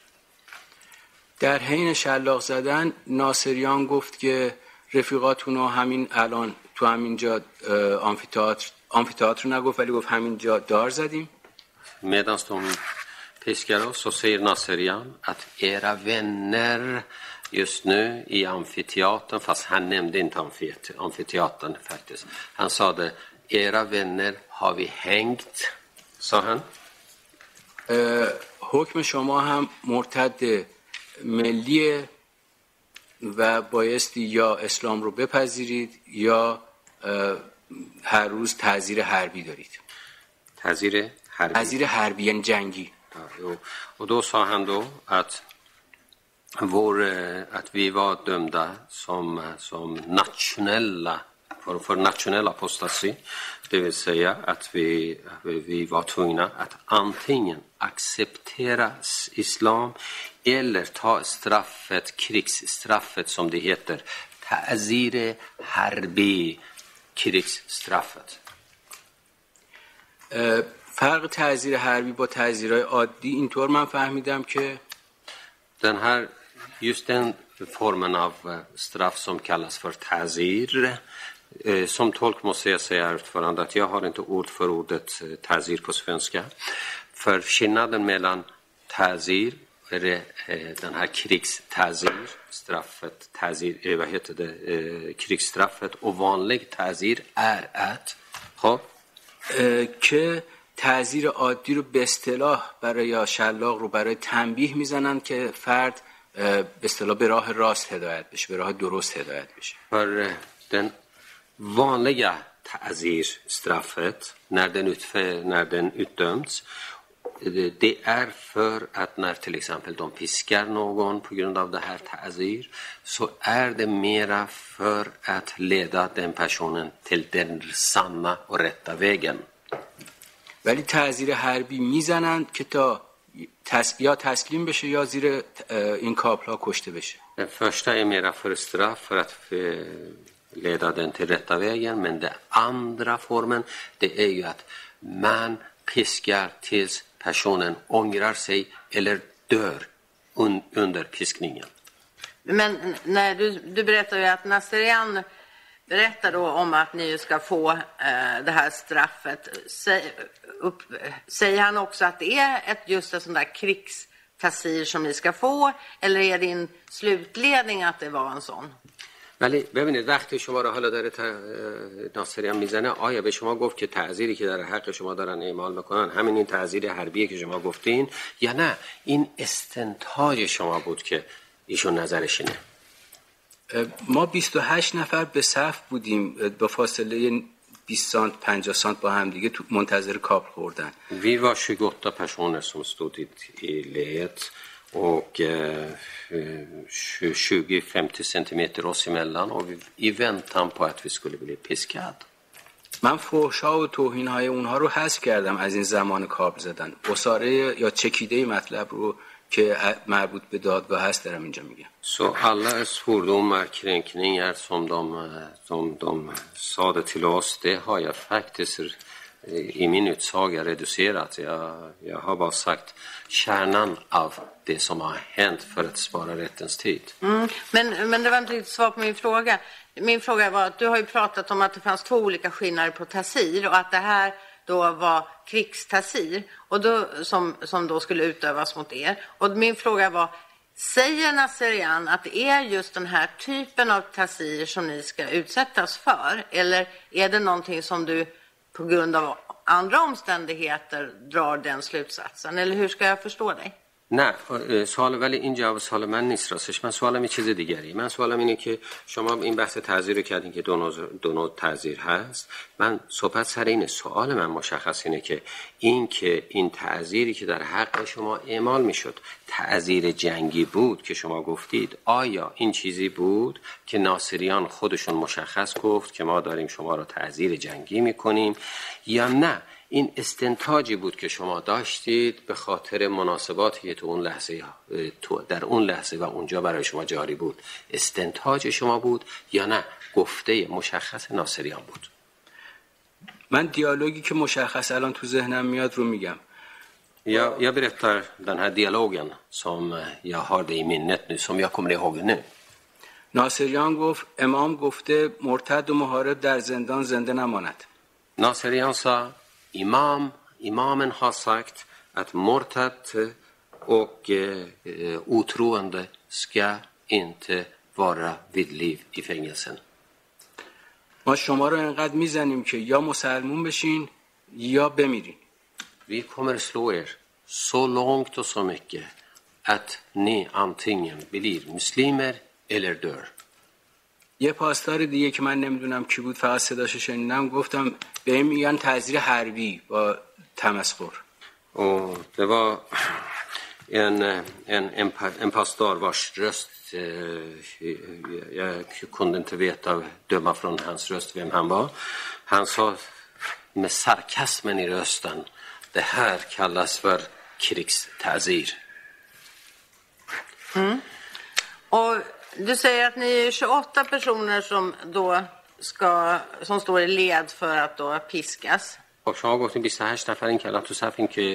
در حین شلاق زدن ناصریان گفت که رفیقاتون رو همین الان تو همین جا آمفی‌تئاتر آمفی‌تئاتر نگفت ولی گفت همین جا دار زدیم. Medan de piskar oss så säger Naserian att era vänner just nu i amfiteatern, fast han nämnde inte amfiteatern faktiskt. Han sa det, era vänner har vi hängt, sa han. حکم شما هم مرتد ملیه و بایستی یا اسلام رو بپذیرید یا هر روز تعزیر حربی دارید. تعزیر حربی. تعزیر حربی یعنی جنگی. Ja, och då sa han då att, vår, att vi var dömda som, som nationella, för, för nationell apostasi. Det vill säga att vi, vi var tvungna att antingen acceptera islam eller ta straffet, krigsstraffet som det heter, ta'zir harbi, krigsstraffet. فرق تعزیر حربی با تعزیرهای عادی اینطور من فهمیدم که den här, just den formen av straff som kallas för ta'zir, som tolk måste jag säga utförande att jag har inte ord för ordet ta'zir på svenska. För skillnaden mellan ta'zir, den här krigsta'zir, straffet, ta'zir, vad heter det, krigsstraffet och vanlig ta'zir är att ha که تعزیر عادی رو به اصطلاح برای شلاق رو برای تنبیه میزنن که فرد به اصطلاح به راه راست هدایت بشه، به راه درست هدایت بشه. För den vanliga ta'zir-straffet när den, utför, när den utdöms, det är för att när till exempel de piskar någon på grund av det här ta'zir, så är det mera för att leda den personen till den sanna och rätta vägen. ولی تعزیر حربی میزنن که تا تس... یا تسلیم بشه یا زیر این کابل‌ها کشته بشه. Den första är mera för straff för att leda den till rätta vägen, men den andra formen, det är ju att man piskar tills personen ångrar sig eller dör un, under piskningen. Men när du, du berättar ju att Naserian berättar då om att ni ska få eh, det här straffet. Säg, upp, säger han också att det är ett, just ett sånt där krigstassir som ni ska få, eller är din slutledning att det var en sån? ولی ببینید وقتی شما را حالا داره ناصریان میزنه، آیا به شما گفت که تعزیری که در حق شما دارن اعمال میکنن همین این تعزیر حربیه که شما گفتین، یا نه این استنتاج شما بود که ایشون نظرش اینه؟ ما بیست و هشت نفر به صف بودیم با فاصله بیست سانت پنجاه سانت با هم دیگه تو منتظر کابل خوردن. Vi var tjugoåtta personer som stod i, i leet och eh, tjugo till femtio centimeter oss emellan och vi, i väntan på att vi skulle bli piskad. من فحشا و توهین‌های اونها رو حذف کردم از این زمان کابل زدن. اساره یا چکیده مطلب رو که مربوط به دادگاه هست دارم اینجا میگم. Så alla svordomar, kränkningar som de, som de sade till oss, det har jag faktiskt i min utsaga reducerat. Jag, jag har bara sagt kärnan av det som har hänt för att spara rättens tid. Mm, men, men det var inte riktigt svar på min fråga. Min fråga var att du har ju pratat om att det fanns två olika skillnader på tasir och att det här då var krigstasir och då, som, som då skulle utövas mot er. Och min fråga var, säger Nasserian att det är just den här typen av tasir som ni ska utsättas för? Eller är det någonting som du på grund av andra omständigheter drar den slutsatsen? Eller hur ska jag förstå dig؟ نه سوال ولی این جواب سوال من نیست راستش. من سوالم یه چیز دیگری. من سوالم اینه که شما این بحث تعزیر رو کردین که دو نوع دو نوع تعزیر هست. من صحبت سر اینه. سوال من مشخص اینه که این که این تعزیری که در حق شما اعمال میشد تعزیر جنگی بود که شما گفتید، آیا این چیزی بود که ناصریان خودشون مشخص گفت که ما داریم شما رو تعزیر جنگی میکنیم، یا نه این استنتاجی بود که شما داشتید به خاطر مناسباتی که تو اون لحظه تو در اون لحظه و اونجا برای شما جاری بود استنتاج شما بود، یا نه گفته مشخص ناصریان بود؟ من دیالوگی که مشخص الان تو ذهنم میاد رو میگم. Jag, jag berättar den här dialogen som jag har det i minnet nu, som jag kommer ihåg nu. ناصریان گفت امام گفته مرتد و محارب در زندان زنده نماند. Nasserian sa imam, imamen har sagt att mortat och eh, otroende ska inte vara vid liv i fängelsen. ما شما رو انقدر میزنیم که یا مسلمون بشین یا بمیرین. Vi kommer slå er så långt och så mycket att ni antingen blir muslimer eller dör. یه پاسدار دیگه که من نمیدونم کی بود، فقط صداشو شنیدم، گفتم به این میگن تعزیر حربی با تمسخر. Och det var en en en, en pastor vars röst jag kunde inte veta döma från hans röst vem han var. Han sa med sarkasmen i rösten, det här kallas för krigstazir. Mm. Och du säger att ni är tjugoåtta personer som då ska som står i led för att då piskas. خب شما گفتین بیست و هشت نفرین که الان تو صفین که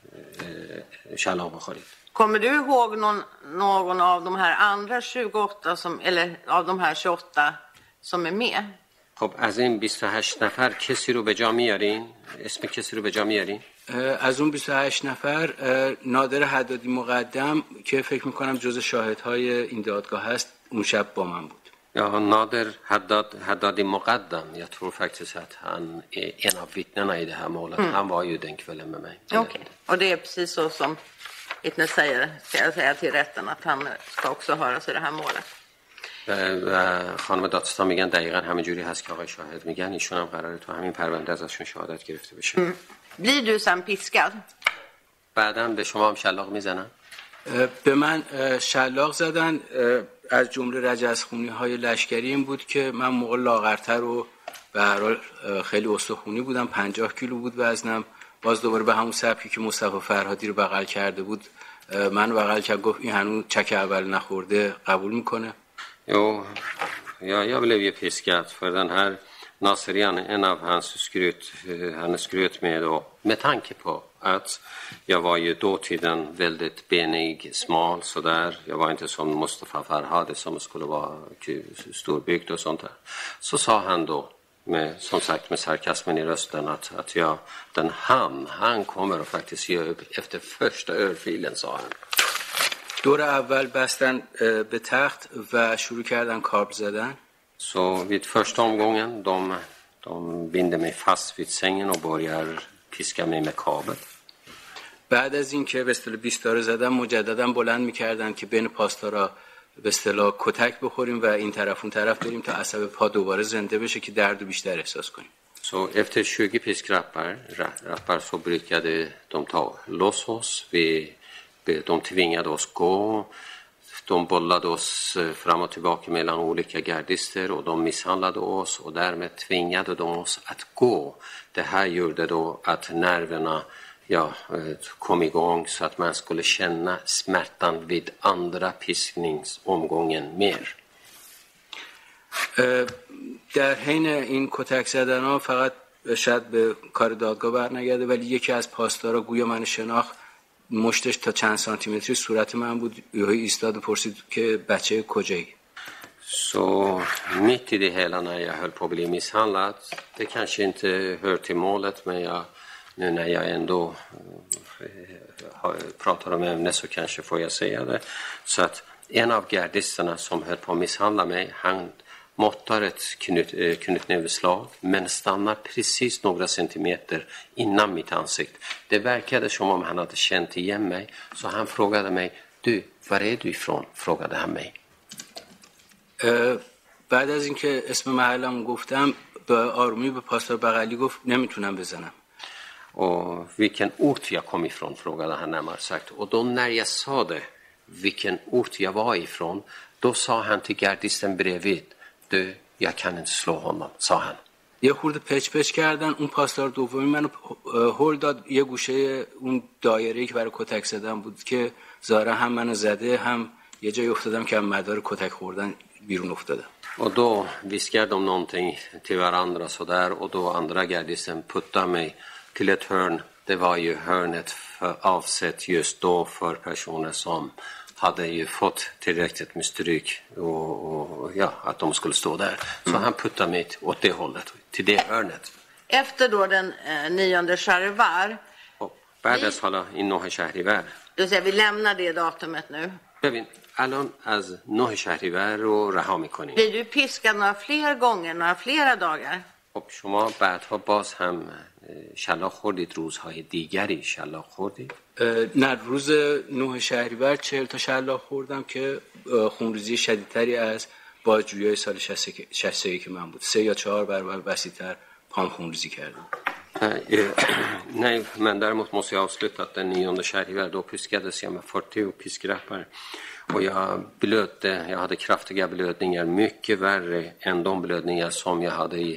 شلاق بخورید. Kommer du ihåg någon, någon av de här andra tjugoåtta som, eller av de här tjugoåtta som är med? خب از این بیست و هشت نفر کسی رو به جا میارین؟ اسم کسی رو به جا میارین؟ از اون بیست و هشت نفر نادر حدادی مقدم که فکر میکنم جز شاهدهای این دادگاه هست اون شب با من بود. Ja, Nader Haddad, Haddadi Muqaddam, jag tror faktiskt att han är en av vittnena i det här målet. Mm. Han var ju den kvällen med mig. Okej, okay. Och det är precis så som vittnet säger, ska jag säga till rätten, att han ska också höras i det här målet. و خانم دادستان میگن دقیقاً همین جوری هست که آقای شاهد میگن، ایشون هم قراره تو همین پرونده ازشون شهادت گرفته بشه. Mm. Blir du sen piskad? بعداً به شما هم شلاق میزنن؟ به من شلاق زدن، از جمله رجزخونی های لشکری این بود که من موقع لاغرتر و به هر حال خیلی استخونی بودم، پنجاه کیلو بود وزنم. باز دوباره به همون سبکی که مصطفی فرهادی رو بغل کرده بود من بغل کرد، گفت این هنوز چک اول نخورده، قبول میکنه. Jo, ja, jag blev ju piskad för den här Nasserian, en av hans skryt, han skröt med då, med tanke på att jag var ju dåtiden väldigt benig, smal sådär. Jag var inte som Mustafa Farhadi som skulle vara storbyggd och sånt där. Så sa han då, med, som sagt med sarkasmen i rösten, att, att jag, den han, han kommer att faktiskt ge upp efter första örfilen, sa han. دور اول بستن به تخت و شروع کردن کابل زدن. Så vid första omgången de de binder mig fast vid sängen och börjar piska mig med kabel. بعد از این که به اصطلاح بیستاره زدن مجددا بلند می‌کردن که بین پاسدارا به اصطلاح کتک بخوریم و این طرف اون طرف بریم تا عصب پا دوباره زنده بشه که درد بیشتر احساس کنیم. Så efter tjugo piskrappar rappar så brukade de ta loss oss. Vi, de tvingade oss gå. De bollade oss fram och tillbaka mellan olika gardister och de misshandlade oss och därmed tvingade de oss att gå. Det här gjorde då att nerverna ja, kom igång så att man skulle känna smärtan vid andra piskningsomgången mer. در حین این کتک زدن ها فقط شاید به کار دادگاه برنگرده ولی یکی از پاسدارا گویا من شناخت مشتش تا چند سانتی متری صورت من بود یهو ایستاد و پرسید که بچه کجایی. Så mitt i det hela när jag höll på att bli misshandlad, det kanske inte hör till målet, men jag, nu när jag ändå äh, pratar om ämnet så kanske får jag säga det. Så att en av gardisterna som höll på att misshandla mig, han måttar ett knut, äh, knytnäveslag men stannar precis några centimeter innan mitt ansikt. Det verkade som om han hade känt igen mig, så han frågade mig, du, var är du ifrån? Frågade han mig. بعد از اینکه اسم محلم گفتم به آرومی به پاسدار بغلی گفت نمیتونم بزنم. Och vilken ort jag kom ifrån frågade han närmare sagt. Och då när jag sa det, vilken ort jag var ifrån, då sa han till gardisten bredvid, du, jag kan inte slå honom, sa han. یه خورده پچ پچ کردن. اون پاسدار دومی منو هول داد یه گوشه اون دایره‌ای که برای کتک زدن بود که ظاهرا هم منو زده هم یه جای افتادم که مدار کتک خوردن بیرون افتادم. Och då viskade de någonting till varandra så där, och då andra gardisten puttade mig till ett hörn. Det var ju hörnet för, avsett just då för personer som hade ju fått tillräckligt med stryk och, och ja, att de skulle stå där. Så han puttade mig åt det hållet, till det hörnet. Efter då den eh, nionde Shahrivar. Och بعدش حالا این نه شهریور. Du säger vi lämnar det datumet nu. ببین الان از نه شهریور رو رها میکنیم. Blir du piskad några fler gånger, några flera dagar? خب شما بعدها باز هم شلاق خوردید، روزهای دیگری شلاق خوردید؟ نه، روز نه شهریور چهل تا شلاق خوردم که خونریزی شدیدتری از بازجویی سال شصت و یک که من بود. سه یا چهار برابر وسیع‌تر پام خونریزی کردم. Nej, men däremot måste jag avsluta att den nionde Shahrivar då piskades jag med fyrtio piskrappar. Och jag blödde, jag hade kraftiga blödningar, mycket värre än de blödningar som jag hade i,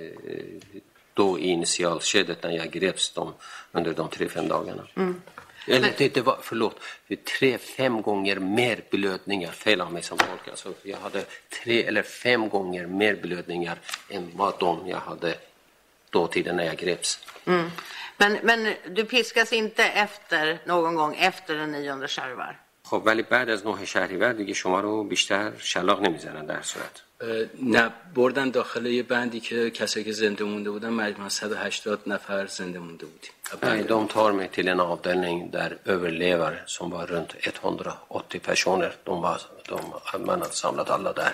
då i initialskedet när jag greps dem under de tre, fem dagarna. Mm. Eller det, det var, förlåt, tre, fem gånger mer blödningar, fel av mig som folk. Alltså, jag hade tre eller fem gånger mer blödningar än vad de jag hade då tiden när jag greps. Mm. Men, men du piskas inte efter någon gång efter den nionde Shahrivar? خب ولی بعد از نه شهریور دیگه شما رو بیشتر شلاق نمیزنن در صورت. نه، بردن داخل یه بندی که kessari که زنده مونده بودن مجموعاً صد و هشتاد نفر زنده مونده بودیم. Nej, de tar mig till en avdelning där överlevare som var runt etthundraåttio personer. De var, de, man hade samlat alla där.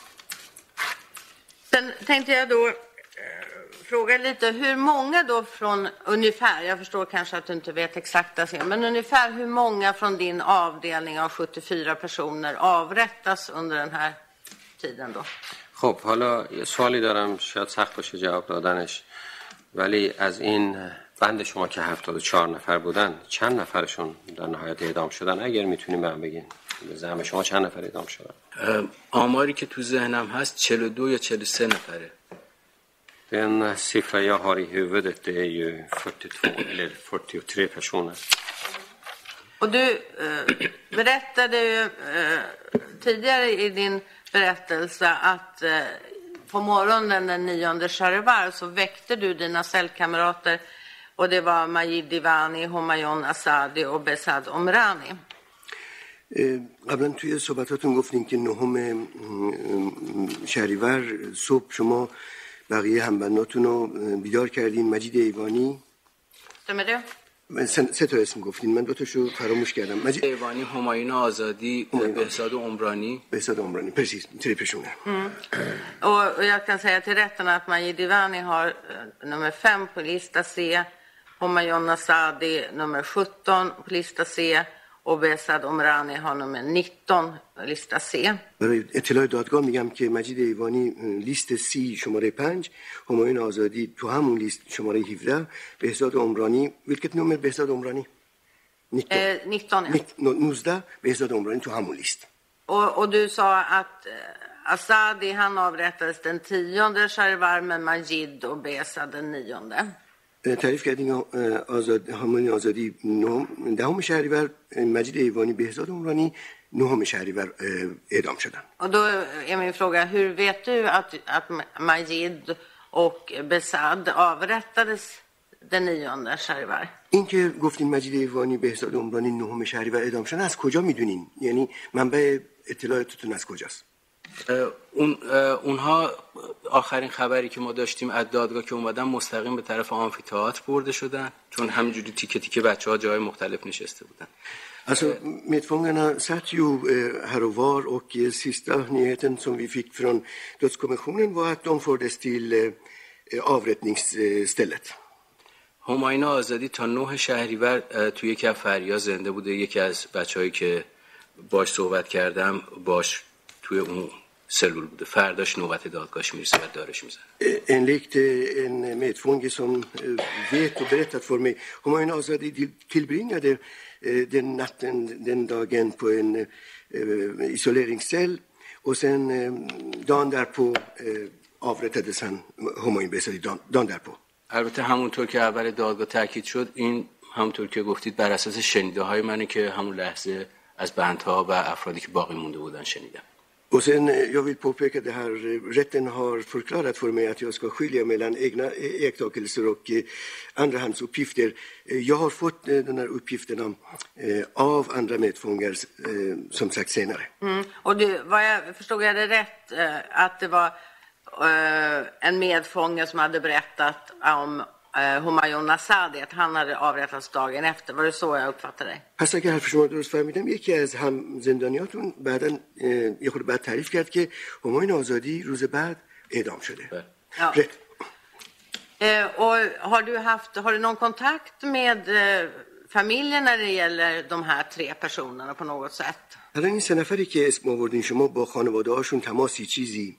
Sen tänkte jag då fråga lite, hur många då från ungefär, jag förstår kanske att du inte vet exakta siffror, men ungefär hur många från din avdelning av sjuttiofyra personer avrättas under den här tiden då? خب حالا یه سوالی دارم، شاید سخت باشه جواب دادنش، ولی از این بند شما که هفتاد و چهار نفر بودن چند نفرشون در نهایت اعدام شدن؟ اگر میتونیم بهم بگین به زعم شما چند نفر اعدام شدن؟ آماری که تو ذهنم هست چهل و دو یا چهل و سه نفره. Den siffra jag har i huvudet det är ju fyrtiotvå eller fyrtiotre personer. Och du eh, berättade ju eh, tidigare i din berättelse att eh, på morgonen den nionde Shahrivar så väckte du dina cellkamrater, och det var Majid Divani, Homayon Asadi och Besad Omrani. قبلا توی صحبتاتون گفتین که نهم شهریور صبح شما بقیه همبنداتون رو بیدار کردین. مجید ایوانی stämmer det؟ سه تا اسم گفتین، من دو تاشو فراموش کردم. مجید ایوانی، همایون آزادی، بهزاد عمرانی. بهزاد عمرانی، precis, tre personer. Mm. Och, och jag kan säga till rätten att Majid Divani har uh, nummer fem på lista C, Homayon Asadi nummer sjutton på lista C och Behzad Omrani har nummer nitton, lista C. برای اطلاع دادگاه میگم که مجید ایوانی لیست سی شماره پنج، همایون آزادی تو همون لیست شماره هفده، بهزاد عمرانی vilket nummer بهزاد عمرانی؟ nitton. Eh, nitton, ja. nitton بهزاد عمرانی تو همون لیست. Och, och du sa att eh, Asadi han avrättades den tionde Shahrivar men Majid och Behzad den nionde. تعریف کردین آزاد همایون آزادی نهم دهم شهریور، مجید ایوانی بهزاد عمرانی نهم شهریور اعدام شدن. Och då är min fråga, hur vet du att, att Majid och Behzad avrättades den nionde Shahrivar? این که گفتین مجید ایوانی بهزاد عمرانی نهم شهریور اعدام شدن، از کجا میدونین؟ یعنی منبع اطلاعاتتون از کجاست؟ اون اونها آخرین خبری که ما داشتیم از دادگاه که اومدن مستقیم به طرف آمفی‌تئاتر برده شدن، چون همینجوری تیکه تیکه بچه‌ها جای مختلف نشسته بودن. Alltså medfångarna satt ju här och var och sista nyheten som vi fick från dödskommissionen var att de fördes till avrättningsstället. همایون آزادی تا نه شهریور توی یکی از فریا زنده بوده. یکی از بچه‌هایی که باش صحبت کردم باش توی اون سلول بوده. فرداش نوبت دادگاهش میرسه و دارش میزنه. Enligt en medfånge som vet och berättat för mig, Humayun Azadi tillbringade den natten, den dagen på en isoleringscell och sen dagen därpå avrättades han, Humayun Behzadi, dagen därpå. البته همونطور که اول دادگاه تاکید شد، این همونطور که گفتید بر اساس شنیده های منه که همون لحظه از بندها و افرادی که باقی مونده بودن شنیدم. Och sen, jag vill påpeka det här, rätten har förklarat för mig att jag ska skilja mellan egna iakttagelser och andrahandsuppgifter. Jag har fått de här uppgifterna av andra medfångar, som sagt, senare. Mm. Och du, vad jag förstod jag det rätt, att det var en medfånge som hade berättat om همایون نصادی att han hade avrättats dagen efter. Var det så jag uppfattade det? پس اگر حرف شما درست فهمیدم، یکی از هم زندانیاتون بعداً یه خورده بعد تعریف کرد که همایون آزادی روز بعد اعدام شده. Ja. rätt. Eh, och har du haft har du någon kontakt med eh, familjen när det gäller de här tre personerna på något sätt? حالا این سه نفری که اسم آوردین شما با خانواده هاشون تماسی چیزی؟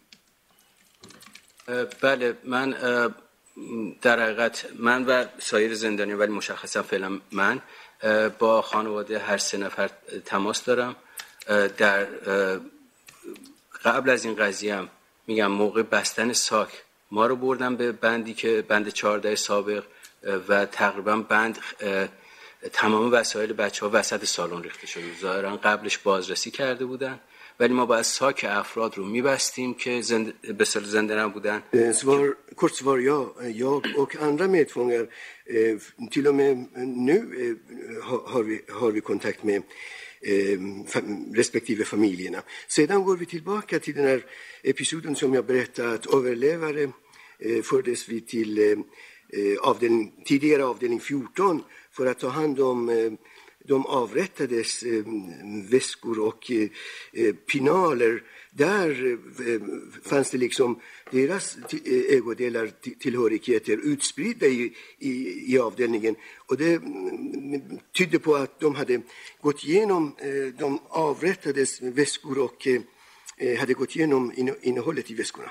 بله، من در حقیقت من و سایر زندانی، ولی مشخصا فعلا من با خانواده هر سه نفر تماس دارم. در قبل از این قضیه هم میگم موقع بستن ساک ما رو بردن به بندی که بند چهارده سابق و تقریبا بند تمام وسایل بچه ها وسط سالن ریخته شده. ظاهرا قبلش بازرسی کرده بودن، ولی ما باید ساک افراد رو میبستیم که زند... به سال زنده نبودن. Svar, kort svar ja. Jag och andra medfångar, eh, till och med nu eh, har, vi, har vi kontakt med eh, fam, respektive familjerna. Sedan går vi tillbaka till den här episoden som jag berättade, att överlevare eh, fördes vi till eh, avdelning, tidigare avdelning fjorton för att ta hand om eh, de avrättades eh, väskor och eh, pinaler. Där eh, fanns det liksom deras eh, ägodelar, tillhörigheter utspridda i, i, i avdelningen. Och det mm, tydde på att de hade gått igenom eh, de avrättades väskor och eh, hade gått igenom innehållet i väskorna.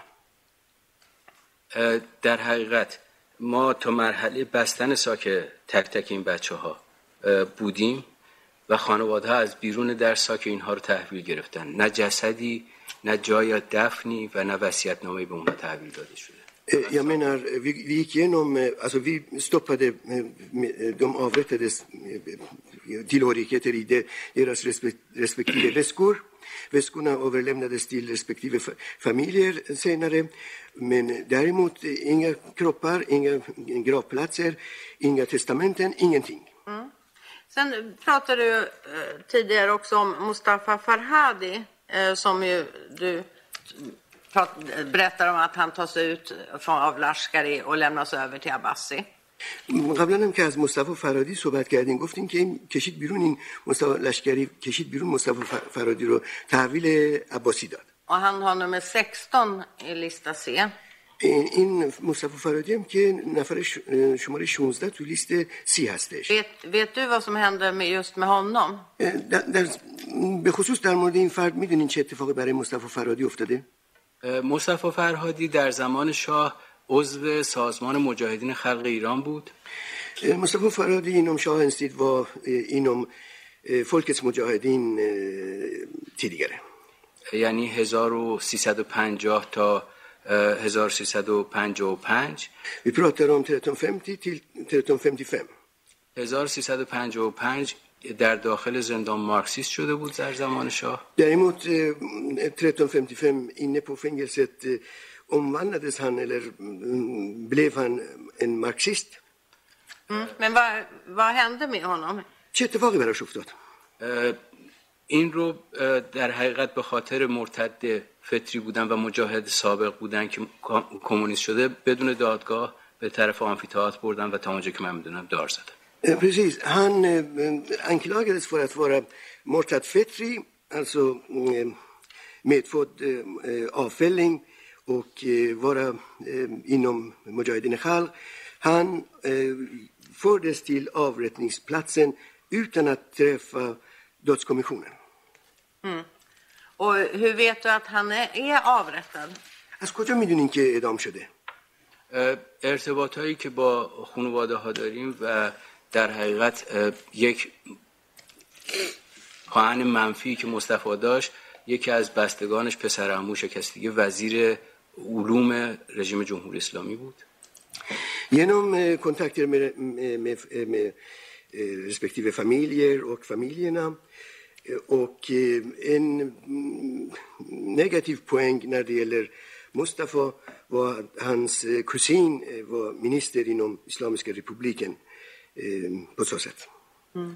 در حقیقت ما تا مرحله بستن ساک تک تک این بچه ها بودیم و خانواده ها از بیرون در ساک اینها رو تحویل گرفتن. نه جسدی، نه جای دفنی و نه وصیت‌نامه‌ای به اونها تحویل داده شده. Jag menar, vi, vi gick igenom, alltså vi stoppade de avrättades tillhörigheter i deras respektive väskor. Väskorna överlämnades till respektive familjer senare, men däremot inga kroppar, inga gravplatser, inga testamenten, ingenting. Mm. Sen pratade du eh, tidigare också om Mustafa Farhadi, eh, som ju du prat, berättar om att han tas ut från, av Lashkari och lämnas över till Abbasi. قبلا هم که از مصطفی فرادی صحبت کردیم، گفتیم که این کشید بیرون، این مصطفی لشکری کشید بیرون مصطفی فرادی رو تحویل عباسی داد. Och han har nummer sexton i lista C. این مصطفی فرادی هم که نفر شماره شانزده تو لیست سی هستش. Vet, vet du vad som hände med just med honom? در, در به خصوص در مورد این فرد میدونین چه اتفاقی برای مصطفی فرادی افتاده؟ مصطفی فرهادی در زمان شاه عضو سازمان مجاهدین خلق ایران بود. Mustafa Farhadi inom shahens tid var inom folkets mujahedin tidigare. یعنی هزار و سیصد و پنجاه تا هزار و سیصد و پنجاه و پنج. Vi pratar om tretton femtio till tretton femtiofem. هزار و سیصد و پنجاه و پنج در داخل زندان مارکسیست شده بود در زمان شاه. Däremot tretton femtiofem inne på fängelset omvandlades han eller blev han en marxist. Mm. Men vad, vad hände med honom? چه اتفاقی براش افتاد؟ این رو در حقیقت به خاطر مرتد فطری بودن و مجاهد سابق بودن که کمونیست شده بدون دادگاه به طرف آمفی‌تئاتر بردن و تا اونجا که من میدونم دار زدن. Precis, han anklagades för att vara mortad fetri, alltså medfödd avfälling och vara inom Mujahedin Khalq. Han fördes till avrättningsplatsen utan att träffa dödskommissionen. Mm. Och hur vet du att han är, är avrättad? از کجا میدونین که اعدام شده؟ ارتباط هایی که با خانواده ها داریم و در حقیقت یک پاهن منفی که مصطفی داشت، یکی از بستگانش پسر عمو شکستگی وزیر علوم رژیم جمهوری اسلامی بود. Genom kontakter med, med, med respektive familjer och familjerna och en negativ poäng när det gäller Mustafa var att hans kusin var minister inom Islamiska republiken på så sätt. Mm.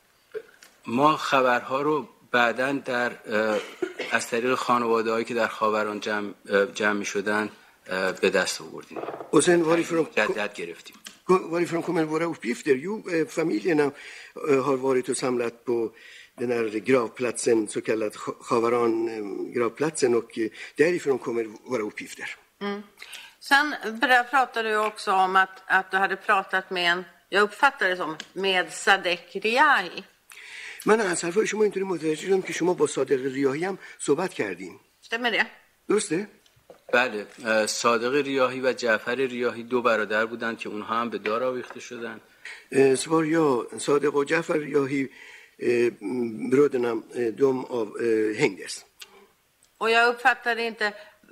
ما خبرها رو بعداً در از طریق خانواده‌هایی که در خاوران جمع جمع می‌شدن به دست آوردیم. Och sen varifrån جدت گرفتیم. varifrån kommer våra uppgifter? Jo, familjerna har varit och samlat på den här gravplatsen, så kallad Khavaran gravplatsen, och därifrån kommer våra uppgifter. Mm. Sen pratade du också om att, att du hade pratat med en, jag uppfattar det som, med Sadek Riahi. من از حرفای شما اینطوری متوجه شدم که شما با صادق ریاحی هم صحبت کردین. Stämmer det? درسته؟ بله، صادق ریاحی و جعفر ریاحی دو برادر بودند که اونها هم به دار آویخته شدند. Svar ja, صادق och Jafar Riahi, bröderna, de av, hängdes. Och jag uppfattade inte,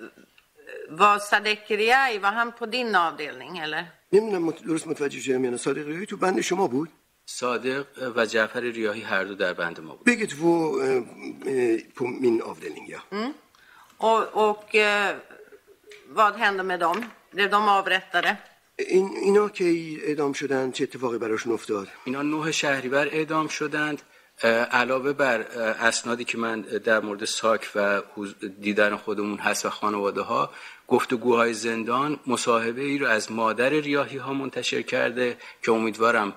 var Sadek Riahi, var han på din avdelning eller? نمیدونم درست متوجه شدم یا نه. صادق ریاحی تو بند شما بود؟ صادق و جعفر ریاحی هر دو در بند ما بود. Bägge två på min avdelning, ja. Mm. Och, och eh, vad hände med dem? Blev de avrättade? این اینا که اعدام شدن چه اتفاقی براشون افتاد؟ اینا نه شهریور اعدام شدند. علاوه بر اسنادی که من در مورد ساک و دیدن خودمون هست و خانواده ها، گفتگوهای زندان مصاحبه ای رو از مادر ریاحی ها منتشر کرده که امیدوارم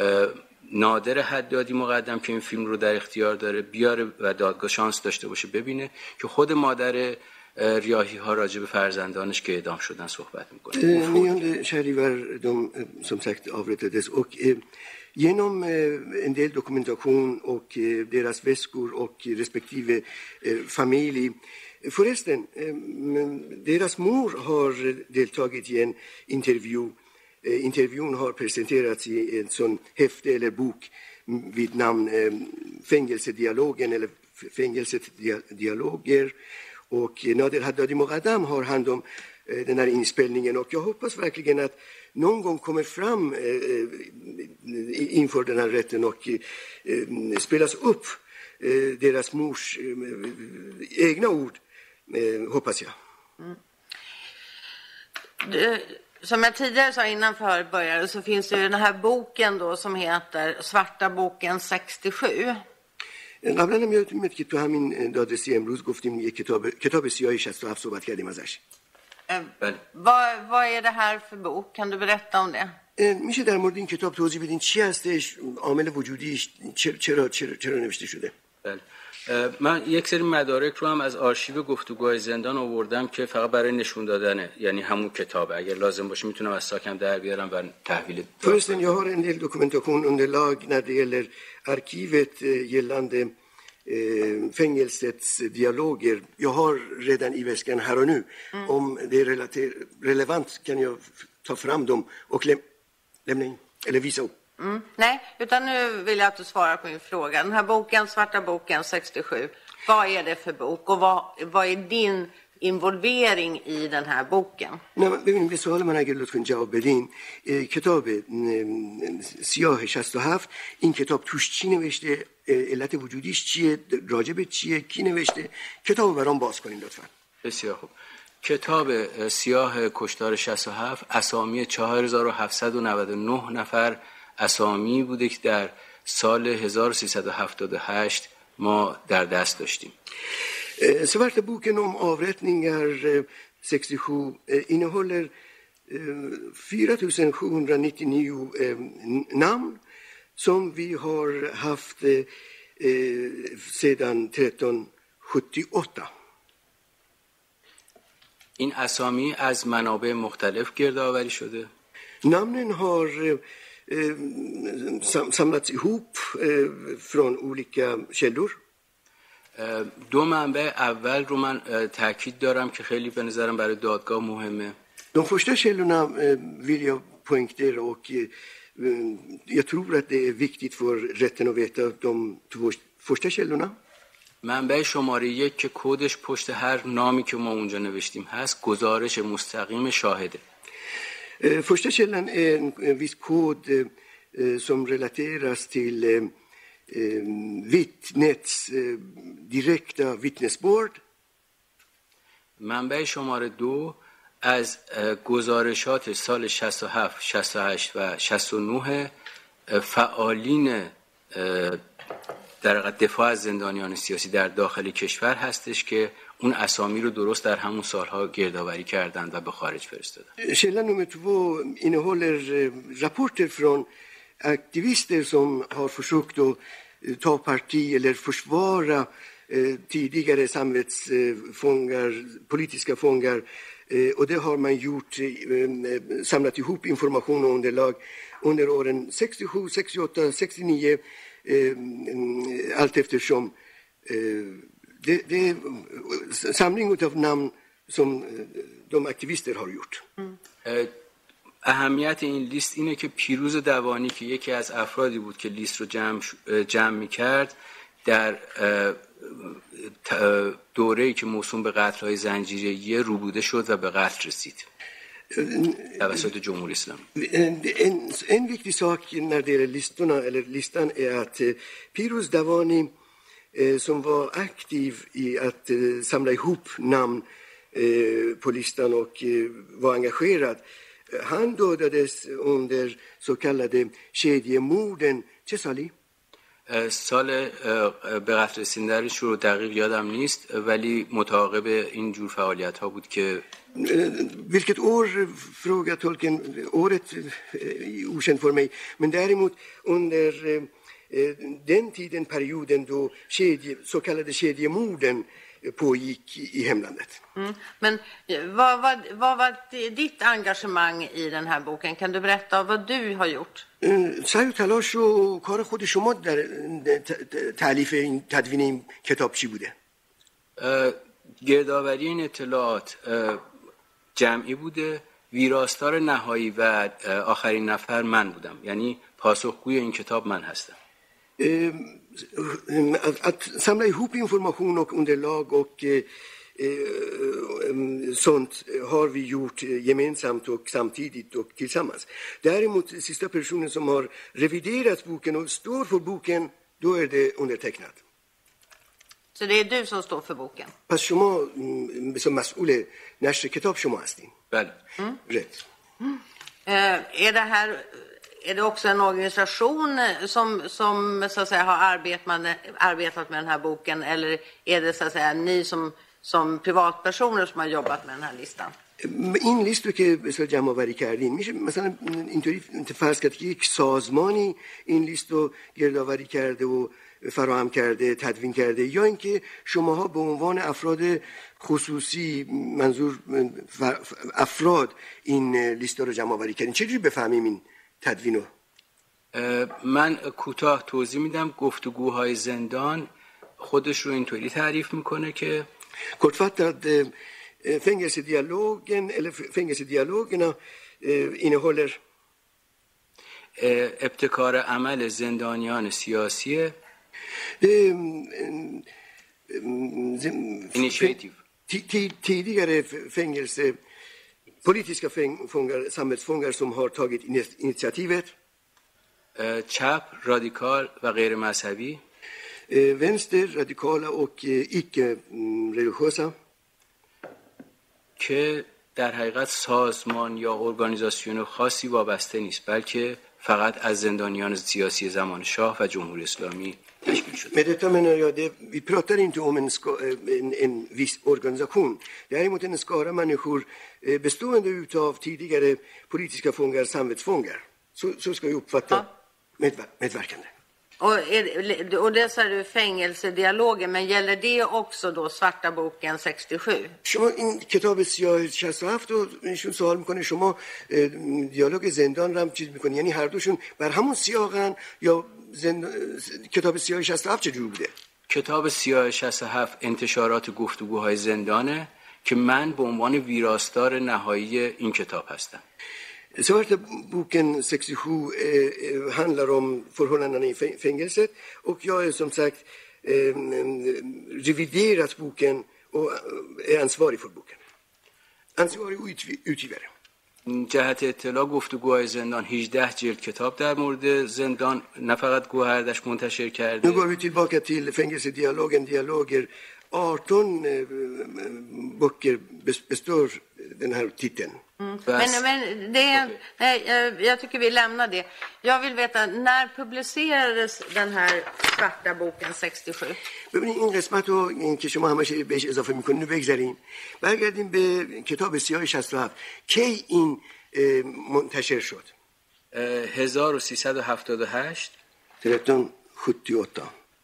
نادر حدادی مقدم که این فیلم رو در اختیار داره بیاره و دادگاه شانس داشته باشه ببینه که خود مادر ریاحی ها راجع به فرزندانش که اعدام شدن صحبت میکنه. nionde shahrivar de som sagt avrättades och genom en del dokumentation och deras väskor och respektive familj. Förresten, deras mor har deltagit i en intervju. Intervjun har presenterats i en sån häfte eller bok vid namn Fängelsedialogen eller Fängelsedialoger. Och Nader Haddadi Moqaddam har hand om den här inspelningen, och jag hoppas verkligen att någon gång kommer fram inför den här rätten och spelas upp deras mors egna ord, hoppas jag. Mm. Det, som jag tidigare sa innan för började, så finns det ju den här boken då som heter Svarta boken sextiosju. قبلا هم یادتون میاد که تو همین دادرسی امروز گفتیم یک کتاب کتاب سیاه شصت و هفت صحبت کردیم ازش. Vad vad är det här för bok? Kan du berätta om det? میشه در مورد این کتاب توضیح بدین چی هستش، عامل وجودیش، چرا چرا چرا نوشته شده؟ بله. من یک سری مدارک رو هم از آرشیو گفتگوهای زندان آوردم که فقط برای نشون دادنه، یعنی همون کتابه. اگر لازم باشه میتونم از ساکم در بیارم و تحویل. Förresten, jag har en del dokumentation underlag när det gäller arkivet gällande eh, fängelsets dialoger. Jag har redan i väskan här och nu. Mm. Om det är relater- relevant kan jag ta fram dem och läm- lämna in eller visa upp. Mm. Nej, utan nu vill jag att du svarar på min fråga. Den här boken, Svarta boken sextiosju, vad är det för bok och vad, vad är din involvering i den här boken? نه ببینید به سوال من اگر لطفاً جواب بدین. کتاب سیاه شصت و هفت این کتاب توش چی نوشته، علت وجودیش چیه، راجب چیه، کی نوشته؟ کتاب برام باز کنین لطفاً. بسیار خوب. کتاب سیاه کشتار شصت و هفت اسامی چهار هزار و هفتصد و نود و نه نفر اسامی بوده که در سال هزار و سیصد و هفتاد و هشت ما در دست داشتیم. Svarta boken om avrättningar sextiosju innehåller fyra tusen sjuhundranittionio namn som vi har haft sedan tretton sjuttioåtta. این اسامی از منابع مختلف گردآوری شده. Namnen har samlats ihop från olika källor. دو منبع اول رو من تاکید دارم که خیلی به نظرم برای دادگاه مهمه. De första källorna vill jag poängtera och jag tror att det är viktigt för rätten att veta de två första källorna. منبع شماره یک که کدش پشت هر نامی که ما اونجا نوشتیم هست گزارش مستقیم شاهده. Första källan är en viss kod som relateras till vittnets direkta vittnesbörd. منبع شماره دو از گزارشات سال شصت و هفت، شصت و هشت و شصت و نه فعالین در دفاع از زندانیان سیاسی در داخل کشور هستش که اون اسامی رو درست در همون سالها گردآوری کردند و به خارج فرستادن. Källa nummer två innehåller rapporter från aktivister som har försökt att ta parti eller försvara tidigare samvetsfångar, politiska fångar, och det har man gjort, samlat ihop information och underlag under åren sextiosju, sextioåtta, sextionio, allt eftersom. Det, det är samling av namn som de aktivister har gjort. Mm. اهمیت این لیست اینه که پیروز دوانی که یکی از افرادی بود که لیست رو جمع, جمع می کرد در دوره‌ای که موسوم به قتل‌های زنجیره‌ای روبوده شد و به قتل رسید توسط جمهوری اسلامی. En, en viktig sak när det gäller listorna, eller listan är att Piruz Davani som var aktiv i att samla ihop namn på listan och var engagerad. Han dödades under så kallade kedjemorden. چه سالی؟ سال به قتل رسیدنش رو دقیق یادم نیست ولی متعاقب این جور فعالیت ها بود که Vilket år frågar tolken, året är okänt för mig, men däremot under den tiden, perioden då kedje, så kallade kedjemorden pågick i hemlandet. Mm. Men vad, vad, vad var ditt engagemang i den här boken? Kan du berätta vad du har gjort? سعی و تلاش و کار خود شما در تالیف این تدوین این کتاب چی بوده؟ گردآوری این اطلاعات جمعی بوده. ویراستار نهایی و آخرین نفر من بودم، یعنی پاسخگوی این کتاب من هستم. Att samla ihop information och underlag och sånt har vi gjort gemensamt och samtidigt och tillsammans. Däremot sista personen som har reviderat boken och står för boken, då är det undertecknat. Så det är du som står för boken? پس شما som مسئول نشر کتاب شما هستین. بله. rätt. Är det här Är det också en organisation som, som så att säga, har arbetat med, arbetat med den här boken, eller är det så att säga ni som, som privatpersoner som har jobbat med den här listan? این لیست رو که به اصطلاح جمع آوری کردین میشه مثلا اینطوری فرض کرد که یک سازمانی این لیست رو گردآوری کرده و فراهم کرده، تدوین کرده، یا اینکه شماها به عنوان افراد خصوصی، منظور افراد، این لیست رو جمع آوری کردین؟ چجوری بفهمیم این تدوین رو؟ من کوتاه توضیح میدم. گفتگوهای زندان خودش رو اینطوری تعریف میکنه که kortfattat fängelsedialogen eller fängelsedialogerna innehåller ابتکار عمل زندانیان سیاسیه. Initiative. Tidigare fängelse, politiska fångar, samhällsfångar som har tagit initiativet. چپ، رادیکال و غیر مذهبی. Vänster, radikala och icke-religiösa. که در حقیقت سازمان یا ارگانیزاسیون خاصی وابسته نیست، بلکه فقط از زندانیان سیاسی زمان شاه و جمهوری اسلامی تشکیل شده. Med detta menar jag det, vi pratar inte om en, ska, en, en viss organisation. Däremot en skara människor bestående utav tidigare politiska fångar, samvetsfångar. Så, så ska vi uppfatta ja. med, medverkande. Och, är, och det sa du fängelsedialogen, men gäller det också då svarta boken sextiosju? شما این کتاب سیاه شصت و هفت رو ایشون سوال میکنه، شما دیالوگ زندان رو هم چیز میکنی، یعنی هر دوشون بر همون سیاقن یا زند... کتاب سیاه شصت و هفت چجور بوده؟ کتاب سیاه شصت و هفت انتشارات گفتگوهای زندانه که من به عنوان ویراستار نهایی این کتاب هستم. Svarta boken sextiosju eh, handlar om förhållandena i fängelset, och jag är som sagt eh, reviderat boken och är ansvarig för boken. Ansvarig utgivare. جهت اطلاع گفتگوهای زندان هجده جلد کتاب در مورد زندان نه فقط گوهردش منتشر کرده. Nu går vi tillbaka till fängelsedialogen, dialoger. arton eh, böcker består den här titeln. Mm. Men, men det är, nej, jag tycker vi lämnar det. Jag vill veta, när publicerades den här svarta boken sextiosju? ببینید این قسمت رو این که شما همش بهش اضافه میکنید بگذاریم، برگردیم به کتاب سیاه شصت و هفت. کی این منتشر شد؟ هزار و سیصد و هفتاد و هشت. tretton sjuttioåtta.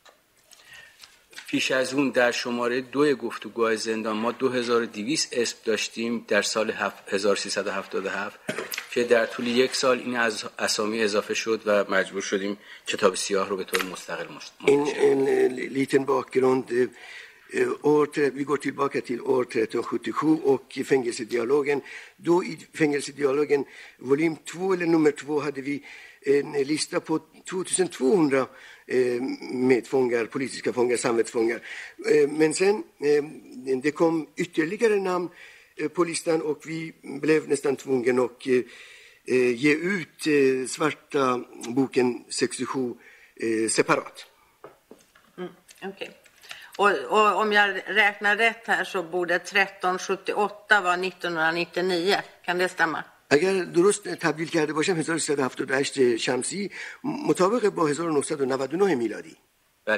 پیش از اون در شماره دو گفتگوهای زندان ما دو هزار و دویست اسم داشتیم در سال هزار و سیصد و هفتاد و هفت که در طول یک سال این از اسامی اضافه شد و majbur شدیم کتاب سیاه رو به طور مستقل منتشر کنیم. En liten bakgrund. År, vi går tillbaka till år tretton sjuttiosju och i fängelsedialogen. Då i fängelsedialogen volym två eller nummer två hade vi en lista på tvåtusen tvåhundra medfångar, politiska fångar, samvetsfångar. Men sen det kom ytterligare namn på listan och vi blev nästan tvungen att ge ut svarta boken sextiosju separat. Mm, okej. Okay. Och, och om jag räknar rätt här så borde tretton sjuttioåtta vara nittonhundranittionio. Kan det stämma? اگر درست تبدیل کرده باشم هزار و سیصد و هفتاد و هشت شمسی مطابق با هزار و نهصد و نود و نه میلادی. بله.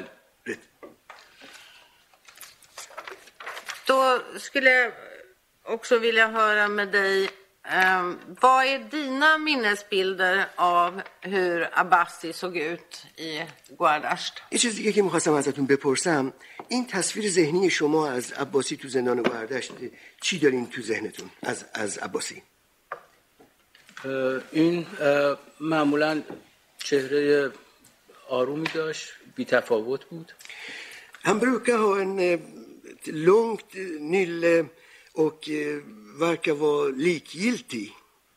Då skulle jag också vilja höra med dig, eh, vad är dina minnesbilder av hur Abbasi såg ut i Gohardasht? یه چیز دیگه که می‌خواستم ازتون بپرسم، این تصویر ذهنی شما از عباسی تو زندان گوهردشت چی دارین تو ذهنتون از از عباسی؟ این معمولا چهره آرومی داشت، بی تفاوت بود. Han brukar ha en långt nylle och verkar vara likgiltig.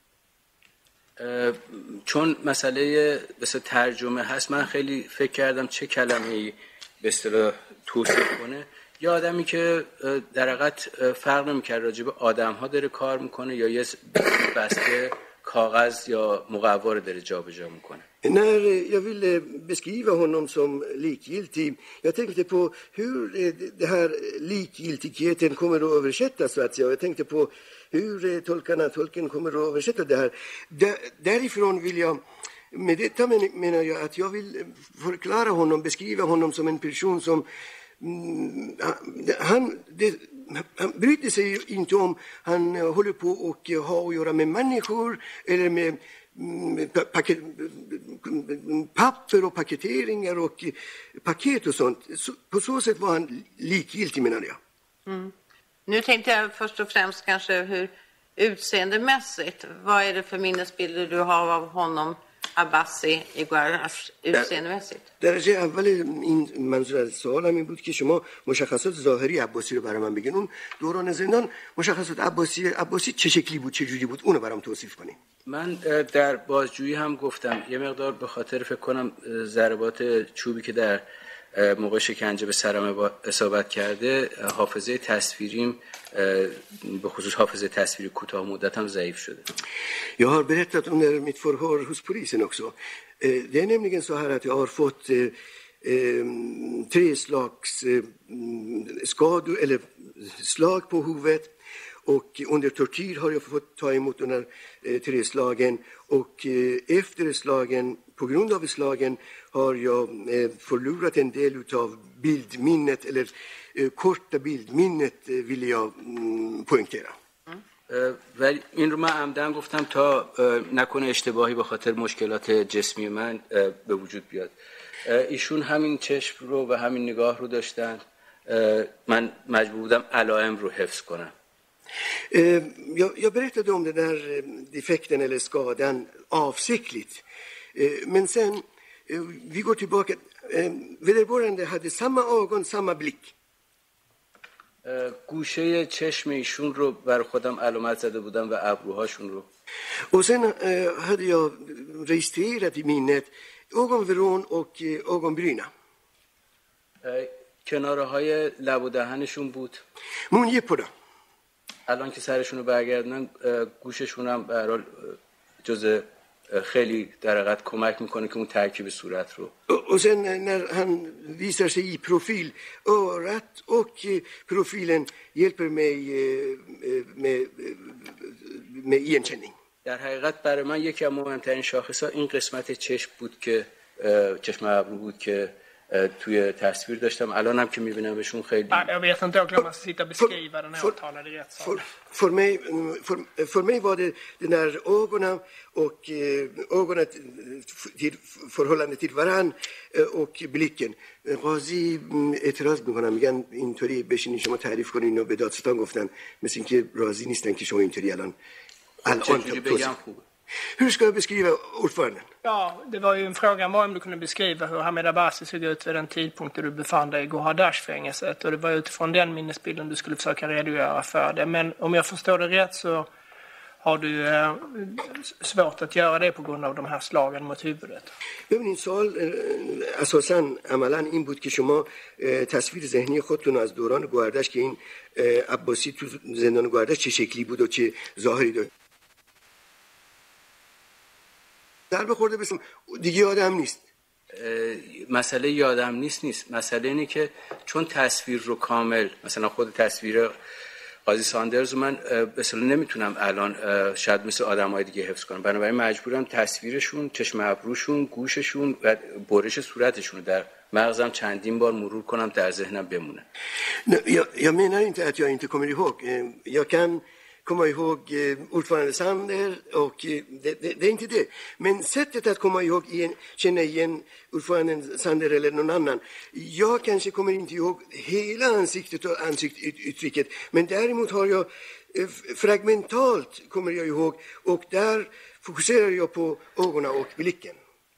چون مسئله بس ترجمه هست من خیلی فکر کردم چه کلمه‌ای به اصطلاح توصیف کنه. یه آدمی که در حقیقت فرق نمی‌کنه راجع به آدم‌ها dare کار میکنه یا یه بسته کاغذ یا مقوا رو dare جابجا میکنه. När jag ville beskriva honom som likgiltig, jag tänkte på hur det här likgiltigheten kommer att översättas, så att säga. Jag tänkte på hur tolkarna, tolken kommer att översätta det här. Där, därifrån vill jag, med detta menar jag att jag vill förklara honom, beskriva honom som en person som han, det, han bryr sig ju inte om han håller på och har att göra med människor eller med paket, papper och paketeringar och paket och sånt. Så, på så sätt var han likgiltig, menar jag. Mm. Nu tänkte jag först och främst kanske hur utseendemässigt, vad är det för minnesbilder du har av honom, Abbasi i Guarash, utseendemässigt؟ درجه اول این منظور از سوالم این بود که شما مشخصات ظاهری عباسی رو برای من بگین. اون دوران زندان مشخصات عباسی عباسی چه شکلی بود، چه جوری بود، اونو برام توصیف کنین. من در بازجویی هم گفتم یه مقدار به خاطر فکر کنم ضربات چوبی که در موقع شکنجه به سرم اصابت کرده حافظه تصویریم به خصوص حافظه تصویری کوتاه مدت هم ضعیف شده. Jag har berättat under mitt förhör hos polisen också. Det är nämligen så här att jag har fått tre slags skador eller slag på huvudet. Och under tortyr har jag fått ta emot de här tre slagen. Och efter slagen, på grund av slagen, har jag förlorat en del av bildminnet, eller korta bildminnet vill jag poängtera. ولی این رو من عمدن گفتم تا نکنه اشتباهی به خاطر مشکلات جسمی من به وجود بیاد. ایشون همین چشم رو و همین نگاه رو داشتن. من مجبور بودم علائم رو حفظ کنم. Jag, jag berättade om den där defekten eller skadan avsiktligt. Men sen, vi går tillbaka. Vederbörande hade samma ögon, samma blick. گوشه چشم ایشون رو بر خودم علامت زده بودم و ابروهاشون رو. Och sen hade jag registrerat i minnet ögonvrån och ögonbryna. کناره های لب و دهنشون بود. Mungiporna. الان که سرشون رو برگردنن گوششون هم به هر حال جز خیلی در حقیقت کمک میکنه که اون ترکیب صورت رو. Och sen när han visar sig i profil, örat och profilen hjälper mig med, med igenkänning. در حقیقت برای من یکی از مهمترین شاخص‌ها این قسمت چشم بود که چشم ابرو بود که توی تصویر داشتم. الان هم که میبینمشون خیلی Jag vet inte, jag glömmer sitta och beskriva den här åtalade i rättssalen. För mig, för, för mig var det den här ögonen och ögonen till förhållande till varann och blicken. قاضی اعتراض میکنم، میگن اینطوری بشینین شما تعریف کنین و به دادستان گفتن مثل اینکه راضی نیستن که شما اینطوری الان الان بگم خوبه. Hur ska jag beskriva ordföranden? Ja, det var ju en fråga var om du kunde beskriva hur Hamid Abbasi såg ut vid den tidpunkt då du befann dig i Gohardach-fängelset. Och det var utifrån den minnesbilden du skulle försöka redogöra för det. Men om jag förstår det rätt så har du eh, svårt att göra det på grund av de här slagen mot huvudet. ببینید سوال اساساً عملاً این بود که شما تصویر ذهنی خودتون از دوران گوهردش که این عباسی تو زندان گوهردش چه شکلی بود و چه ظاهری داشت. ضربه خورده بسیم دیگه یادم نیست. مسئله یادم نیست نیست مسئله اینه که چون تصویر رو کامل مثلا خود تصویر قاضی ساندرز رو من به اصطلاح نمیتونم الان شاید مثل آدمای دیگه حفظ کنم، بنابراین مجبورم تصویرشون، چشم ابروشون، گوششون و برش صورتشون رو در مغزم چندین بار مرور کنم در ذهنم بمونه. Jag, jag menar inte att jag inte kommer ihåg. Jag kan komma ihåg ordförande Sander och det, det, det är inte det. Men sättet att komma ihåg igen, känna igen ordföranden Sander eller någon annan. Jag kanske kommer inte ihåg hela ansiktet och ansiktsuttrycket. Men däremot har jag fragmentalt kommer jag ihåg och där fokuserar jag på ögonen och blicken.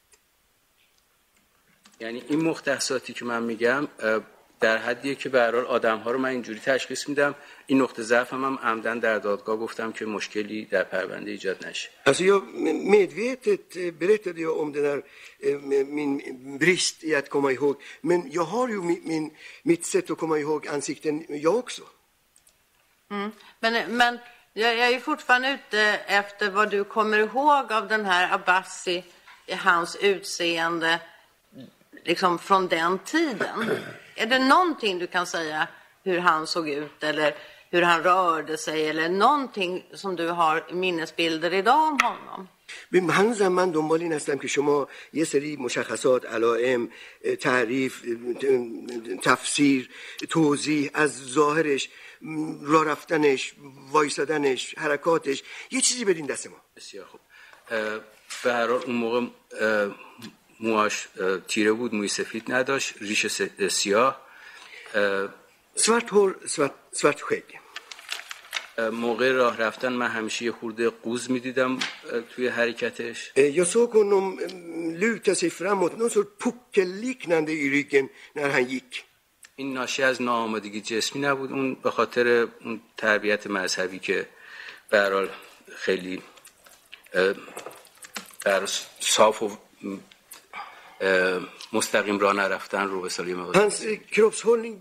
یعنی این مختصاتی که من میگم در حدیه که به هر حال آدم‌ها رو من اینجوری تشخیص میدم. این نقطه ضعفم هم عمدن در دادگاه گفتم که مشکلی در پرونده ایجاد نشه. Alltså jag medvetet berättade jag om den här min brist i att komma ihåg, men jag har ju min mitt sätt att komma ihåg ansikten jag också. Mm. Men men jag, jag är fortfarande ute efter vad du kommer ihåg av den här Abbasi, hans utseende liksom från den tiden. Är det någonting du kan säga hur han såg ut eller hur han rörde sig eller någonting som du har minnesbilder idag om honom? هنوزم من دنبال این هستم که شما یه سری مشخصات، علائم، تعریف، تفسیر، توضیح از ظاهرش، راه رفتنش، وایسادنش، حرکاتش، یه چیزی بدین دست ما. بسیار خوب. به هر حال اون موقع موهاش تیره بود، موی سفید نداشت، ریش سیاه. svart hår, svart, svart skägg. موقع راه رفتن من همیشه یه خورده قوز میدیدم توی حرکتش. Jag såg honom luta sig framåt, någon sorts puckelliknande i ryggen när han gick. این ناشی از ناآمادگی جسمی نبود، اون به خاطر اون تربیت مذهبی که به هر حال خیلی در صاف و مستقیم راه نرفتن رو به سالی مقدار. Hans kroppshållning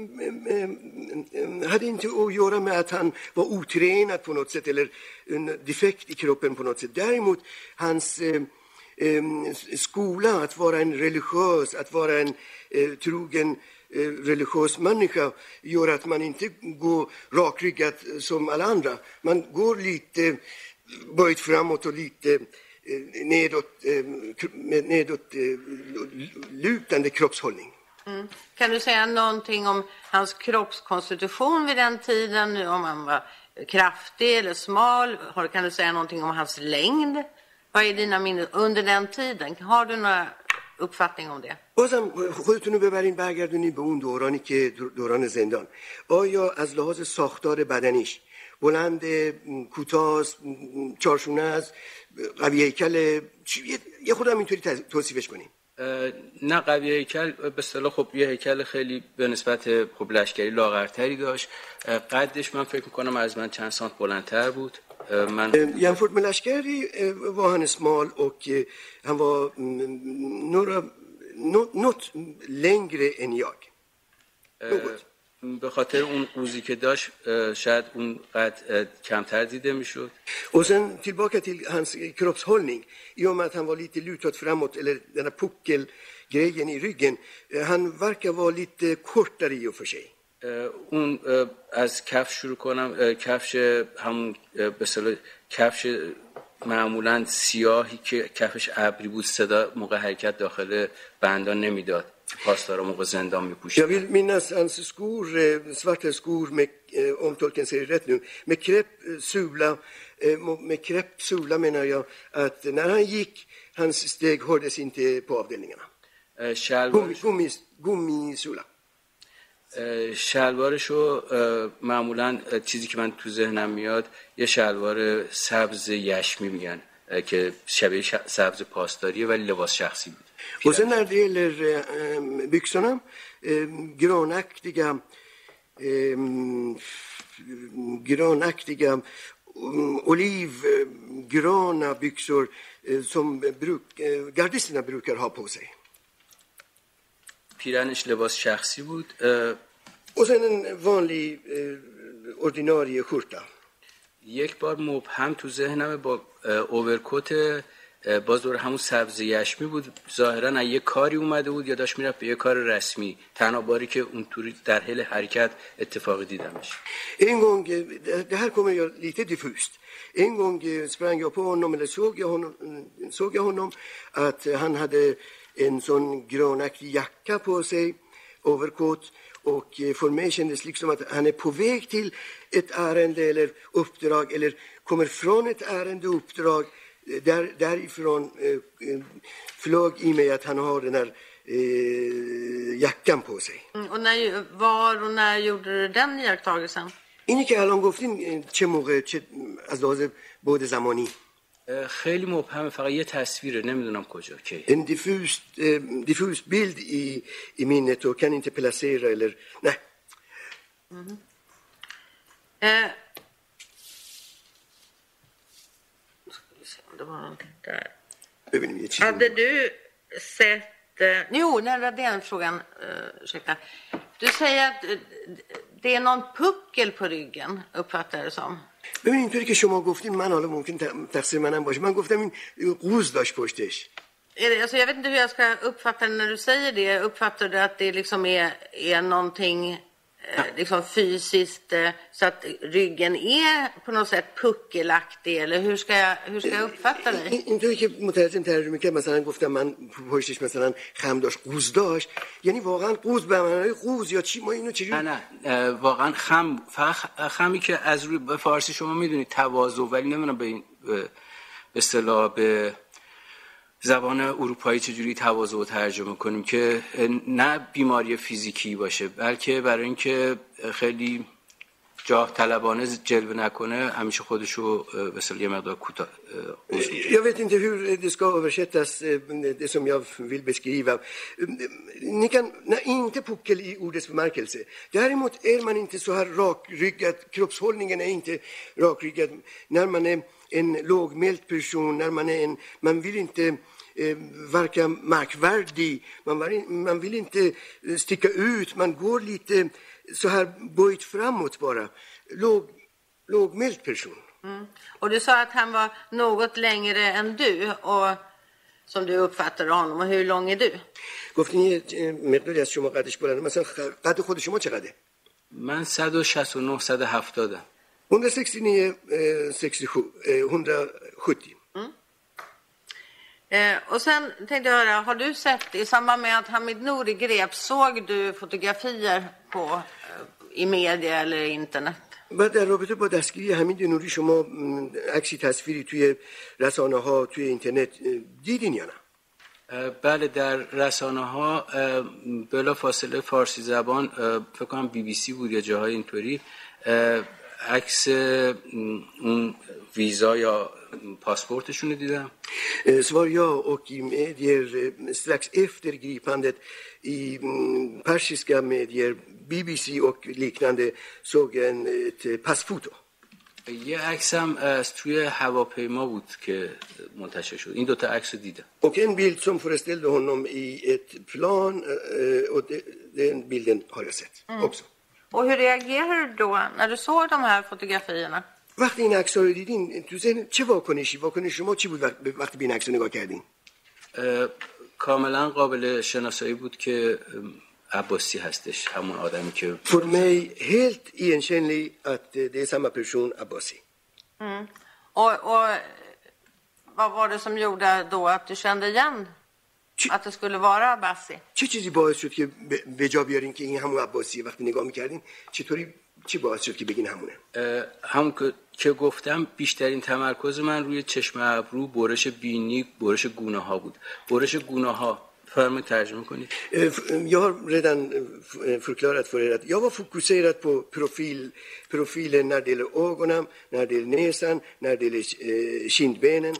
hade inte att göra med att han var otränad på något sätt eller en defekt i kroppen på något sätt. Däremot hans eh, skola, att vara en religiös, att vara en eh, trogen eh, religiös människa gör att man inte går rakryggat som alla andra. Man går lite böjt framåt och lite nedåt, med nedåt lutande kroppshållning. Mm. Kan du säga någonting om hans kroppskonstitution vid den tiden, om han var kraftig eller smal? Kan du säga någonting om hans längd? Vad är dina minnen under den tiden? Har du några uppfattning om det? بازم خودتون رو ببرین برگردونید به اون دورانی که دوران زندان. آیا از لحاظ ساختار بدنیش بلند، کوتاه، چارشونه است، قوی هیکل، یه خودم اینطوری توصیفش کنیم؟ نه قوی هیکل به اصطلاح خب یه هیکل خیلی به نسبت خب لشکری لاغرتری داشت. قدش من فکر میکنم از من چند سانت بلندتر بود. من jämfört med Lashkari var han smal och han var några något längre än jag. به خاطر اون قوزی که داشت شاید اون قد کمتر دیده میشد. Och sen tillbaka till hans kroppshållning. I och med att han var lite lutad framåt, eller den här puckelgrejen i ryggen, han verkar vara lite kortare i och för sig. اون از کفش شروع کنم. کفش همون به اصطلاح کفش معمولا سیاهی که کفش ابری بود، صدا موقع حرکت داخل بندان نمیداد. پاسدارا موقع زندان میپوشید. Jag vill minnas hans skor, svarta skor med, om tolken säger rätt nu, med kreppsula, med kreppsula menar jag att när han gick, hans steg hördes inte på avdelningarna. شلوارش gummi gummisula. شلوارشو معمولا چیزی که من تو ذهنم میاد یه شلوار سبز یشمی میگن که شبیه سبز پاسداریه ولی لباس شخصی بود. Och sen när det gäller byxorna, grönaktiga grönaktiga olivgröna byxor som bruk, gardisterna brukar ha på sig. پیرنش لباس شخصی بود. Och sen en vanlig ordinarie skjorta. یک بار مبهم تو ذهنم با اوورکوت باز دور همون سبز یشمی بود، ظاهرا یه کاری اومده بود یا داشت میرفت به یه کار رسمی. تنها باری که اونطوری در حال حرکت اتفاقی دیدمش. En gång, det här kommer jag lite diffust. En gång sprang jag på honom, eller såg jag honom, såg jag honom att han hade en sån grönaktig jacka på sig, overcoat, och för mig kändes liksom att han är på väg till ett ärende eller uppdrag, eller kommer från ett ärende och uppdrag. Där, därifrån eh, flög i mig att han har den här eh, jackan på sig. Mm, och när, var och när gjorde du den iakttagelsen? اینی که الان گفتین چه موقع، چه از لحاظ بعد زمانی؟ خیلی مبهمه، فقط یه تصویره، نمیدونم کجا کی. En diffus eh, diffus bild i i minnet och kan inte placera eller nej. Mm. Eh. Det var någonting där. Hade du sett... Eh, jo, nej, det är den frågan. Uh, ursäkta. Du säger att uh, det är någon puckel på ryggen, uppfattar jag det som. ببین اینطوری که شما گفتین من حالا ممکن تقصیر منم باشه، من گفتم این قوز داشت پشتش. Alltså, jag vet inte hur jag ska uppfatta det när du säger det. Uppfattar du att det liksom är, är någonting eh, liksom fysiskt eh, så att ryggen är på något sätt puckelaktig, eller hur ska jag, hur ska jag uppfatta dig؟ اینطوری که مترجم ترجمه کرد مثلا گفتم من پشتش مثلا خم داشت قوز داشت یعنی واقعا قوز به معنای قوز یا چی ما اینو چجوری نه نه واقعا خم فقط خمی که از روی به فارسی شما میدونید تواضع ولی نمیدونم به این به اصطلاح به زبان اروپایی چجوری تواضع رو ترجمه کنیم که نه بیماری فیزیکی باشه بلکه برای اینکه خیلی جاه طلبانه جلوه نکنه همیشه خودشو به اصطلاح یه مقدار کوتاه. Jag vet inte hur det ska översättas det som jag vill beskriva. Ni kan nej, inte puckel i ordets bemärkelse. Däremot är man inte så här rakryggad, kroppshållningen är inte rakryggad när man är en lågmäld person, när man är en man vill inte eh, verka märkvärdig, man, man vill inte sticka ut, man går lite så här böjt framåt bara. Låg, lågmäld person. Mm. Och du sa att han var något längre än du och som du uppfattade honom, och hur lång är du? گفتین یه مقداری از شما قدش بلنده مثلا قد خود شما چقدره؟ من صد و شصت و نه صد و هفتاد. hundrasextionio sextiosju hundrasjuttio. Mm. Eh, och sen tänkte jag höra, har du sett i samband med att Hamid Nouri greps, såg du fotografier på eh, i media eller internet? بعد در رابطه با دستگیری حمید نوری شما عکسی تصویری توی رسانه ها توی اینترنت دیدین یا نه؟ بله در رسانه ها بلا فاصله فارسی زبان فکر کنم بی بی سی بود یا جاهای اینطوری عکس اون ویزا یا پاسپورتشون رو دیدم. Svar ja, och i medier strax efter gripandet i persiska medier بی بی سی och liknande såg en ett passfoto. یه عکس هم از توی هواپیما بود که منتشر شد. این دوتا عکس رو دیدم. Och en bild som föreställde honom i ett plan och den bilden har jag sett också. Och hur reagerar du då när du såg de här fotografierna? وقتی این عکس‌ها رو دیدین تو ذهن چه واکنشی واکنش شما چی بود وقتی به این عکس نگاه کردین؟ کاملا قابل شناسایی بود که عباسی هستش همون آدمی که För mig helt igenkännlig att det är samma person Abbasi. Mm. Och, och vad var det som gjorde då att du kände igen Ch- att det skulle vara Abbasi? چه چیزی باعث شد که به جا بیارین که این همون عباسی وقتی نگاه می‌کردین چطوری چی باعث شد که بگین همونه؟ همون که گفتم بیشترین تمرکز من روی چشم ابرو، برش بینی، برش گونه ها بود. برش گونه ها فرم ترجمه کنید. Jag har redan förklarat för er att jag var fokuserad på profil, profilen när det gäller ögonen, när det gäller näsan, när det gäller kindbenen.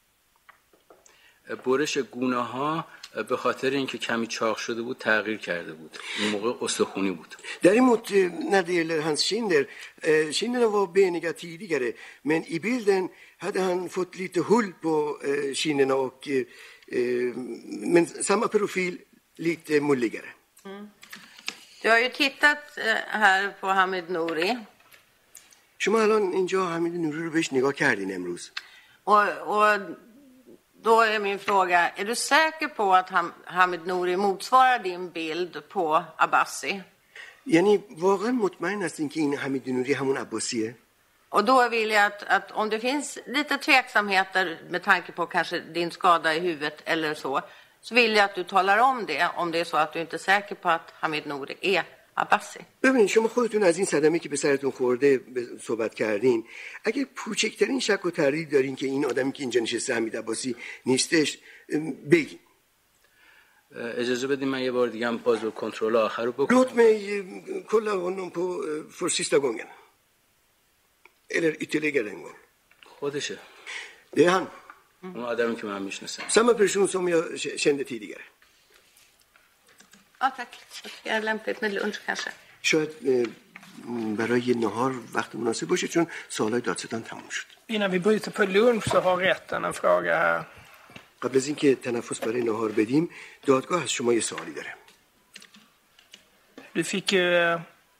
برش گونه ها به خاطر اینکه کمی چاق شده بود تغییر کرده بود. این موقع استخونی بود. Däremot när det gäller hans kinder, kinderna var beniga tidigare, men i bilden hade han fått lite hull på kinderna och men samma profil lite mulligare. Mm. Du har ju tittat här på Hamid Nouri. شما الان اینجا حمید نوری رو بهش نگاه کردین امروز. Och och då är min fråga, är du säker på att Hamid Nouri motsvarar din bild på Abbasi? یعنی واقعا مطمئن هستین که این حمید نوری همون عباسیه؟ Och då vill jag att, att om det finns lite tveksamheter med tanke på kanske din skada i huvudet eller så, så vill jag att du talar om det om det är så att du inte är säker på att Hamid Nouri är Abbasi. ببینید شما خودتون از این صدمه که به سرتون خورده صحبت کردین، اگه کوچکترین شک و تردید دارین که این آدمی که اینجا نشسته حمید عباسی نیستش بگین. اجازه بدین من یه بار دیگه هم باز کنترل آخر رو بکنم. Låt mig kolla honom på för sista gången. Eller ytterligare en gång. خودشه. Det är han. اون آدمی که من میشناسم. Samma person som jag kände tidigare. Ja, tack. Det är lämpligt med lunch kanske. شاید برای نهار وقت مناسب باشه چون سوالای دادستان تموم شد. Innan vi bryter på lunch så har rätten en fråga här. قبل از اینکه تنفس برای نهار بدیم دادگاه از شما یه سوالی داره. Du fick ju äh,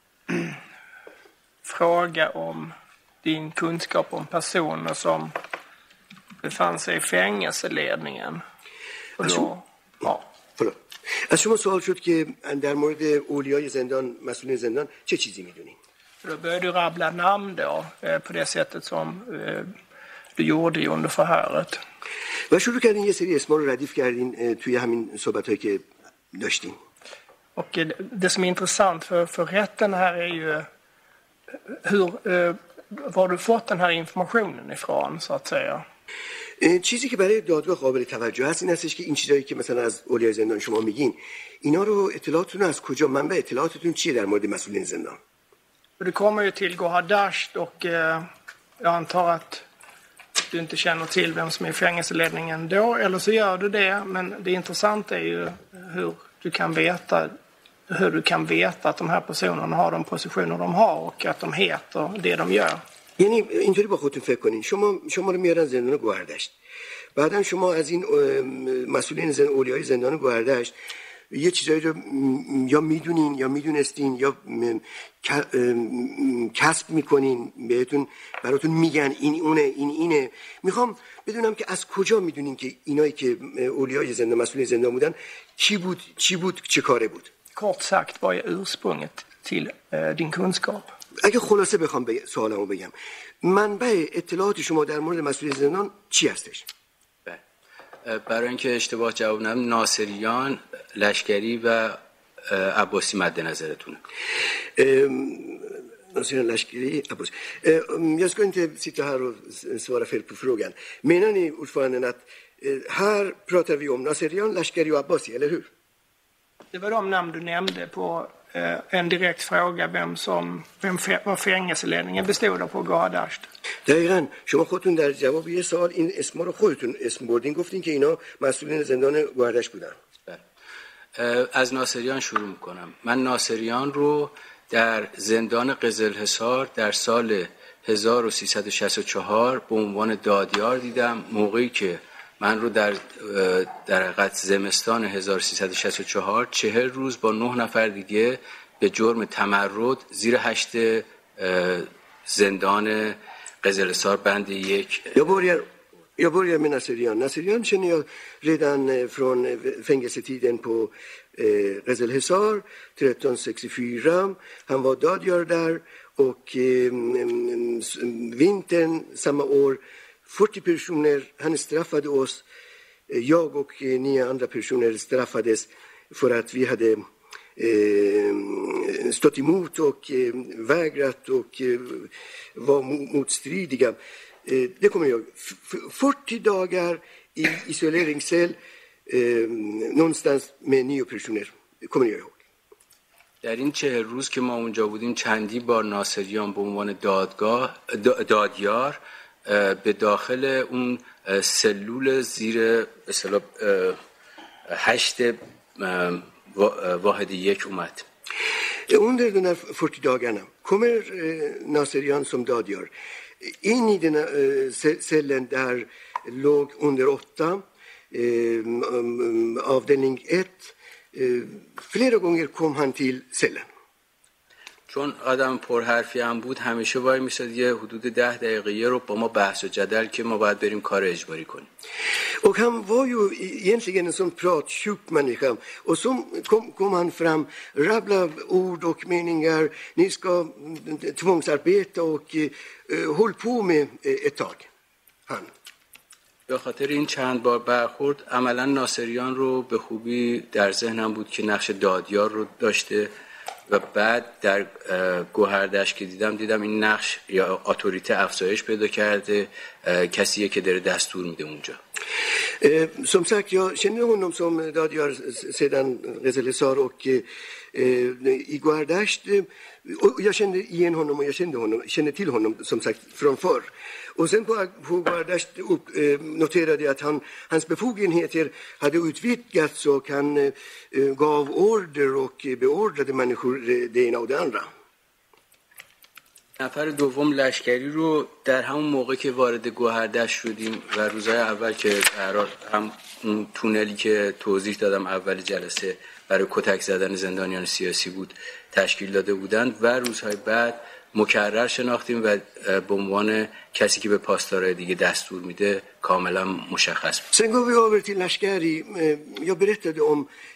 fråga om din kunskap om personer som befann sig i fängelseledningen. Och då, ja. förlåt. از شما سوال شد که در مورد اولیای زندان، مسئولین زندان چه چیزی میدونین؟ Då började du rabbla namn då, på det sättet som du gjorde under förhöret. و شروع کردین یه سری اسما رو ردیف کردین توی همین صحبت‌هایی که داشتیم. Och det som är intressant för, för rätten här är ju hur, var du fått den här informationen ifrån, så att säga. چیزی که برای دادگاه قابل توجه هست این هستش که این چیزایی که مثلا از اولیای زندان شما میگین، اینا رو اطلاعاتتون از کجا، منبع اطلاعاتتون چیه در مورد مسئولین زندان؟ Du kommer ju till Gohardasht och eh, jag antar att du inte känner till vem som är fängelseledningen då, eller så gör du det, men det intressanta är ju hur du kan veta hur du kan veta att de här personerna har de positioner de har och att de heter det de gör. یعنی اینطوری با خودتون فکر کنین، شما شما رو میارن زندان گوهردشت، بعدن شما از این مسئولین زن اولیای زندان گوهردشت یه چیزایی رو یا میدونین یا میدونستین یا کسب میکنین، بهتون براتون میگن این اونه این اینه. میخوام بدونم که از کجا میدونین که اینایی که اولیای زندان، مسئولین زندان بودن چی بود چی بود چه کاره بود؟ Kort sagt, vad är ursprunget till din kunskap? اگه خلاصه بخوام بگ... سوالمو بگم، منبع اطلاعات شما در مورد مسئولین زندان چی هستش؟ برای اینکه اشتباه جواب ندم، ناصریان، لشکری و عباسی مد نظرتونه. Nationella Lashkeri Abbas. Jag ska inte sitta här och svara fel på frågan. Menar ni ordföranden att här pratar vi om Nasserian, Lashkeri och Abbasi, eller hur? Det var de namn du nämnde på en direkt fråga vem som vem var fängelseledningen bestod av på Gohardasht. دقیقاً شما خودتون در جواب یه سوال این اسما رو خودتون اسم بردین، گفتین که اینا مسئولین زندان گوهردشت بودن. از ناصریان شروع میکنم. من ناصریان رو در زندان قزلحصار در سال هزار و سیصد و شصت و چهار به عنوان دادیار دیدم، موقعی که من رو در در حقیقت زمستان هزار و سیصد و شصت و چهار چهل روز با نه نفر دیگه به جرم تمرد زیر هشت زندان قزلحصار بند یک. Jag börjar, jag börjar med Nasserian. Nasserian känner jag redan från fängelsetiden på eh, Qezl-Hesar tretton sextiofyra. Han var dadgör där och eh, vintern samma år fyrtio personer, han straffade oss. Jag och eh, nio andra personer straffades för att vi hade eh, stått emot och eh, vägrat och eh, var motstridiga. Eh, det kommer jag fyrtio dagar i isoleringscell eh, någonstans med nio personer. Det kommer jag ihåg. در این چهل روز که ما اونجا بودیم چندی بار ناصریان به عنوان دادگاه دادیار به داخل اون سلول زیر اصطلاح هشت واحد یک اومد. Under de här fyrtio dagarna kommer Nasserian som dadgör in i den cellen där låg under åtta avdelning ett. Flera gånger kom han till cellen. چون آدم پرحرفی هم بود همیشه وای میساد یه حدود ده دقیقه رو با ما بحث و جدل که ما باید بریم کار اجباری کنیم. Och han var ju egentligen en sån pratsjuk människa. Och så kom, kom han fram, rabbla ord och meningar. Ni ska tvångsarbeta och uh, håll på med ett tag. Han. به خاطر این چند بار برخورد عملا ناصریان رو به خوبی در ذهنم بود که نقش دادیار رو داشته و بعد در گوهردشت که دیدم دیدم این نقش یا اتوریته افزایش پیدا کرده، کسیه که داره دستور میده اونجا. Som sagt, jag känner honom som dadgör sedan Qezl-Hesar och i Gohardasht. Jag kände igen honom och jag kände honom, kände till honom som sagt från förr. Och sen på, på Gohardasht noterade jag att han, hans befogenheter hade utvidgats och han eh, gav order och beordrade människor det ena och det andra. نفر دوم لشکری رو در همون موقع که وارد گوهردشت شدیم و روزهای اول که هم اون تونلی که توضیح دادم اول جلسه برای کتک زدن زندانیان سیاسی بود تشکیل داده بودند و روزهای بعد مکرر شناختیم و به عنوان کسی که به پاسدارای دیگه دستور میده کاملا مشخص بود. Sen går vi över till Lashkari. Jag berättade om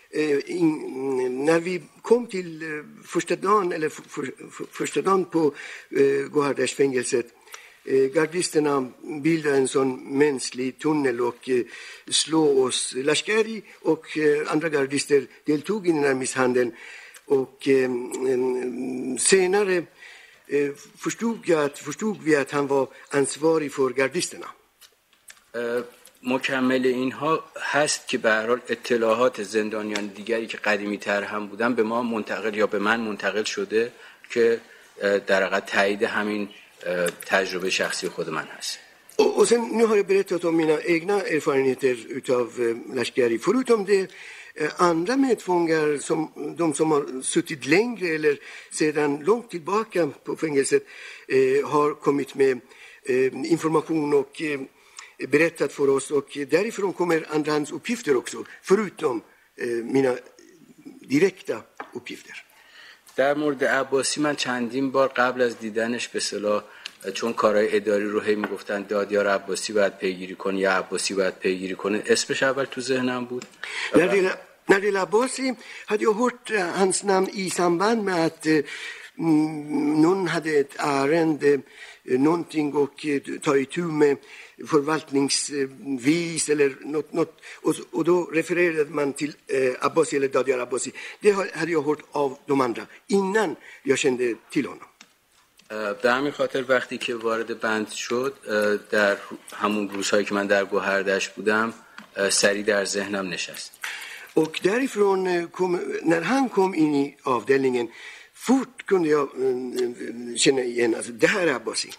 in, när vi kom till första dagen, eller för, för, första dagen på eh, Gohardashfängelset, eh, gardisterna bildade en sån mänsklig tunnel och eh, slog oss. Lashkari och eh, andra gardister deltog i den här misshandeln. Och eh, senare eh, förstod, jag att, förstod vi att han var ansvarig för gardisterna. Uh. مکمل اینها هست که به هر حال اطلاعات زندانیان دیگری که قدیمی تر هم بودن به ما منتقل یا به من منتقل شده که در حقیقت تایید همین تجربه شخصی خود من هست. Och, och sen nu har jag berättat om mina egna erfarenheter utav Lashkari. Förutom det, andra medfångar, som, de som har suttit längre eller sedan långt tillbaka på fängelset, eh, har kommit med eh, information och eh, berättat för oss, och därifrån kommer andrahandsuppgifter också, förutom eh, mina direkta uppgifter. در مورد عباسی من چندین بار قبل از دیدنش به اصطلاح چون کارهای اداری رو هی میگفتن دادیار عباسی باید پیگیری کنه یا عباسی باید پیگیری کنه، اسمش اول تو ذهنم بود. När det, när det gäller Abbasi hade jag hört hans namn i samband med att eh, någon hade ett ärende, någonting, och eh, ta itu med förvaltningsvis eller något, något och, och då refererade man till eh, Abbasi eller Dadiar Abbasi. Det hade jag hört av de andra innan jag kände till honom. به همین خاطر وقتی که وارد بند شد در همون روزهایی که من در گوهردشت بودم سریع در ذهنم نشست. Och därifrån kom, när han kom in i avdelningen, fort kunde jag känna igen, alltså det här är Abbasi.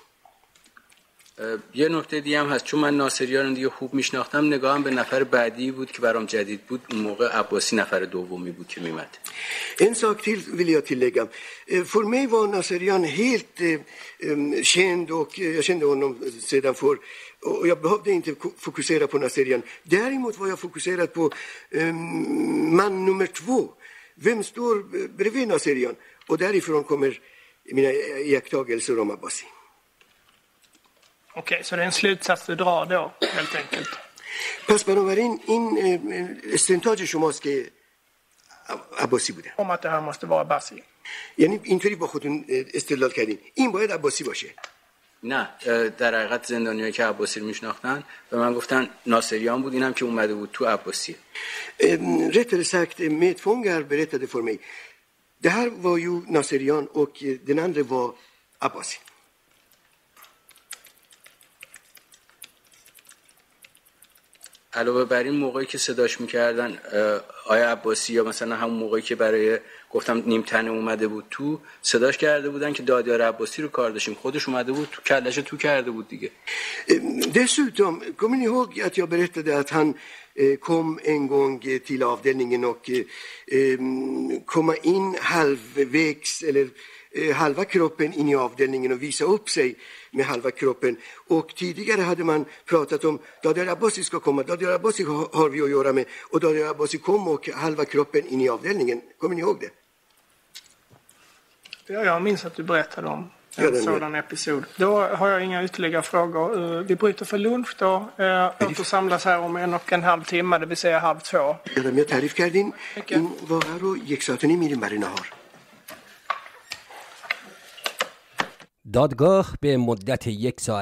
یه نکته دیگه هم هست، چون من ناصریان دیگه خوب میشناختم، نگاهم به نفر بعدی بود که برام جدید بود. اون موقع عباسی نفر دومی بود که میمد. En sak till vill jag tillägga. För mig var Nasserian helt känd, och jag kände honom sedan för, och jag behövde inte fokusera på Nasserian. Däremot var jag fokuserad på man nummer två. Vem står bredvid Nasserian? Och därifrån kommer mina iakttagelser om Abbasi. Okej, så det är en slutsats du drar då, helt enkelt. پس بنابراین این استنتاج شماست که عباسی بوده. Om att det här måste vara Abbasi. یعنی اینطوری با خودتون استدلال کردین این باید عباسی باشه. نه، در حقیقت زندانیایی که عباسی رو میشناختن به من گفتن ناصریان بود، اینم که اومده بود تو عباسی. Rättare sagt, medfångar berättade för mig. Det här var ju Nasserian och den andra var Abbasi. علاوه بر این موقعی که صداش میکردن آیا عباسی، یا مثلا همون موقعی که برای گفتم نیم تنه اومده بود تو، صداش کرده بودن که دادیار عباسی رو کار داشتیم، خودش اومده بود تو کلش تو کرده بود دیگه. Dessutom, kommer ni ihåg att jag berättade att han kom en gång till avdelningen och komma in halvvägs eller halva kroppen in i avdelningen och visa upp sig med halva kroppen. Och tidigare hade man pratat om Dadiar Abbasi ska komma, Dadiar Abbasi har vi att göra med, och Dadiar Abbasi kom och halva kroppen in i avdelningen. Kommer ni ihåg det? Ja, jag minns att du berättade om en ja, sådan episod. Då har jag inga ytterligare frågor. Vi bryter för lunch då. Återsamlas här om en och en halv timme, det vill säga halv två. یادم میاد تعریف کردین این واقعا رو یک ساعت و نیم میریم برای نهار. دادگاه به مدت یک ساعت